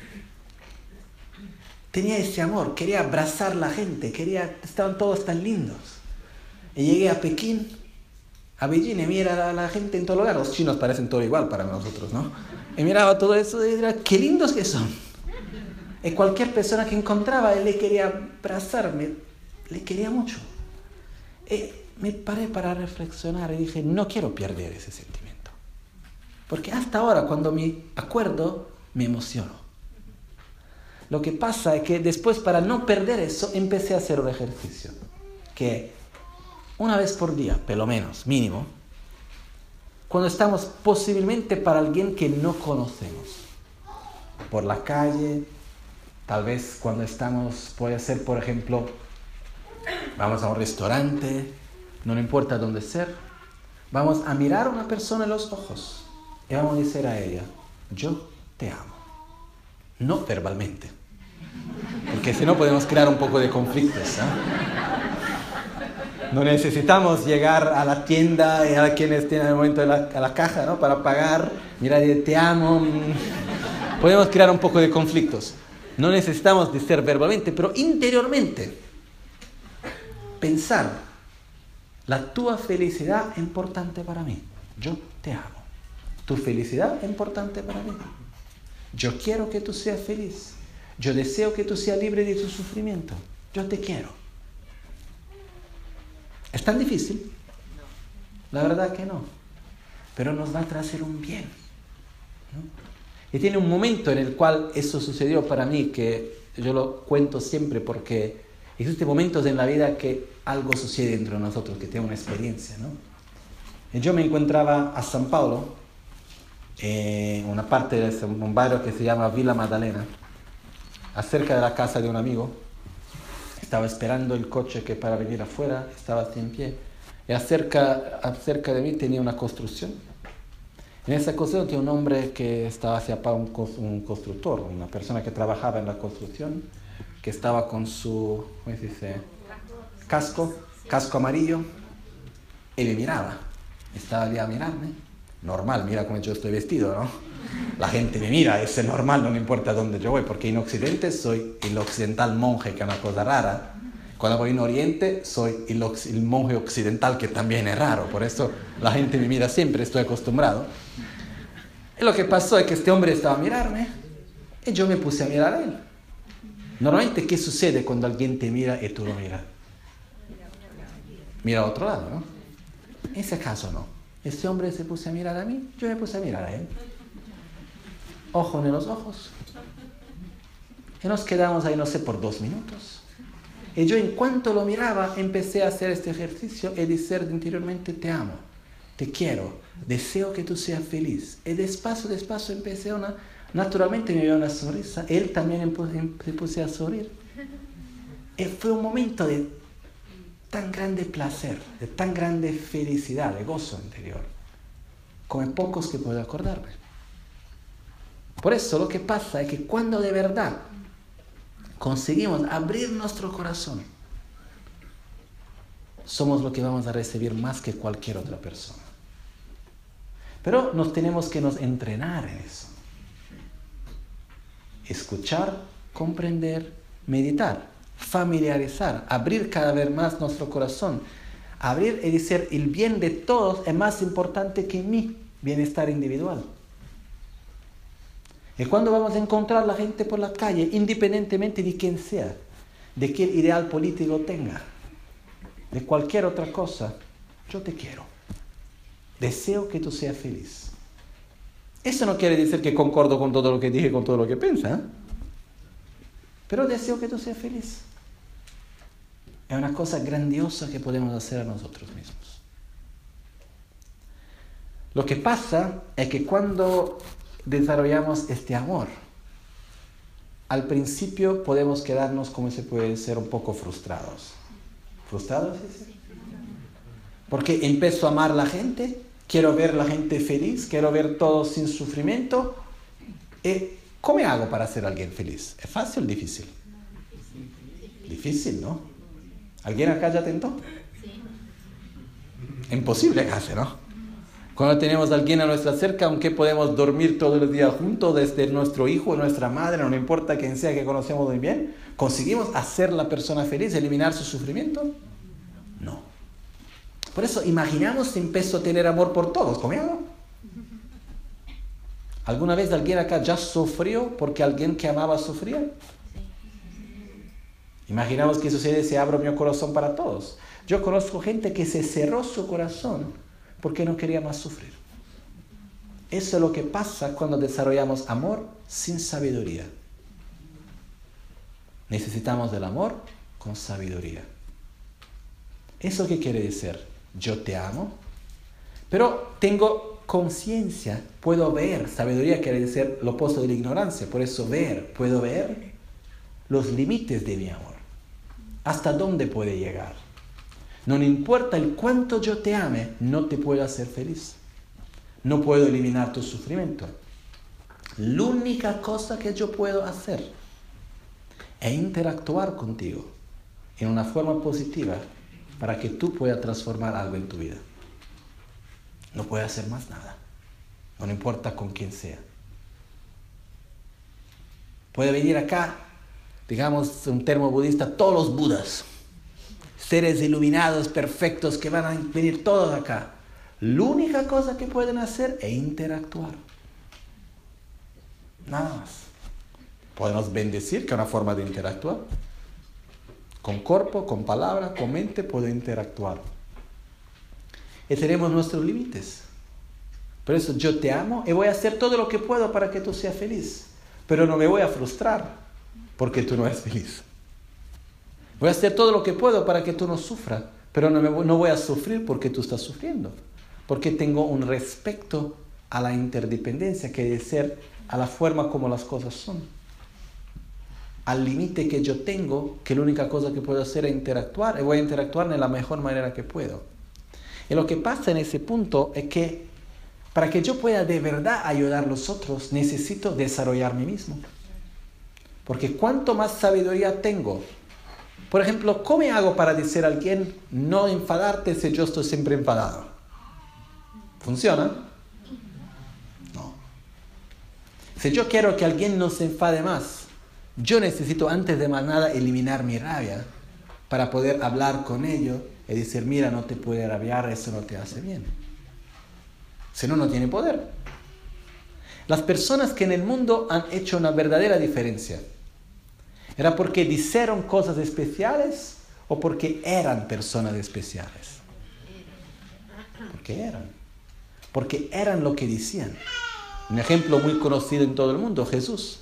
tenía ese amor, quería abrazar a la gente, quería, estaban todos tan lindos. Y llegué a Pekín, a Beijing, y mira a la gente en todo lugar, los chinos parecen todo igual para nosotros, ¿no? Y miraba todo eso y decía, qué lindos que son. Y cualquier persona que encontraba, él le quería abrazarme, le quería mucho. Y me paré para reflexionar y dije, no quiero perder ese sentimiento. Porque hasta ahora, cuando me acuerdo, me emociono. Lo que pasa es que después, para no perder eso, empecé a hacer un ejercicio. Que una vez por día, por lo menos, mínimo, cuando estamos posiblemente para alguien que no conocemos, por la calle, tal vez cuando estamos, puede ser, por ejemplo, vamos a un restaurante, no importa dónde ser, vamos a mirar a una persona en los ojos y vamos a decir a ella, yo te amo. No verbalmente, porque si no podemos crear un poco de conflictos, ¿eh? No necesitamos llegar a la tienda y a quienes tienen el momento de la, a la caja, ¿no? Para pagar, mirar y te amo. Podemos crear un poco de conflictos. No necesitamos decir verbalmente, pero interiormente. Pensar, la tua felicidad es importante para mí. Yo te amo. Tu felicidad es importante para mí. Yo quiero que tú seas feliz. Yo deseo que tú seas libre de tu sufrimiento. Yo te quiero. ¿Es tan difícil? La verdad que no. Pero nos va a traer un bien, ¿no? Y tiene un momento en el cual eso sucedió para mí, que yo lo cuento siempre porque existen momentos en la vida que algo sucede dentro de nosotros, que tiene una experiencia, ¿no? Y yo me encontraba a San Paulo, en una parte de un barrio que se llama Villa Maddalena, acerca de la casa de un amigo. Estaba esperando el coche que para venir afuera, estaba así en pie. Y acerca, acerca de mí tenía una construcción. En esa construcción tenía un hombre que estaba hacia un, un constructor, una persona que trabajaba en la construcción, que estaba con su, ¿cómo se dice? Casco, casco amarillo, y me miraba. Estaba allí a mirarme. Normal, mira cómo yo estoy vestido, ¿no? La gente me mira, eso es normal, no me importa dónde yo voy, porque en Occidente soy el occidental monje, que es una cosa rara. Cuando voy en Oriente, soy el, el monje occidental, que también es raro. Por eso la gente me mira siempre, estoy acostumbrado. Y lo que pasó es que este hombre estaba a mirarme, y yo me puse a mirar a él. Normalmente, ¿qué sucede cuando alguien te mira y tú lo miras? Mira a otro lado, ¿no? En ese caso no. Este hombre se puso a mirar a mí, yo me puse a mirar a él. Ojo en los ojos. Y nos quedamos ahí, no sé, por dos minutos. Y yo, en cuanto lo miraba, empecé a hacer este ejercicio y decir interiormente, te amo, te quiero, deseo que tú seas feliz. Y despacio, despacio empecé a una... Naturalmente me dio una sonrisa. Él también se puso a sonreír. Y fue un momento de tan grande placer, de tan grande felicidad, de gozo interior, como pocos que puedo acordarme. Por eso lo que pasa es que cuando de verdad conseguimos abrir nuestro corazón, somos lo que vamos a recibir más que cualquier otra persona. Pero nos tenemos que nos entrenar en eso. escuchar, comprender, meditar, familiarizar, abrir cada vez más nuestro corazón. Abrir y decir, el bien de todos es más importante que mi bienestar individual. Y cuando vamos a encontrar a la gente por la calle, independientemente de quién sea, de qué ideal político tenga, de cualquier otra cosa, yo te quiero. Deseo que tú seas feliz. Eso no quiere decir que concordo con todo lo que dije, con todo lo que piensa, ¿eh? Pero deseo que tú seas feliz. Es una cosa grandiosa que podemos hacer a nosotros mismos. Lo que pasa es que cuando desarrollamos este amor, al principio podemos quedarnos, como se puede ser, un poco frustrados. ¿Frustrados? ¿Sí? Porque empiezo a amar a la gente, quiero ver a la gente feliz, quiero ver todos sin sufrimiento. ¿Y cómo hago para ser alguien feliz? ¿Es fácil o difícil? Difícil, ¿no? ¿Alguien acá ya tentó? Imposible casi, ¿no? Cuando tenemos a alguien a nuestra cerca, aunque podemos dormir todos los días juntos, desde nuestro hijo, nuestra madre, no importa quién sea que conocemos muy bien, ¿conseguimos hacer a la persona feliz, eliminar su sufrimiento? No. Por eso, imaginamos si empiezo a tener amor por todos. ¿Cómo hago? ¿Alguna vez alguien acá ya sufrió porque alguien que amaba sufría? Imaginamos que sucede si abro mi corazón para todos. Yo conozco gente que se cerró su corazón porque no quería más sufrir. Eso es lo que pasa cuando desarrollamos amor sin sabiduría. Necesitamos del amor con sabiduría. ¿Eso qué quiere decir? Yo te amo, pero tengo conciencia, puedo ver. Sabiduría quiere decir lo opuesto de la ignorancia. Por eso ver, puedo ver los límites de mi amor. ¿Hasta dónde puede llegar? No importa el cuánto yo te ame, no te puedo hacer feliz. No puedo eliminar tu sufrimiento. La única cosa que yo puedo hacer es interactuar contigo en una forma positiva para que tú puedas transformar algo en tu vida. No puedo hacer más nada. No importa con quién sea. Puede venir acá, digamos, un termo budista, todos los budas, seres iluminados, perfectos, que van a venir todos acá. La única cosa que pueden hacer es interactuar. Nada más. Podemos bendecir, que es una forma de interactuar. Con cuerpo, con palabra, con mente, puedo interactuar. Y tenemos nuestros límites. Por eso yo te amo y voy a hacer todo lo que puedo para que tú seas feliz. Pero no me voy a frustrar porque tú no eres feliz. Voy a hacer todo lo que puedo para que tú no sufras, pero no, me voy, no voy a sufrir porque tú estás sufriendo. Porque tengo un respeto a la interdependencia, que debe ser a la forma como las cosas son. Al límite que yo tengo, que la única cosa que puedo hacer es interactuar, y voy a interactuar de la mejor manera que puedo. Y lo que pasa en ese punto es que para que yo pueda de verdad ayudar a los otros, necesito desarrollar mí mismo. Porque cuanto más sabiduría tengo, por ejemplo, ¿cómo hago para decir a alguien no enfadarte si yo estoy siempre enfadado? ¿Funciona? No. Si yo quiero que alguien no se enfade más, yo necesito antes de más nada eliminar mi rabia para poder hablar con ellos y decir, mira, no te puede rabiar, eso no te hace bien. Si no, no tiene poder. Las personas que en el mundo han hecho una verdadera diferencia, ¿era porque dijeron cosas especiales o porque eran personas especiales? Porque eran. Porque eran lo que decían. Un ejemplo muy conocido en todo el mundo, Jesús.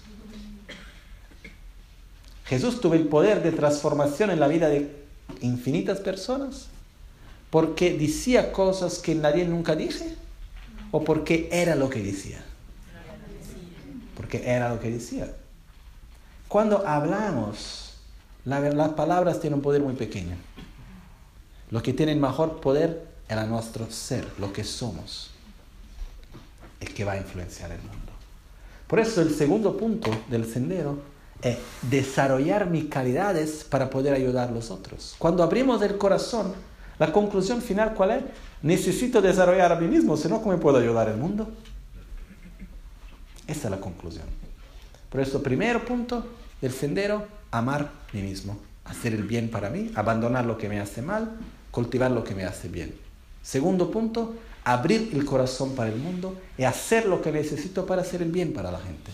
Jesús tuvo el poder de transformación en la vida de infinitas personas porque decía cosas que nadie nunca dije o porque era lo que decía. Porque era lo que decía. Cuando hablamos, la, las palabras tienen un poder muy pequeño. Lo que tiene mejor poder era nuestro ser, lo que somos, el que va a influenciar el mundo. Por eso el segundo punto del sendero es desarrollar mis calidades para poder ayudar a los otros. Cuando abrimos el corazón, la conclusión final, ¿cuál es? Necesito desarrollar a mí mismo, si no, ¿cómo puedo ayudar al mundo? Esa es la conclusión. Por eso, primer punto del sendero, amar a mí mismo. Hacer el bien para mí, abandonar lo que me hace mal, cultivar lo que me hace bien. Segundo punto, abrir el corazón para el mundo y hacer lo que necesito para hacer el bien para la gente.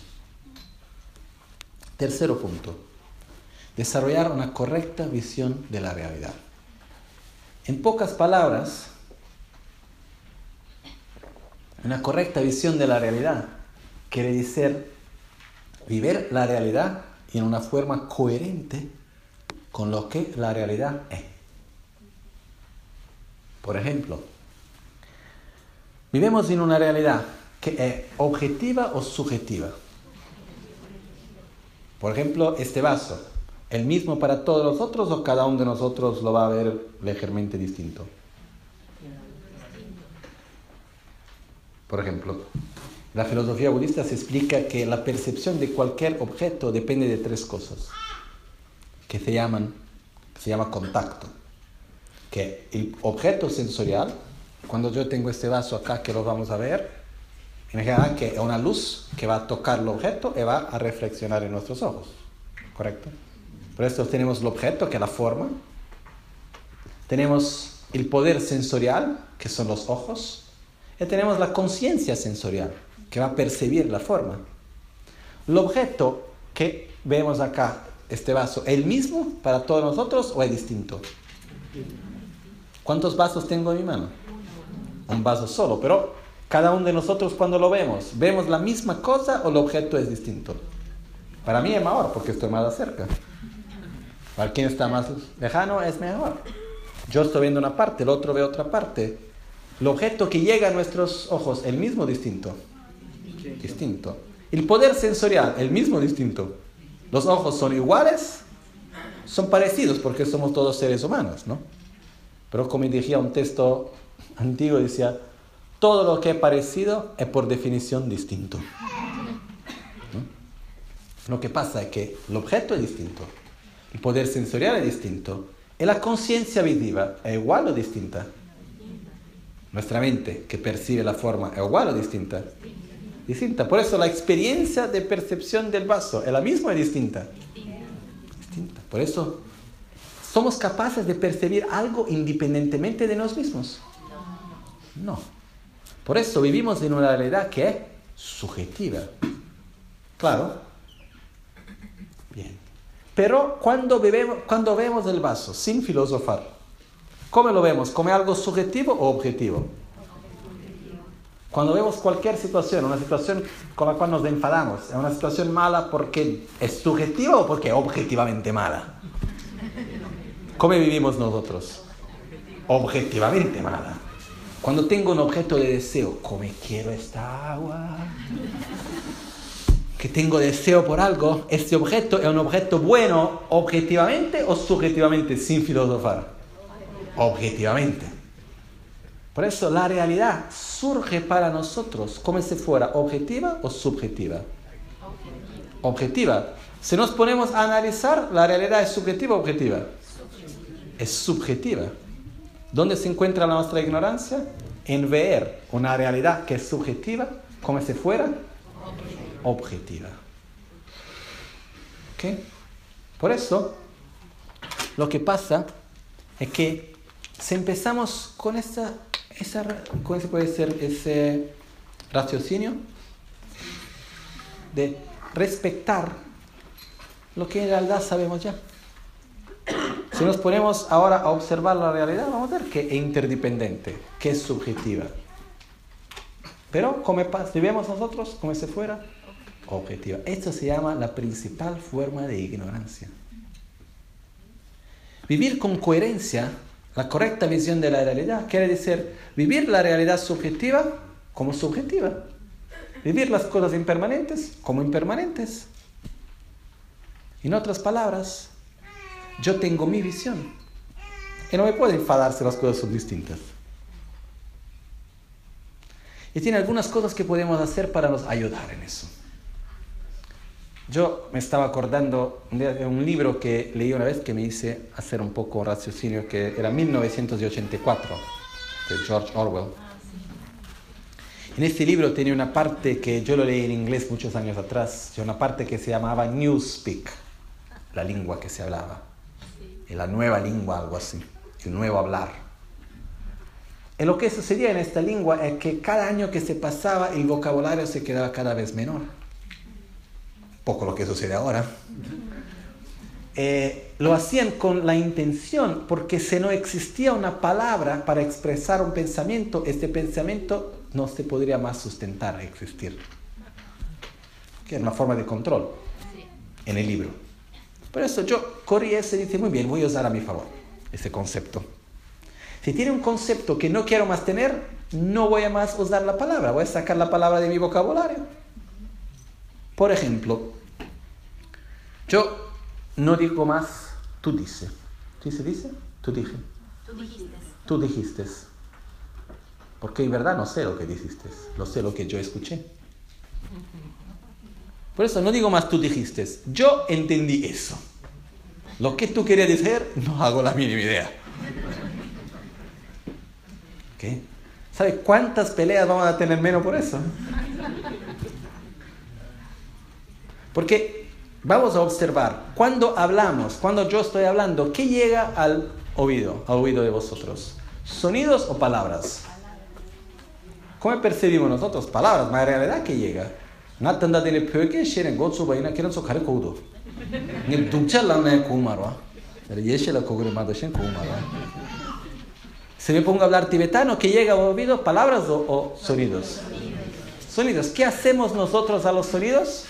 Tercero punto, desarrollar una correcta visión de la realidad. En pocas palabras, una correcta visión de la realidad quiere decir vivir la realidad en una forma coherente con lo que la realidad es. Por ejemplo, vivimos en una realidad que es objetiva o subjetiva. Por ejemplo, este vaso, ¿el mismo para todos nosotros o cada uno de nosotros lo va a ver ligeramente distinto? Por ejemplo, la filosofía budista se explica que la percepción de cualquier objeto depende de tres cosas, que se llaman, que se llama contacto. Que el objeto sensorial, cuando yo tengo este vaso acá que lo vamos a ver, imagina que es una luz que va a tocar el objeto y va a reflexionar en nuestros ojos, ¿correcto? Por eso tenemos el objeto, que es la forma. Tenemos el poder sensorial, que son los ojos. Y tenemos la conciencia sensorial, que va a percibir la forma. El objeto que vemos acá, este vaso, ¿es el mismo para todos nosotros o es distinto? ¿Cuántos vasos tengo en mi mano? Un vaso solo, pero cada uno de nosotros cuando lo vemos, ¿vemos la misma cosa o el objeto es distinto? Para mí es mejor porque estoy más cerca. Para quien está más lejano es mejor. Yo estoy viendo una parte, el otro ve otra parte. El objeto que llega a nuestros ojos, ¿el mismo o distinto? Distinto. Distinto. El poder sensorial, ¿el mismo o distinto? Los ojos son iguales, son parecidos porque somos todos seres humanos, ¿no? Pero como decía un texto antiguo, decía, todo lo que es parecido es por definición distinto, ¿no? Lo que pasa es que el objeto es distinto, el poder sensorial es distinto, y la conciencia visiva es igual o distinta. Nuestra mente que percibe la forma es igual o distinta. Distinta. Por eso la experiencia de percepción del vaso es la misma o distinta. Distinta. Por eso somos capaces de percibir algo independientemente de nosotros mismos. No. Por eso vivimos en una realidad que es subjetiva. Claro. Bien. Pero cuando, bebemos, cuando vemos el vaso, sin filosofar, ¿cómo lo vemos? ¿Como algo subjetivo o objetivo? Cuando vemos cualquier situación, una situación con la cual nos enfadamos, ¿es una situación mala porque es subjetiva o porque es objetivamente mala? ¿Cómo vivimos nosotros? Objetivamente mala. Cuando tengo un objeto de deseo, ¿cómo quiero esta agua? Que tengo deseo por algo, ¿este objeto es un objeto bueno objetivamente o subjetivamente, sin filosofar? Objetivamente. Por eso la realidad surge para nosotros como si fuera objetiva o subjetiva. Objetiva. Si nos ponemos a analizar, ¿la realidad es subjetiva o objetiva? Es subjetiva. ¿Dónde se encuentra nuestra ignorancia? En ver una realidad que es subjetiva como si fuera objetiva. ¿Ok? Por eso, lo que pasa es que si empezamos con esa, esa ¿cómo se puede decir? Ese raciocinio de respetar lo que en realidad sabemos ya. Si nos ponemos ahora a observar la realidad, vamos a ver que es interdependiente, que es subjetiva. Pero como si vemos nosotros como si fuera objetiva. Esto se llama la principal forma de ignorancia. Vivir con coherencia la correcta visión de la realidad quiere decir vivir la realidad subjetiva como subjetiva. Vivir las cosas impermanentes como impermanentes. En otras palabras, yo tengo mi visión. Y no me puedo enfadar si las cosas son distintas. Y tiene algunas cosas que podemos hacer para nos ayudar en eso. Yo me estaba acordando de un libro que leí una vez que me hice hacer un poco raciocinio, que era mil novecientos ochenta y cuatro, de George Orwell. En este libro tenía una parte que yo lo leí en inglés muchos años atrás, una parte que se llamaba Newspeak, la lengua que se hablaba, la nueva lengua, algo así, el nuevo hablar. Y lo que sucedía en esta lengua es que cada año que se pasaba el vocabulario se quedaba cada vez menor. Poco lo que sucede ahora. Eh, lo hacían con la intención, porque si no existía una palabra para expresar un pensamiento, este pensamiento no se podría más sustentar, existir. Que es una forma de control en el libro. Por eso yo corrí ese y dije, muy bien, voy a usar a mi favor ese concepto. Si tiene un concepto que no quiero más tener, no voy a más usar la palabra, voy a sacar la palabra de mi vocabulario. Por ejemplo, yo no digo más, tú dices. ¿Sí se dice? Tú dije. Tú dijiste. Tú dijiste. Porque en verdad no sé lo que dijiste, lo sé lo que yo escuché. Por eso no digo más tú dijiste. Yo entendí eso. Lo que tú querías decir, no hago la mínima idea. ¿Qué? ¿Sabe cuántas peleas vamos a tener menos por eso? Porque vamos a observar, cuando hablamos, cuando yo estoy hablando, ¿qué llega al oído, al oído de vosotros? ¿Sonidos o palabras? ¿Cómo percibimos nosotros? Palabras, pero en realidad, ¿qué llega? Si me pongo a hablar tibetano, ¿qué llega al oído? ¿Palabras o, o sonidos? Sonidos. ¿Qué hacemos nosotros a los sonidos?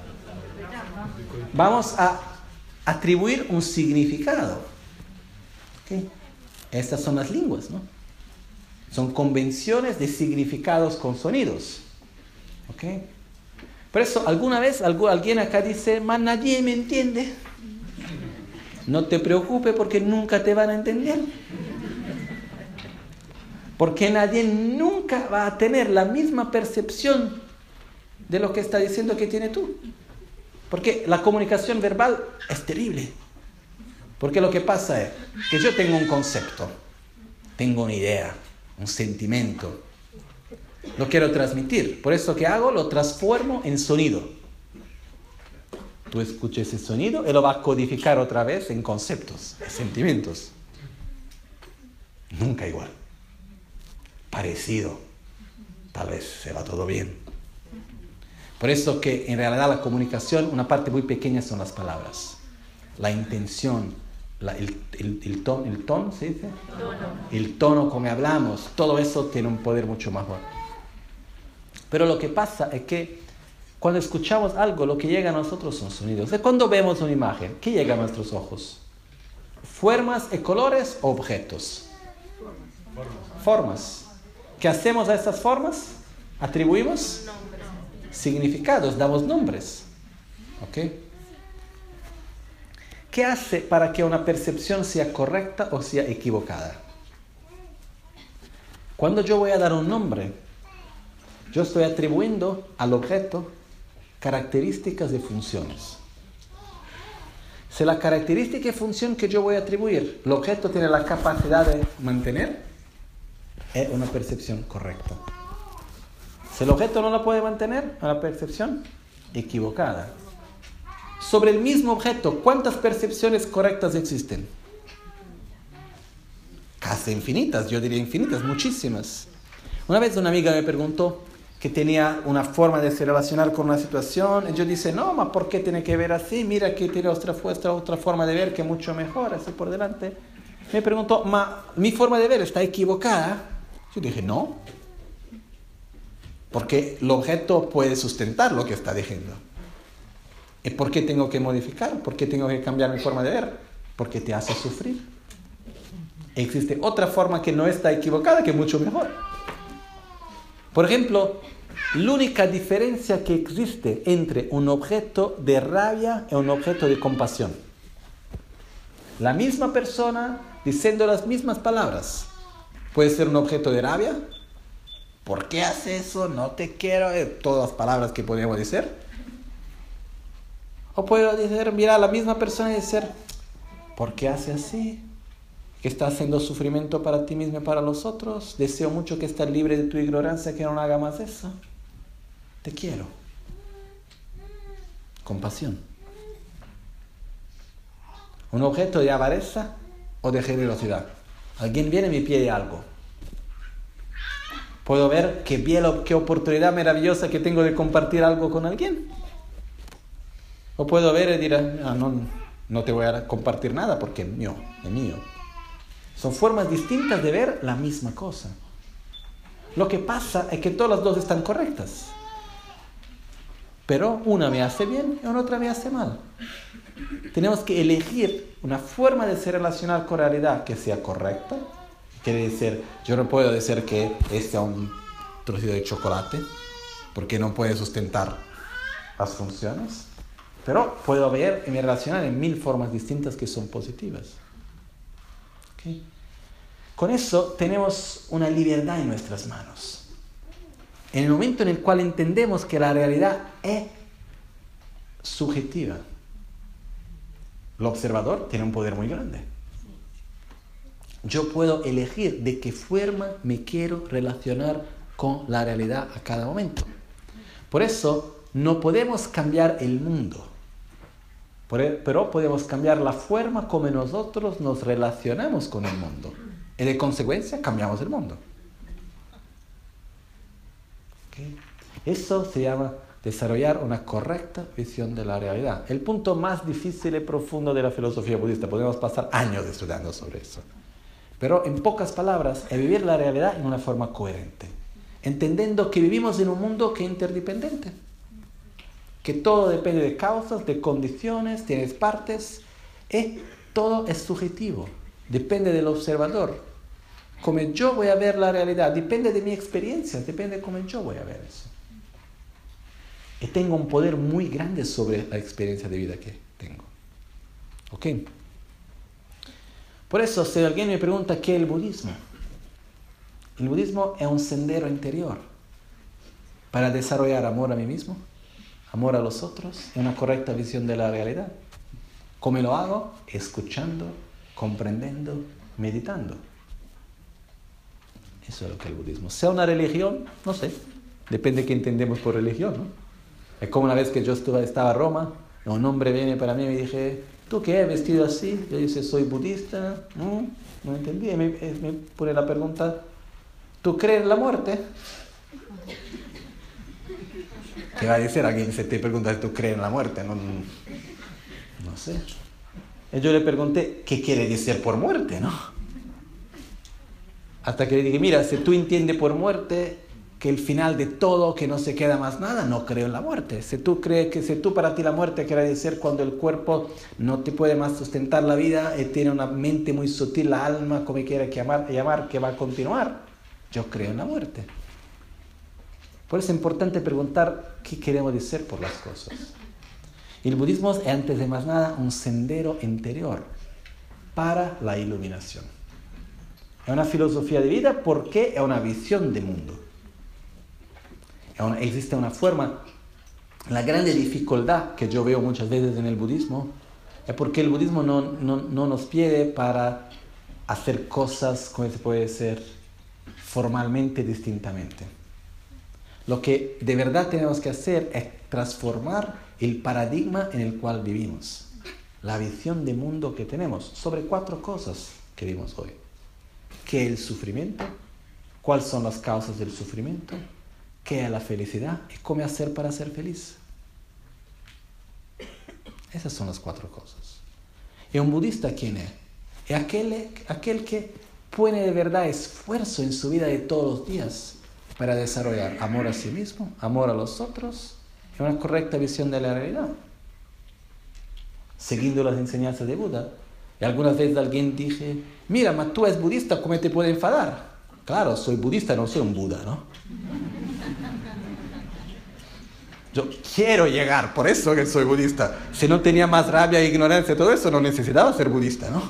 Vamos a atribuir un significado. ¿Okay? Estas son las lenguas, ¿no? Son convenciones de significados con sonidos. ¿Okay? Por eso, alguna vez alguien acá dice, más nadie me entiende. No te preocupes porque nunca te van a entender. Porque nadie nunca va a tener la misma percepción de lo que está diciendo que tiene tú. Porque la comunicación verbal es terrible. Porque lo que pasa es que yo tengo un concepto, tengo una idea, un sentimiento. Lo quiero transmitir. Por eso, ¿qué hago? Lo transformo en sonido. Tú escuchas ese sonido y lo vas a codificar otra vez en conceptos, en sentimientos. Nunca igual. Parecido. Tal vez se va todo bien. Por eso que en realidad la comunicación, una parte muy pequeña son las palabras. La intención, la, el, el, el tono, el tono, ¿se dice? Tono. El tono como hablamos, todo eso tiene un poder mucho más fuerte. Pero lo que pasa es que cuando escuchamos algo, lo que llega a nosotros son sonidos. Y cuando vemos una imagen, ¿qué llega a nuestros ojos? ¿Formas y colores o objetos? Formas. Formas. ¿Qué hacemos a estas formas? Atribuimos significados, damos nombres. ¿Ok? ¿Qué hace para que una percepción sea correcta o sea equivocada? Cuando yo voy a dar un nombre, yo estoy atribuyendo al objeto características y funciones. Si la característica y función que yo voy a atribuir, el objeto tiene la capacidad de mantener, es una percepción correcta. Si el objeto no la puede mantener, es una percepción equivocada. Sobre el mismo objeto, ¿cuántas percepciones correctas existen? Casi infinitas, yo diría infinitas, muchísimas. Una vez una amiga me preguntó que tenía una forma de se relacionar con una situación, y yo dije, no, ma, ¿por qué tiene que ver así? Mira que tiene otra, otra, otra forma de ver que es mucho mejor, así por delante. Me preguntó, ma, ¿mi forma de ver está equivocada? Yo dije, no. Porque el objeto puede sustentar lo que está diciendo. ¿Y por qué tengo que modificar? ¿Por qué tengo que cambiar mi forma de ver? Porque te hace sufrir. Existe otra forma que no está equivocada, que es mucho mejor. Por ejemplo, la única diferencia que existe entre un objeto de rabia y un objeto de compasión. La misma persona diciendo las mismas palabras. Puede ser un objeto de rabia. ¿Por qué hace eso? No te quiero. Todas las palabras que podríamos decir. O puedo decir, mira a la misma persona y decir, ¿por qué hace así? que estás haciendo sufrimiento para ti mismo y para los otros. Deseo mucho que estés libre de tu ignorancia, que no haga más eso. Te quiero. Compasión. Un objeto de avaricia o de generosidad. Alguien viene y me pide algo. Puedo ver qué, bien, qué oportunidad maravillosa que tengo de compartir algo con alguien. O puedo ver y decir, ah, no, no te voy a compartir nada porque es mío, es mío. Son formas distintas de ver la misma cosa. Lo que pasa es que todas las dos están correctas. Pero una me hace bien y otra me hace mal. Tenemos que elegir una forma de se relacionar con la realidad que sea correcta. Quiere decir, yo no puedo decir que este es un trocito de chocolate, porque no puede sustentar las funciones. Pero puedo ver y me relacionar en mil formas distintas que son positivas. ¿Okay? Con eso tenemos una libertad en nuestras manos. En el momento en el cual entendemos que la realidad es subjetiva, el observador tiene un poder muy grande. Yo puedo elegir de qué forma me quiero relacionar con la realidad a cada momento. Por eso no podemos cambiar el mundo, pero podemos cambiar la forma como nosotros nos relacionamos con el mundo. Y de consecuencia cambiamos el mundo. ¿Okay? Eso se llama desarrollar una correcta visión de la realidad. El punto más difícil y profundo de la filosofía budista. Podemos pasar años estudiando sobre eso. Pero en pocas palabras, es vivir la realidad en una forma coherente. Entendiendo que vivimos en un mundo que es interdependiente. Que todo depende de causas, de condiciones, tienes partes. Y todo es subjetivo. Depende del observador. Como yo voy a ver la realidad, depende de mi experiencia, depende de cómo yo voy a ver eso. Y tengo un poder muy grande sobre la experiencia de vida que tengo. ¿Ok? Por eso, si alguien me pregunta qué es el budismo, el budismo es un sendero interior para desarrollar amor a mí mismo, amor a los otros y una correcta visión de la realidad. ¿Cómo lo hago? Escuchando, comprendiendo, meditando. Eso es lo que es el budismo. Sea una religión, no sé, depende de qué entendemos por religión, ¿no? Es como una vez que yo estuve, estaba en Roma, un hombre viene para mí y me dije, ¿tú qué es vestido así? Yo dije, soy budista. No, no entendí. Y me, me pone la pregunta, ¿tú crees en la muerte? ¿Qué va a decir alguien si te pregunta, ¿tú crees en la muerte? No, no sé. Y yo le pregunté, ¿qué quiere decir por muerte, no? Hasta que le dije, mira, si tú entiendes por muerte que el final de todo, que no se queda más nada, no creo en la muerte. Si tú crees que si tú para ti la muerte quiere decir cuando el cuerpo no te puede más sustentar la vida y tiene una mente muy sutil, la alma, como quiera llamar, llamar, que va a continuar, yo creo en la muerte. Por eso es importante preguntar qué queremos decir por las cosas. Y el budismo es, antes de más nada, un sendero interior para la iluminación. Es una filosofía de vida porque es una visión de mundo. Una, existe una forma. La grande dificultad que yo veo muchas veces en el budismo es porque el budismo no, no, no nos pide para hacer cosas, como se puede decir, formalmente, distintamente. Lo que de verdad tenemos que hacer es transformar el paradigma en el cual vivimos. La visión de mundo que tenemos sobre cuatro cosas que vimos hoy. ¿Qué es el sufrimiento? ¿Cuáles son las causas del sufrimiento? ¿Qué es la felicidad? ¿Y cómo hacer para ser feliz? Esas son las cuatro cosas. ¿Y un budista quién es? Es aquel, aquel que pone de verdad esfuerzo en su vida de todos los días para desarrollar amor a sí mismo, amor a los otros y una correcta visión de la realidad. Siguiendo las enseñanzas de Buda. Y algunas veces alguien dije, mira, mas tú eres budista, ¿cómo te puede enfadar? Claro, soy budista, no soy un Buda, ¿no? Yo quiero llegar, por eso que soy budista. Si no tenía más rabia e ignorancia y todo eso, no necesitaba ser budista, ¿no?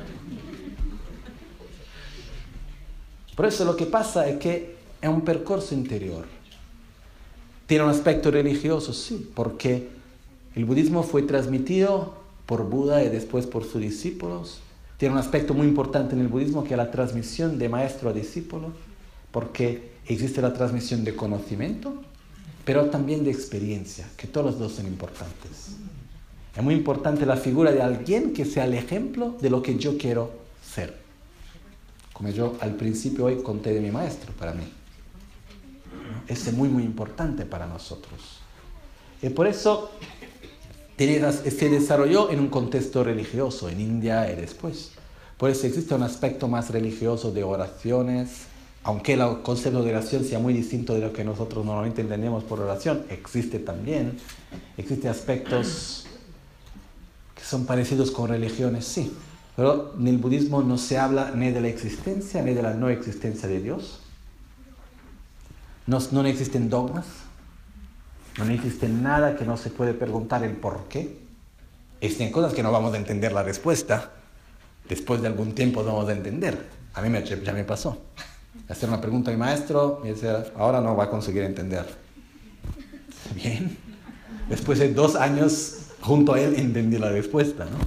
Por eso lo que pasa es que es un percurso interior. Tiene un aspecto religioso, sí, porque el budismo fue transmitido por Buda y después por sus discípulos. tiene un aspecto muy importante en el budismo, que es la transmisión de maestro a discípulo, porque existe la transmisión de conocimiento, pero también de experiencia, que todos los dos son importantes. Es muy importante la figura de alguien que sea el ejemplo de lo que yo quiero ser. Como yo al principio hoy conté de mi maestro, para mí. Ese es muy, muy importante para nosotros. Y por eso se desarrolló en un contexto religioso, en India y después. Por eso existe un aspecto más religioso de oraciones, aunque el concepto de oración sea muy distinto de lo que nosotros normalmente entendemos por oración, existe también. Existen aspectos que son parecidos con religiones, sí. Pero en el budismo no se habla ni de la existencia ni de la no existencia de Dios. No, no existen dogmas. No existe nada que no se puede preguntar el por qué. Existen cosas que no vamos a entender la respuesta. Después de algún tiempo vamos a entender. A mí me, ya me pasó. Hacer una pregunta a mi maestro y decir, ahora no va a conseguir entender. Bien. Después de dos años junto a él entendí la respuesta, ¿no?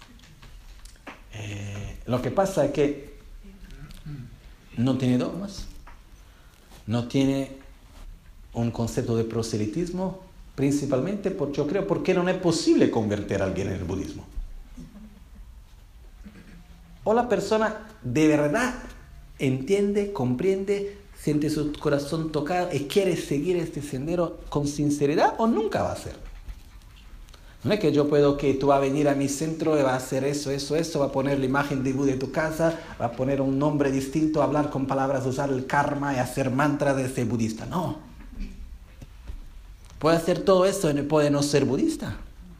Eh, lo que pasa es que no tiene dogmas. No tiene un concepto de proselitismo, principalmente porque yo creo porque no es posible convertir a alguien en el budismo. O la persona de verdad entiende, comprende, siente su corazón tocado y quiere seguir este sendero con sinceridad, o nunca va a hacer. No es que yo puedo que tú vas a venir a mi centro y va a hacer eso, eso, eso, va a poner la imagen de Buda en tu casa, va a poner un nombre distinto, hablar con palabras, usar el karma y hacer mantras de ser budista. No. Puede hacer todo eso y puede no ser budista.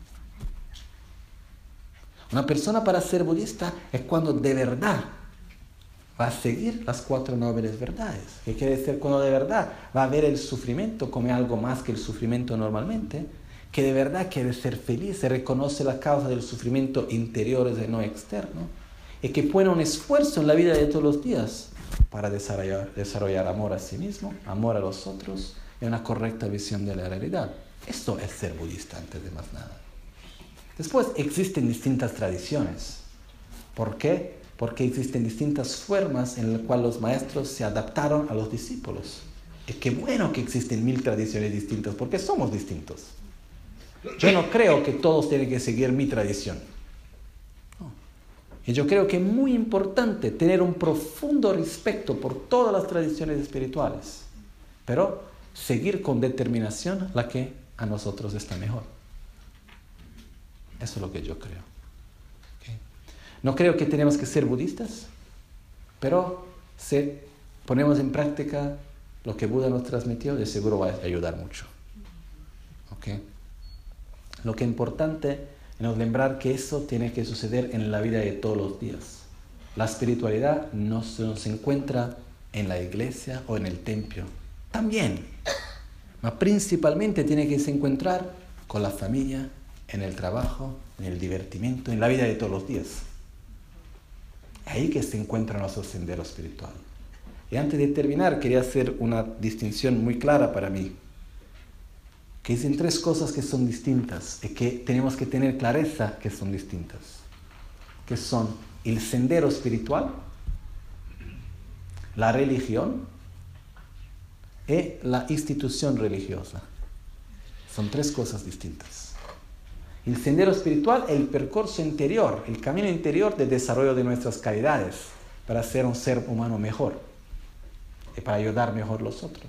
Una persona para ser budista es cuando de verdad va a seguir las cuatro nobles verdades. ¿Qué quiere decir cuando de verdad va a ver el sufrimiento como algo más que el sufrimiento normalmente? Que de verdad quiere ser feliz, se reconoce la causa del sufrimiento interior y no externo, y que pone un esfuerzo en la vida de todos los días para desarrollar, desarrollar amor a sí mismo, amor a los otros y una correcta visión de la realidad. Esto es ser budista antes de más nada. Después existen distintas tradiciones. ¿Por qué? Porque existen distintas formas en las cuales los maestros se adaptaron a los discípulos. Es que bueno que existen mil tradiciones distintas, porque somos distintos. Yo no creo que todos tienen que seguir mi tradición. No. Y yo creo que es muy importante tener un profundo respeto por todas las tradiciones espirituales, pero seguir con determinación la que a nosotros está mejor. Eso es lo que yo creo. ¿Okay? No creo que tenemos que ser budistas, pero si ponemos en práctica lo que Buda nos transmitió, de seguro va a ayudar mucho. ¿Okay? Lo que es importante es lembrar que eso tiene que suceder en la vida de todos los días. La espiritualidad no se, no se encuentra en la iglesia o en el templo. También, pero principalmente tiene que se encontrar con la familia, en el trabajo, en el divertimento, en la vida de todos los días. Ahí que se encuentra nuestro sendero espiritual. Y antes de terminar, quería hacer una distinción muy clara para mí, que dicen tres cosas que son distintas y que tenemos que tener clareza que son distintas, que son el sendero espiritual, la religión y la institución religiosa. Son tres cosas distintas. El sendero espiritual es el percurso interior, el camino interior de desarrollo de nuestras calidades para ser un ser humano mejor y para ayudar mejor a los otros.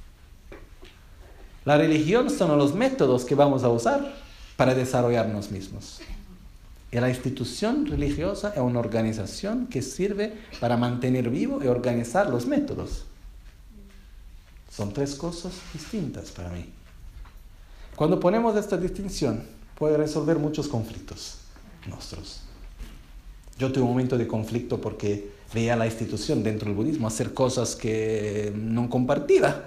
La religión son los métodos que vamos a usar para desarrollarnos mismos. Y la institución religiosa es una organización que sirve para mantener vivo y organizar los métodos. Son tres cosas distintas para mí. Cuando ponemos esta distinción, puede resolver muchos conflictos nuestros. Yo tuve un momento de conflicto porque veía la institución dentro del budismo hacer cosas que no compartía.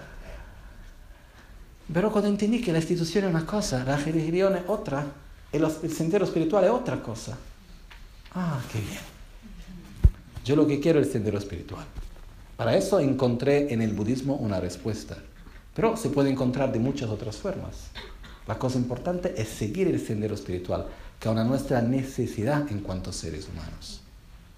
Pero cuando entendí que la institución es una cosa, la religión es otra, el, el sendero espiritual es otra cosa. Ah, qué bien. Yo lo que quiero es el sendero espiritual. Para eso encontré en el budismo una respuesta. Pero se puede encontrar de muchas otras formas. La cosa importante es seguir el sendero espiritual, que es una nuestra necesidad en cuanto a seres humanos.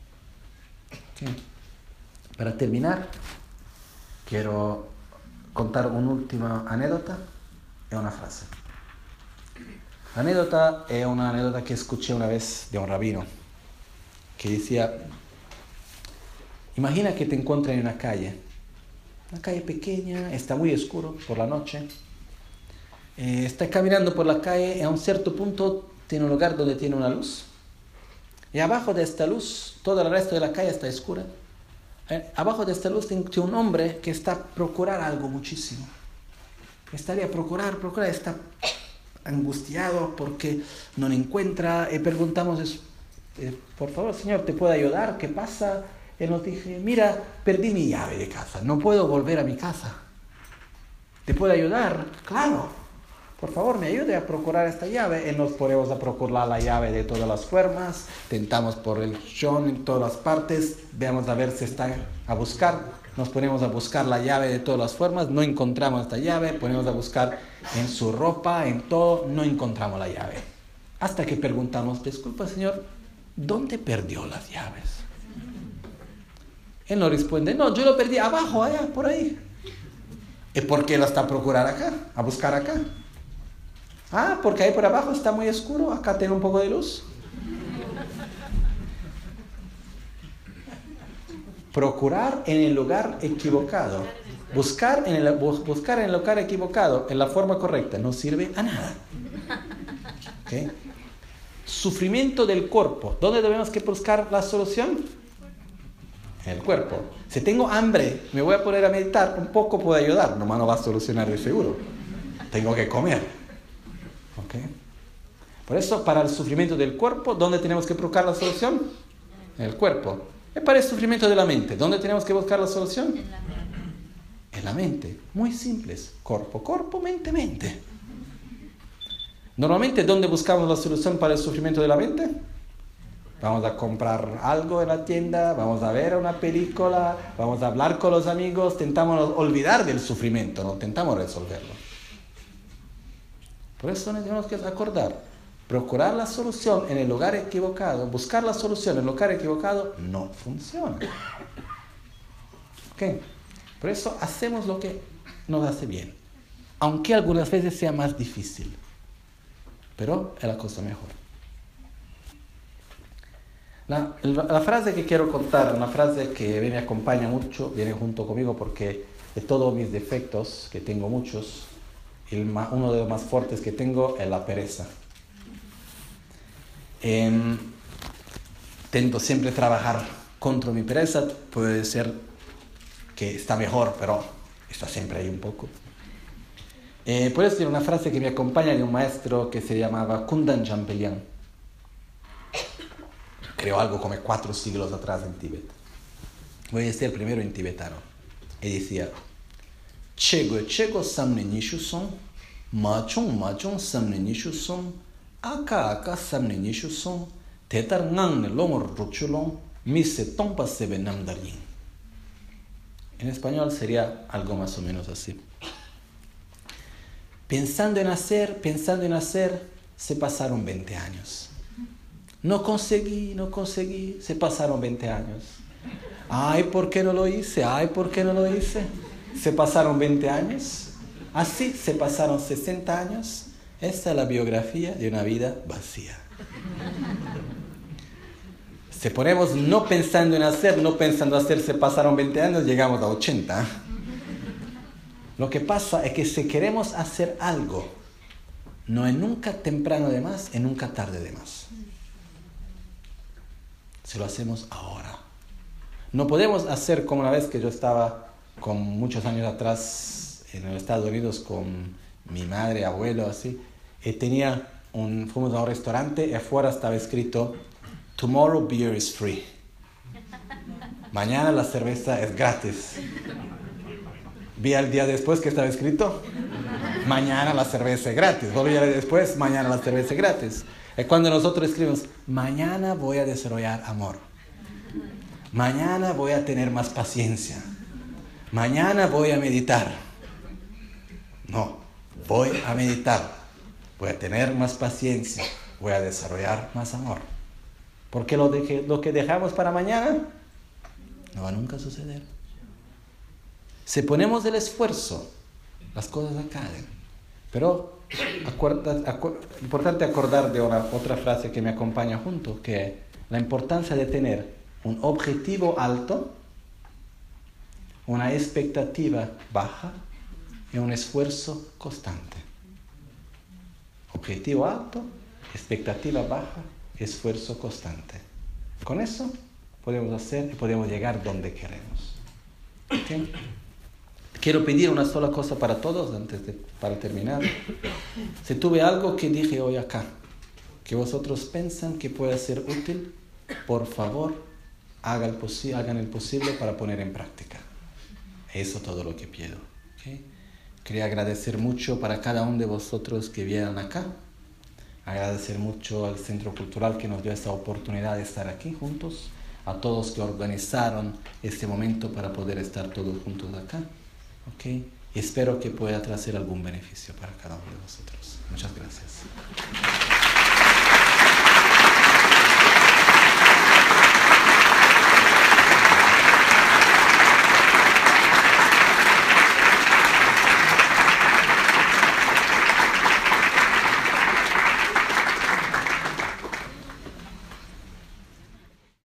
Okay. Para terminar, quiero contar una última anécdota y una frase. La anécdota es una anécdota que escuché una vez de un rabino que decía: imagina que te encuentras en una calle, una calle pequeña, está muy oscuro por la noche, eh, estás caminando por la calle y a un cierto punto tiene un lugar donde tiene una luz, y abajo de esta luz, todo el resto de la calle está oscura. Eh, abajo de esta luz tiene un hombre que está a procurar algo muchísimo. Estaría a procurar, procurar, está angustiado porque no lo encuentra. Y preguntamos, eh, por favor, señor, ¿te puedo ayudar? ¿Qué pasa? Él nos dice: mira, perdí mi llave de casa, no puedo volver a mi casa. ¿Te puedo ayudar? Claro. Por favor, me ayude a procurar esta llave. Y nos ponemos a procurar la llave de todas las formas. Tentamos por el chón en todas las partes. Veamos a ver si está a buscar. Nos ponemos a buscar la llave de todas las formas. No encontramos esta llave. Ponemos a buscar en su ropa, en todo. No encontramos la llave. Hasta que preguntamos: disculpa, señor, ¿dónde perdió las llaves? Él nos responde: no, yo lo perdí abajo, allá, por ahí. ¿Y por qué lo está a procurar acá? A buscar acá. Ah, porque ahí por abajo está muy oscuro, acá tiene un poco de luz. Procurar en el lugar equivocado, buscar en el, buscar en el lugar equivocado, en la forma correcta, no sirve a nada. ¿Okay? Sufrimiento del cuerpo. ¿Dónde debemos que buscar la solución? En el cuerpo. Si tengo hambre, me voy a poner a meditar, un poco puede ayudar, nomás no va a solucionar de seguro. Tengo que comer. ¿Okay? Por eso, para el sufrimiento del cuerpo, ¿dónde tenemos que buscar la solución? En el cuerpo. Y para el sufrimiento de la mente, ¿dónde tenemos que buscar la solución? En la mente. En la mente. Muy simples. Cuerpo, cuerpo, mente, mente. Normalmente, ¿dónde buscamos la solución para el sufrimiento de la mente? Vamos a comprar algo en la tienda, vamos a ver una película, vamos a hablar con los amigos, tentamos olvidar del sufrimiento, no tentamos resolverlo. Por eso tenemos que acordar, procurar la solución en el lugar equivocado, buscar la solución en el lugar equivocado, no funciona. ¿Okay? Por eso hacemos lo que nos hace bien, aunque algunas veces sea más difícil, pero es la cosa mejor. La, la, la frase que quiero contar, una frase que me acompaña mucho, viene junto conmigo porque de todos mis defectos, que tengo muchos, el más, uno de los más fuertes que tengo es la pereza. Eh, Tento siempre trabajar contra mi pereza, puede ser que está mejor, pero está siempre ahí un poco. Eh, puedo decir una frase que me acompaña de un maestro que se llamaba Kundan Champelian. Creó algo como cuatro siglos atrás en Tíbet. Voy a decir primero en tibetano. Y decía: Chego chego samne nishu son, machung machung samne nishu son, aka aka samne nishu son, tetar ngang ne lomor ruchulong, mise tompa sebe namdarin. En español sería algo más o menos así. Pensando en hacer, pensando en hacer, se pasaron veinte años. No conseguí, no conseguí, se pasaron veinte años. Ay, ¿por qué no lo hice? Ay, ¿por qué no lo hice? Se pasaron veinte años. Así se pasaron sesenta años. Esta es la biografía de una vida vacía. Si ponemos no pensando en hacer, no pensando en hacer, se pasaron veinte años, llegamos a ochenta. Lo que pasa es que si queremos hacer algo, no es nunca temprano de más, es nunca tarde de más. Si lo hacemos ahora. No podemos hacer como una vez que yo estaba con muchos años atrás en los Estados Unidos con mi madre, abuelo, así, y tenía un, fuimos a un restaurante y afuera estaba escrito: Tomorrow beer is free. Mañana la cerveza es gratis. Vi al día después que estaba escrito: mañana la cerveza es gratis. Volví a ver después: mañana la cerveza es gratis. Es cuando nosotros escribimos: mañana voy a desarrollar amor. Mañana voy a tener más paciencia. Mañana voy a meditar. No, voy a meditar. Voy a tener más paciencia. Voy a desarrollar más amor. Porque lo, de, lo que dejamos para mañana no va nunca a suceder. Si ponemos el esfuerzo, las cosas acaben. Pero acuerda, acu- importante acordar de una, otra frase que me acompaña junto, que es la importancia de tener un objetivo alto, una expectativa baja y un esfuerzo constante. Objetivo alto, expectativa baja, esfuerzo constante. Con eso podemos hacer y podemos llegar donde queremos. ¿Okay? Quiero pedir una sola cosa para todos antes de para terminar. Si tuve algo que dije hoy acá, que vosotros piensan que puede ser útil, por favor, hagan el, posi- hagan el posible para poner en práctica. Eso es todo lo que pido. ¿Okay? Quería agradecer mucho para cada uno de vosotros que vienen acá. Agradecer mucho al Centro Cultural que nos dio esta oportunidad de estar aquí juntos. A todos que organizaron este momento para poder estar todos juntos acá. ¿Okay? Y espero que pueda traer algún beneficio para cada uno de vosotros. Muchas gracias.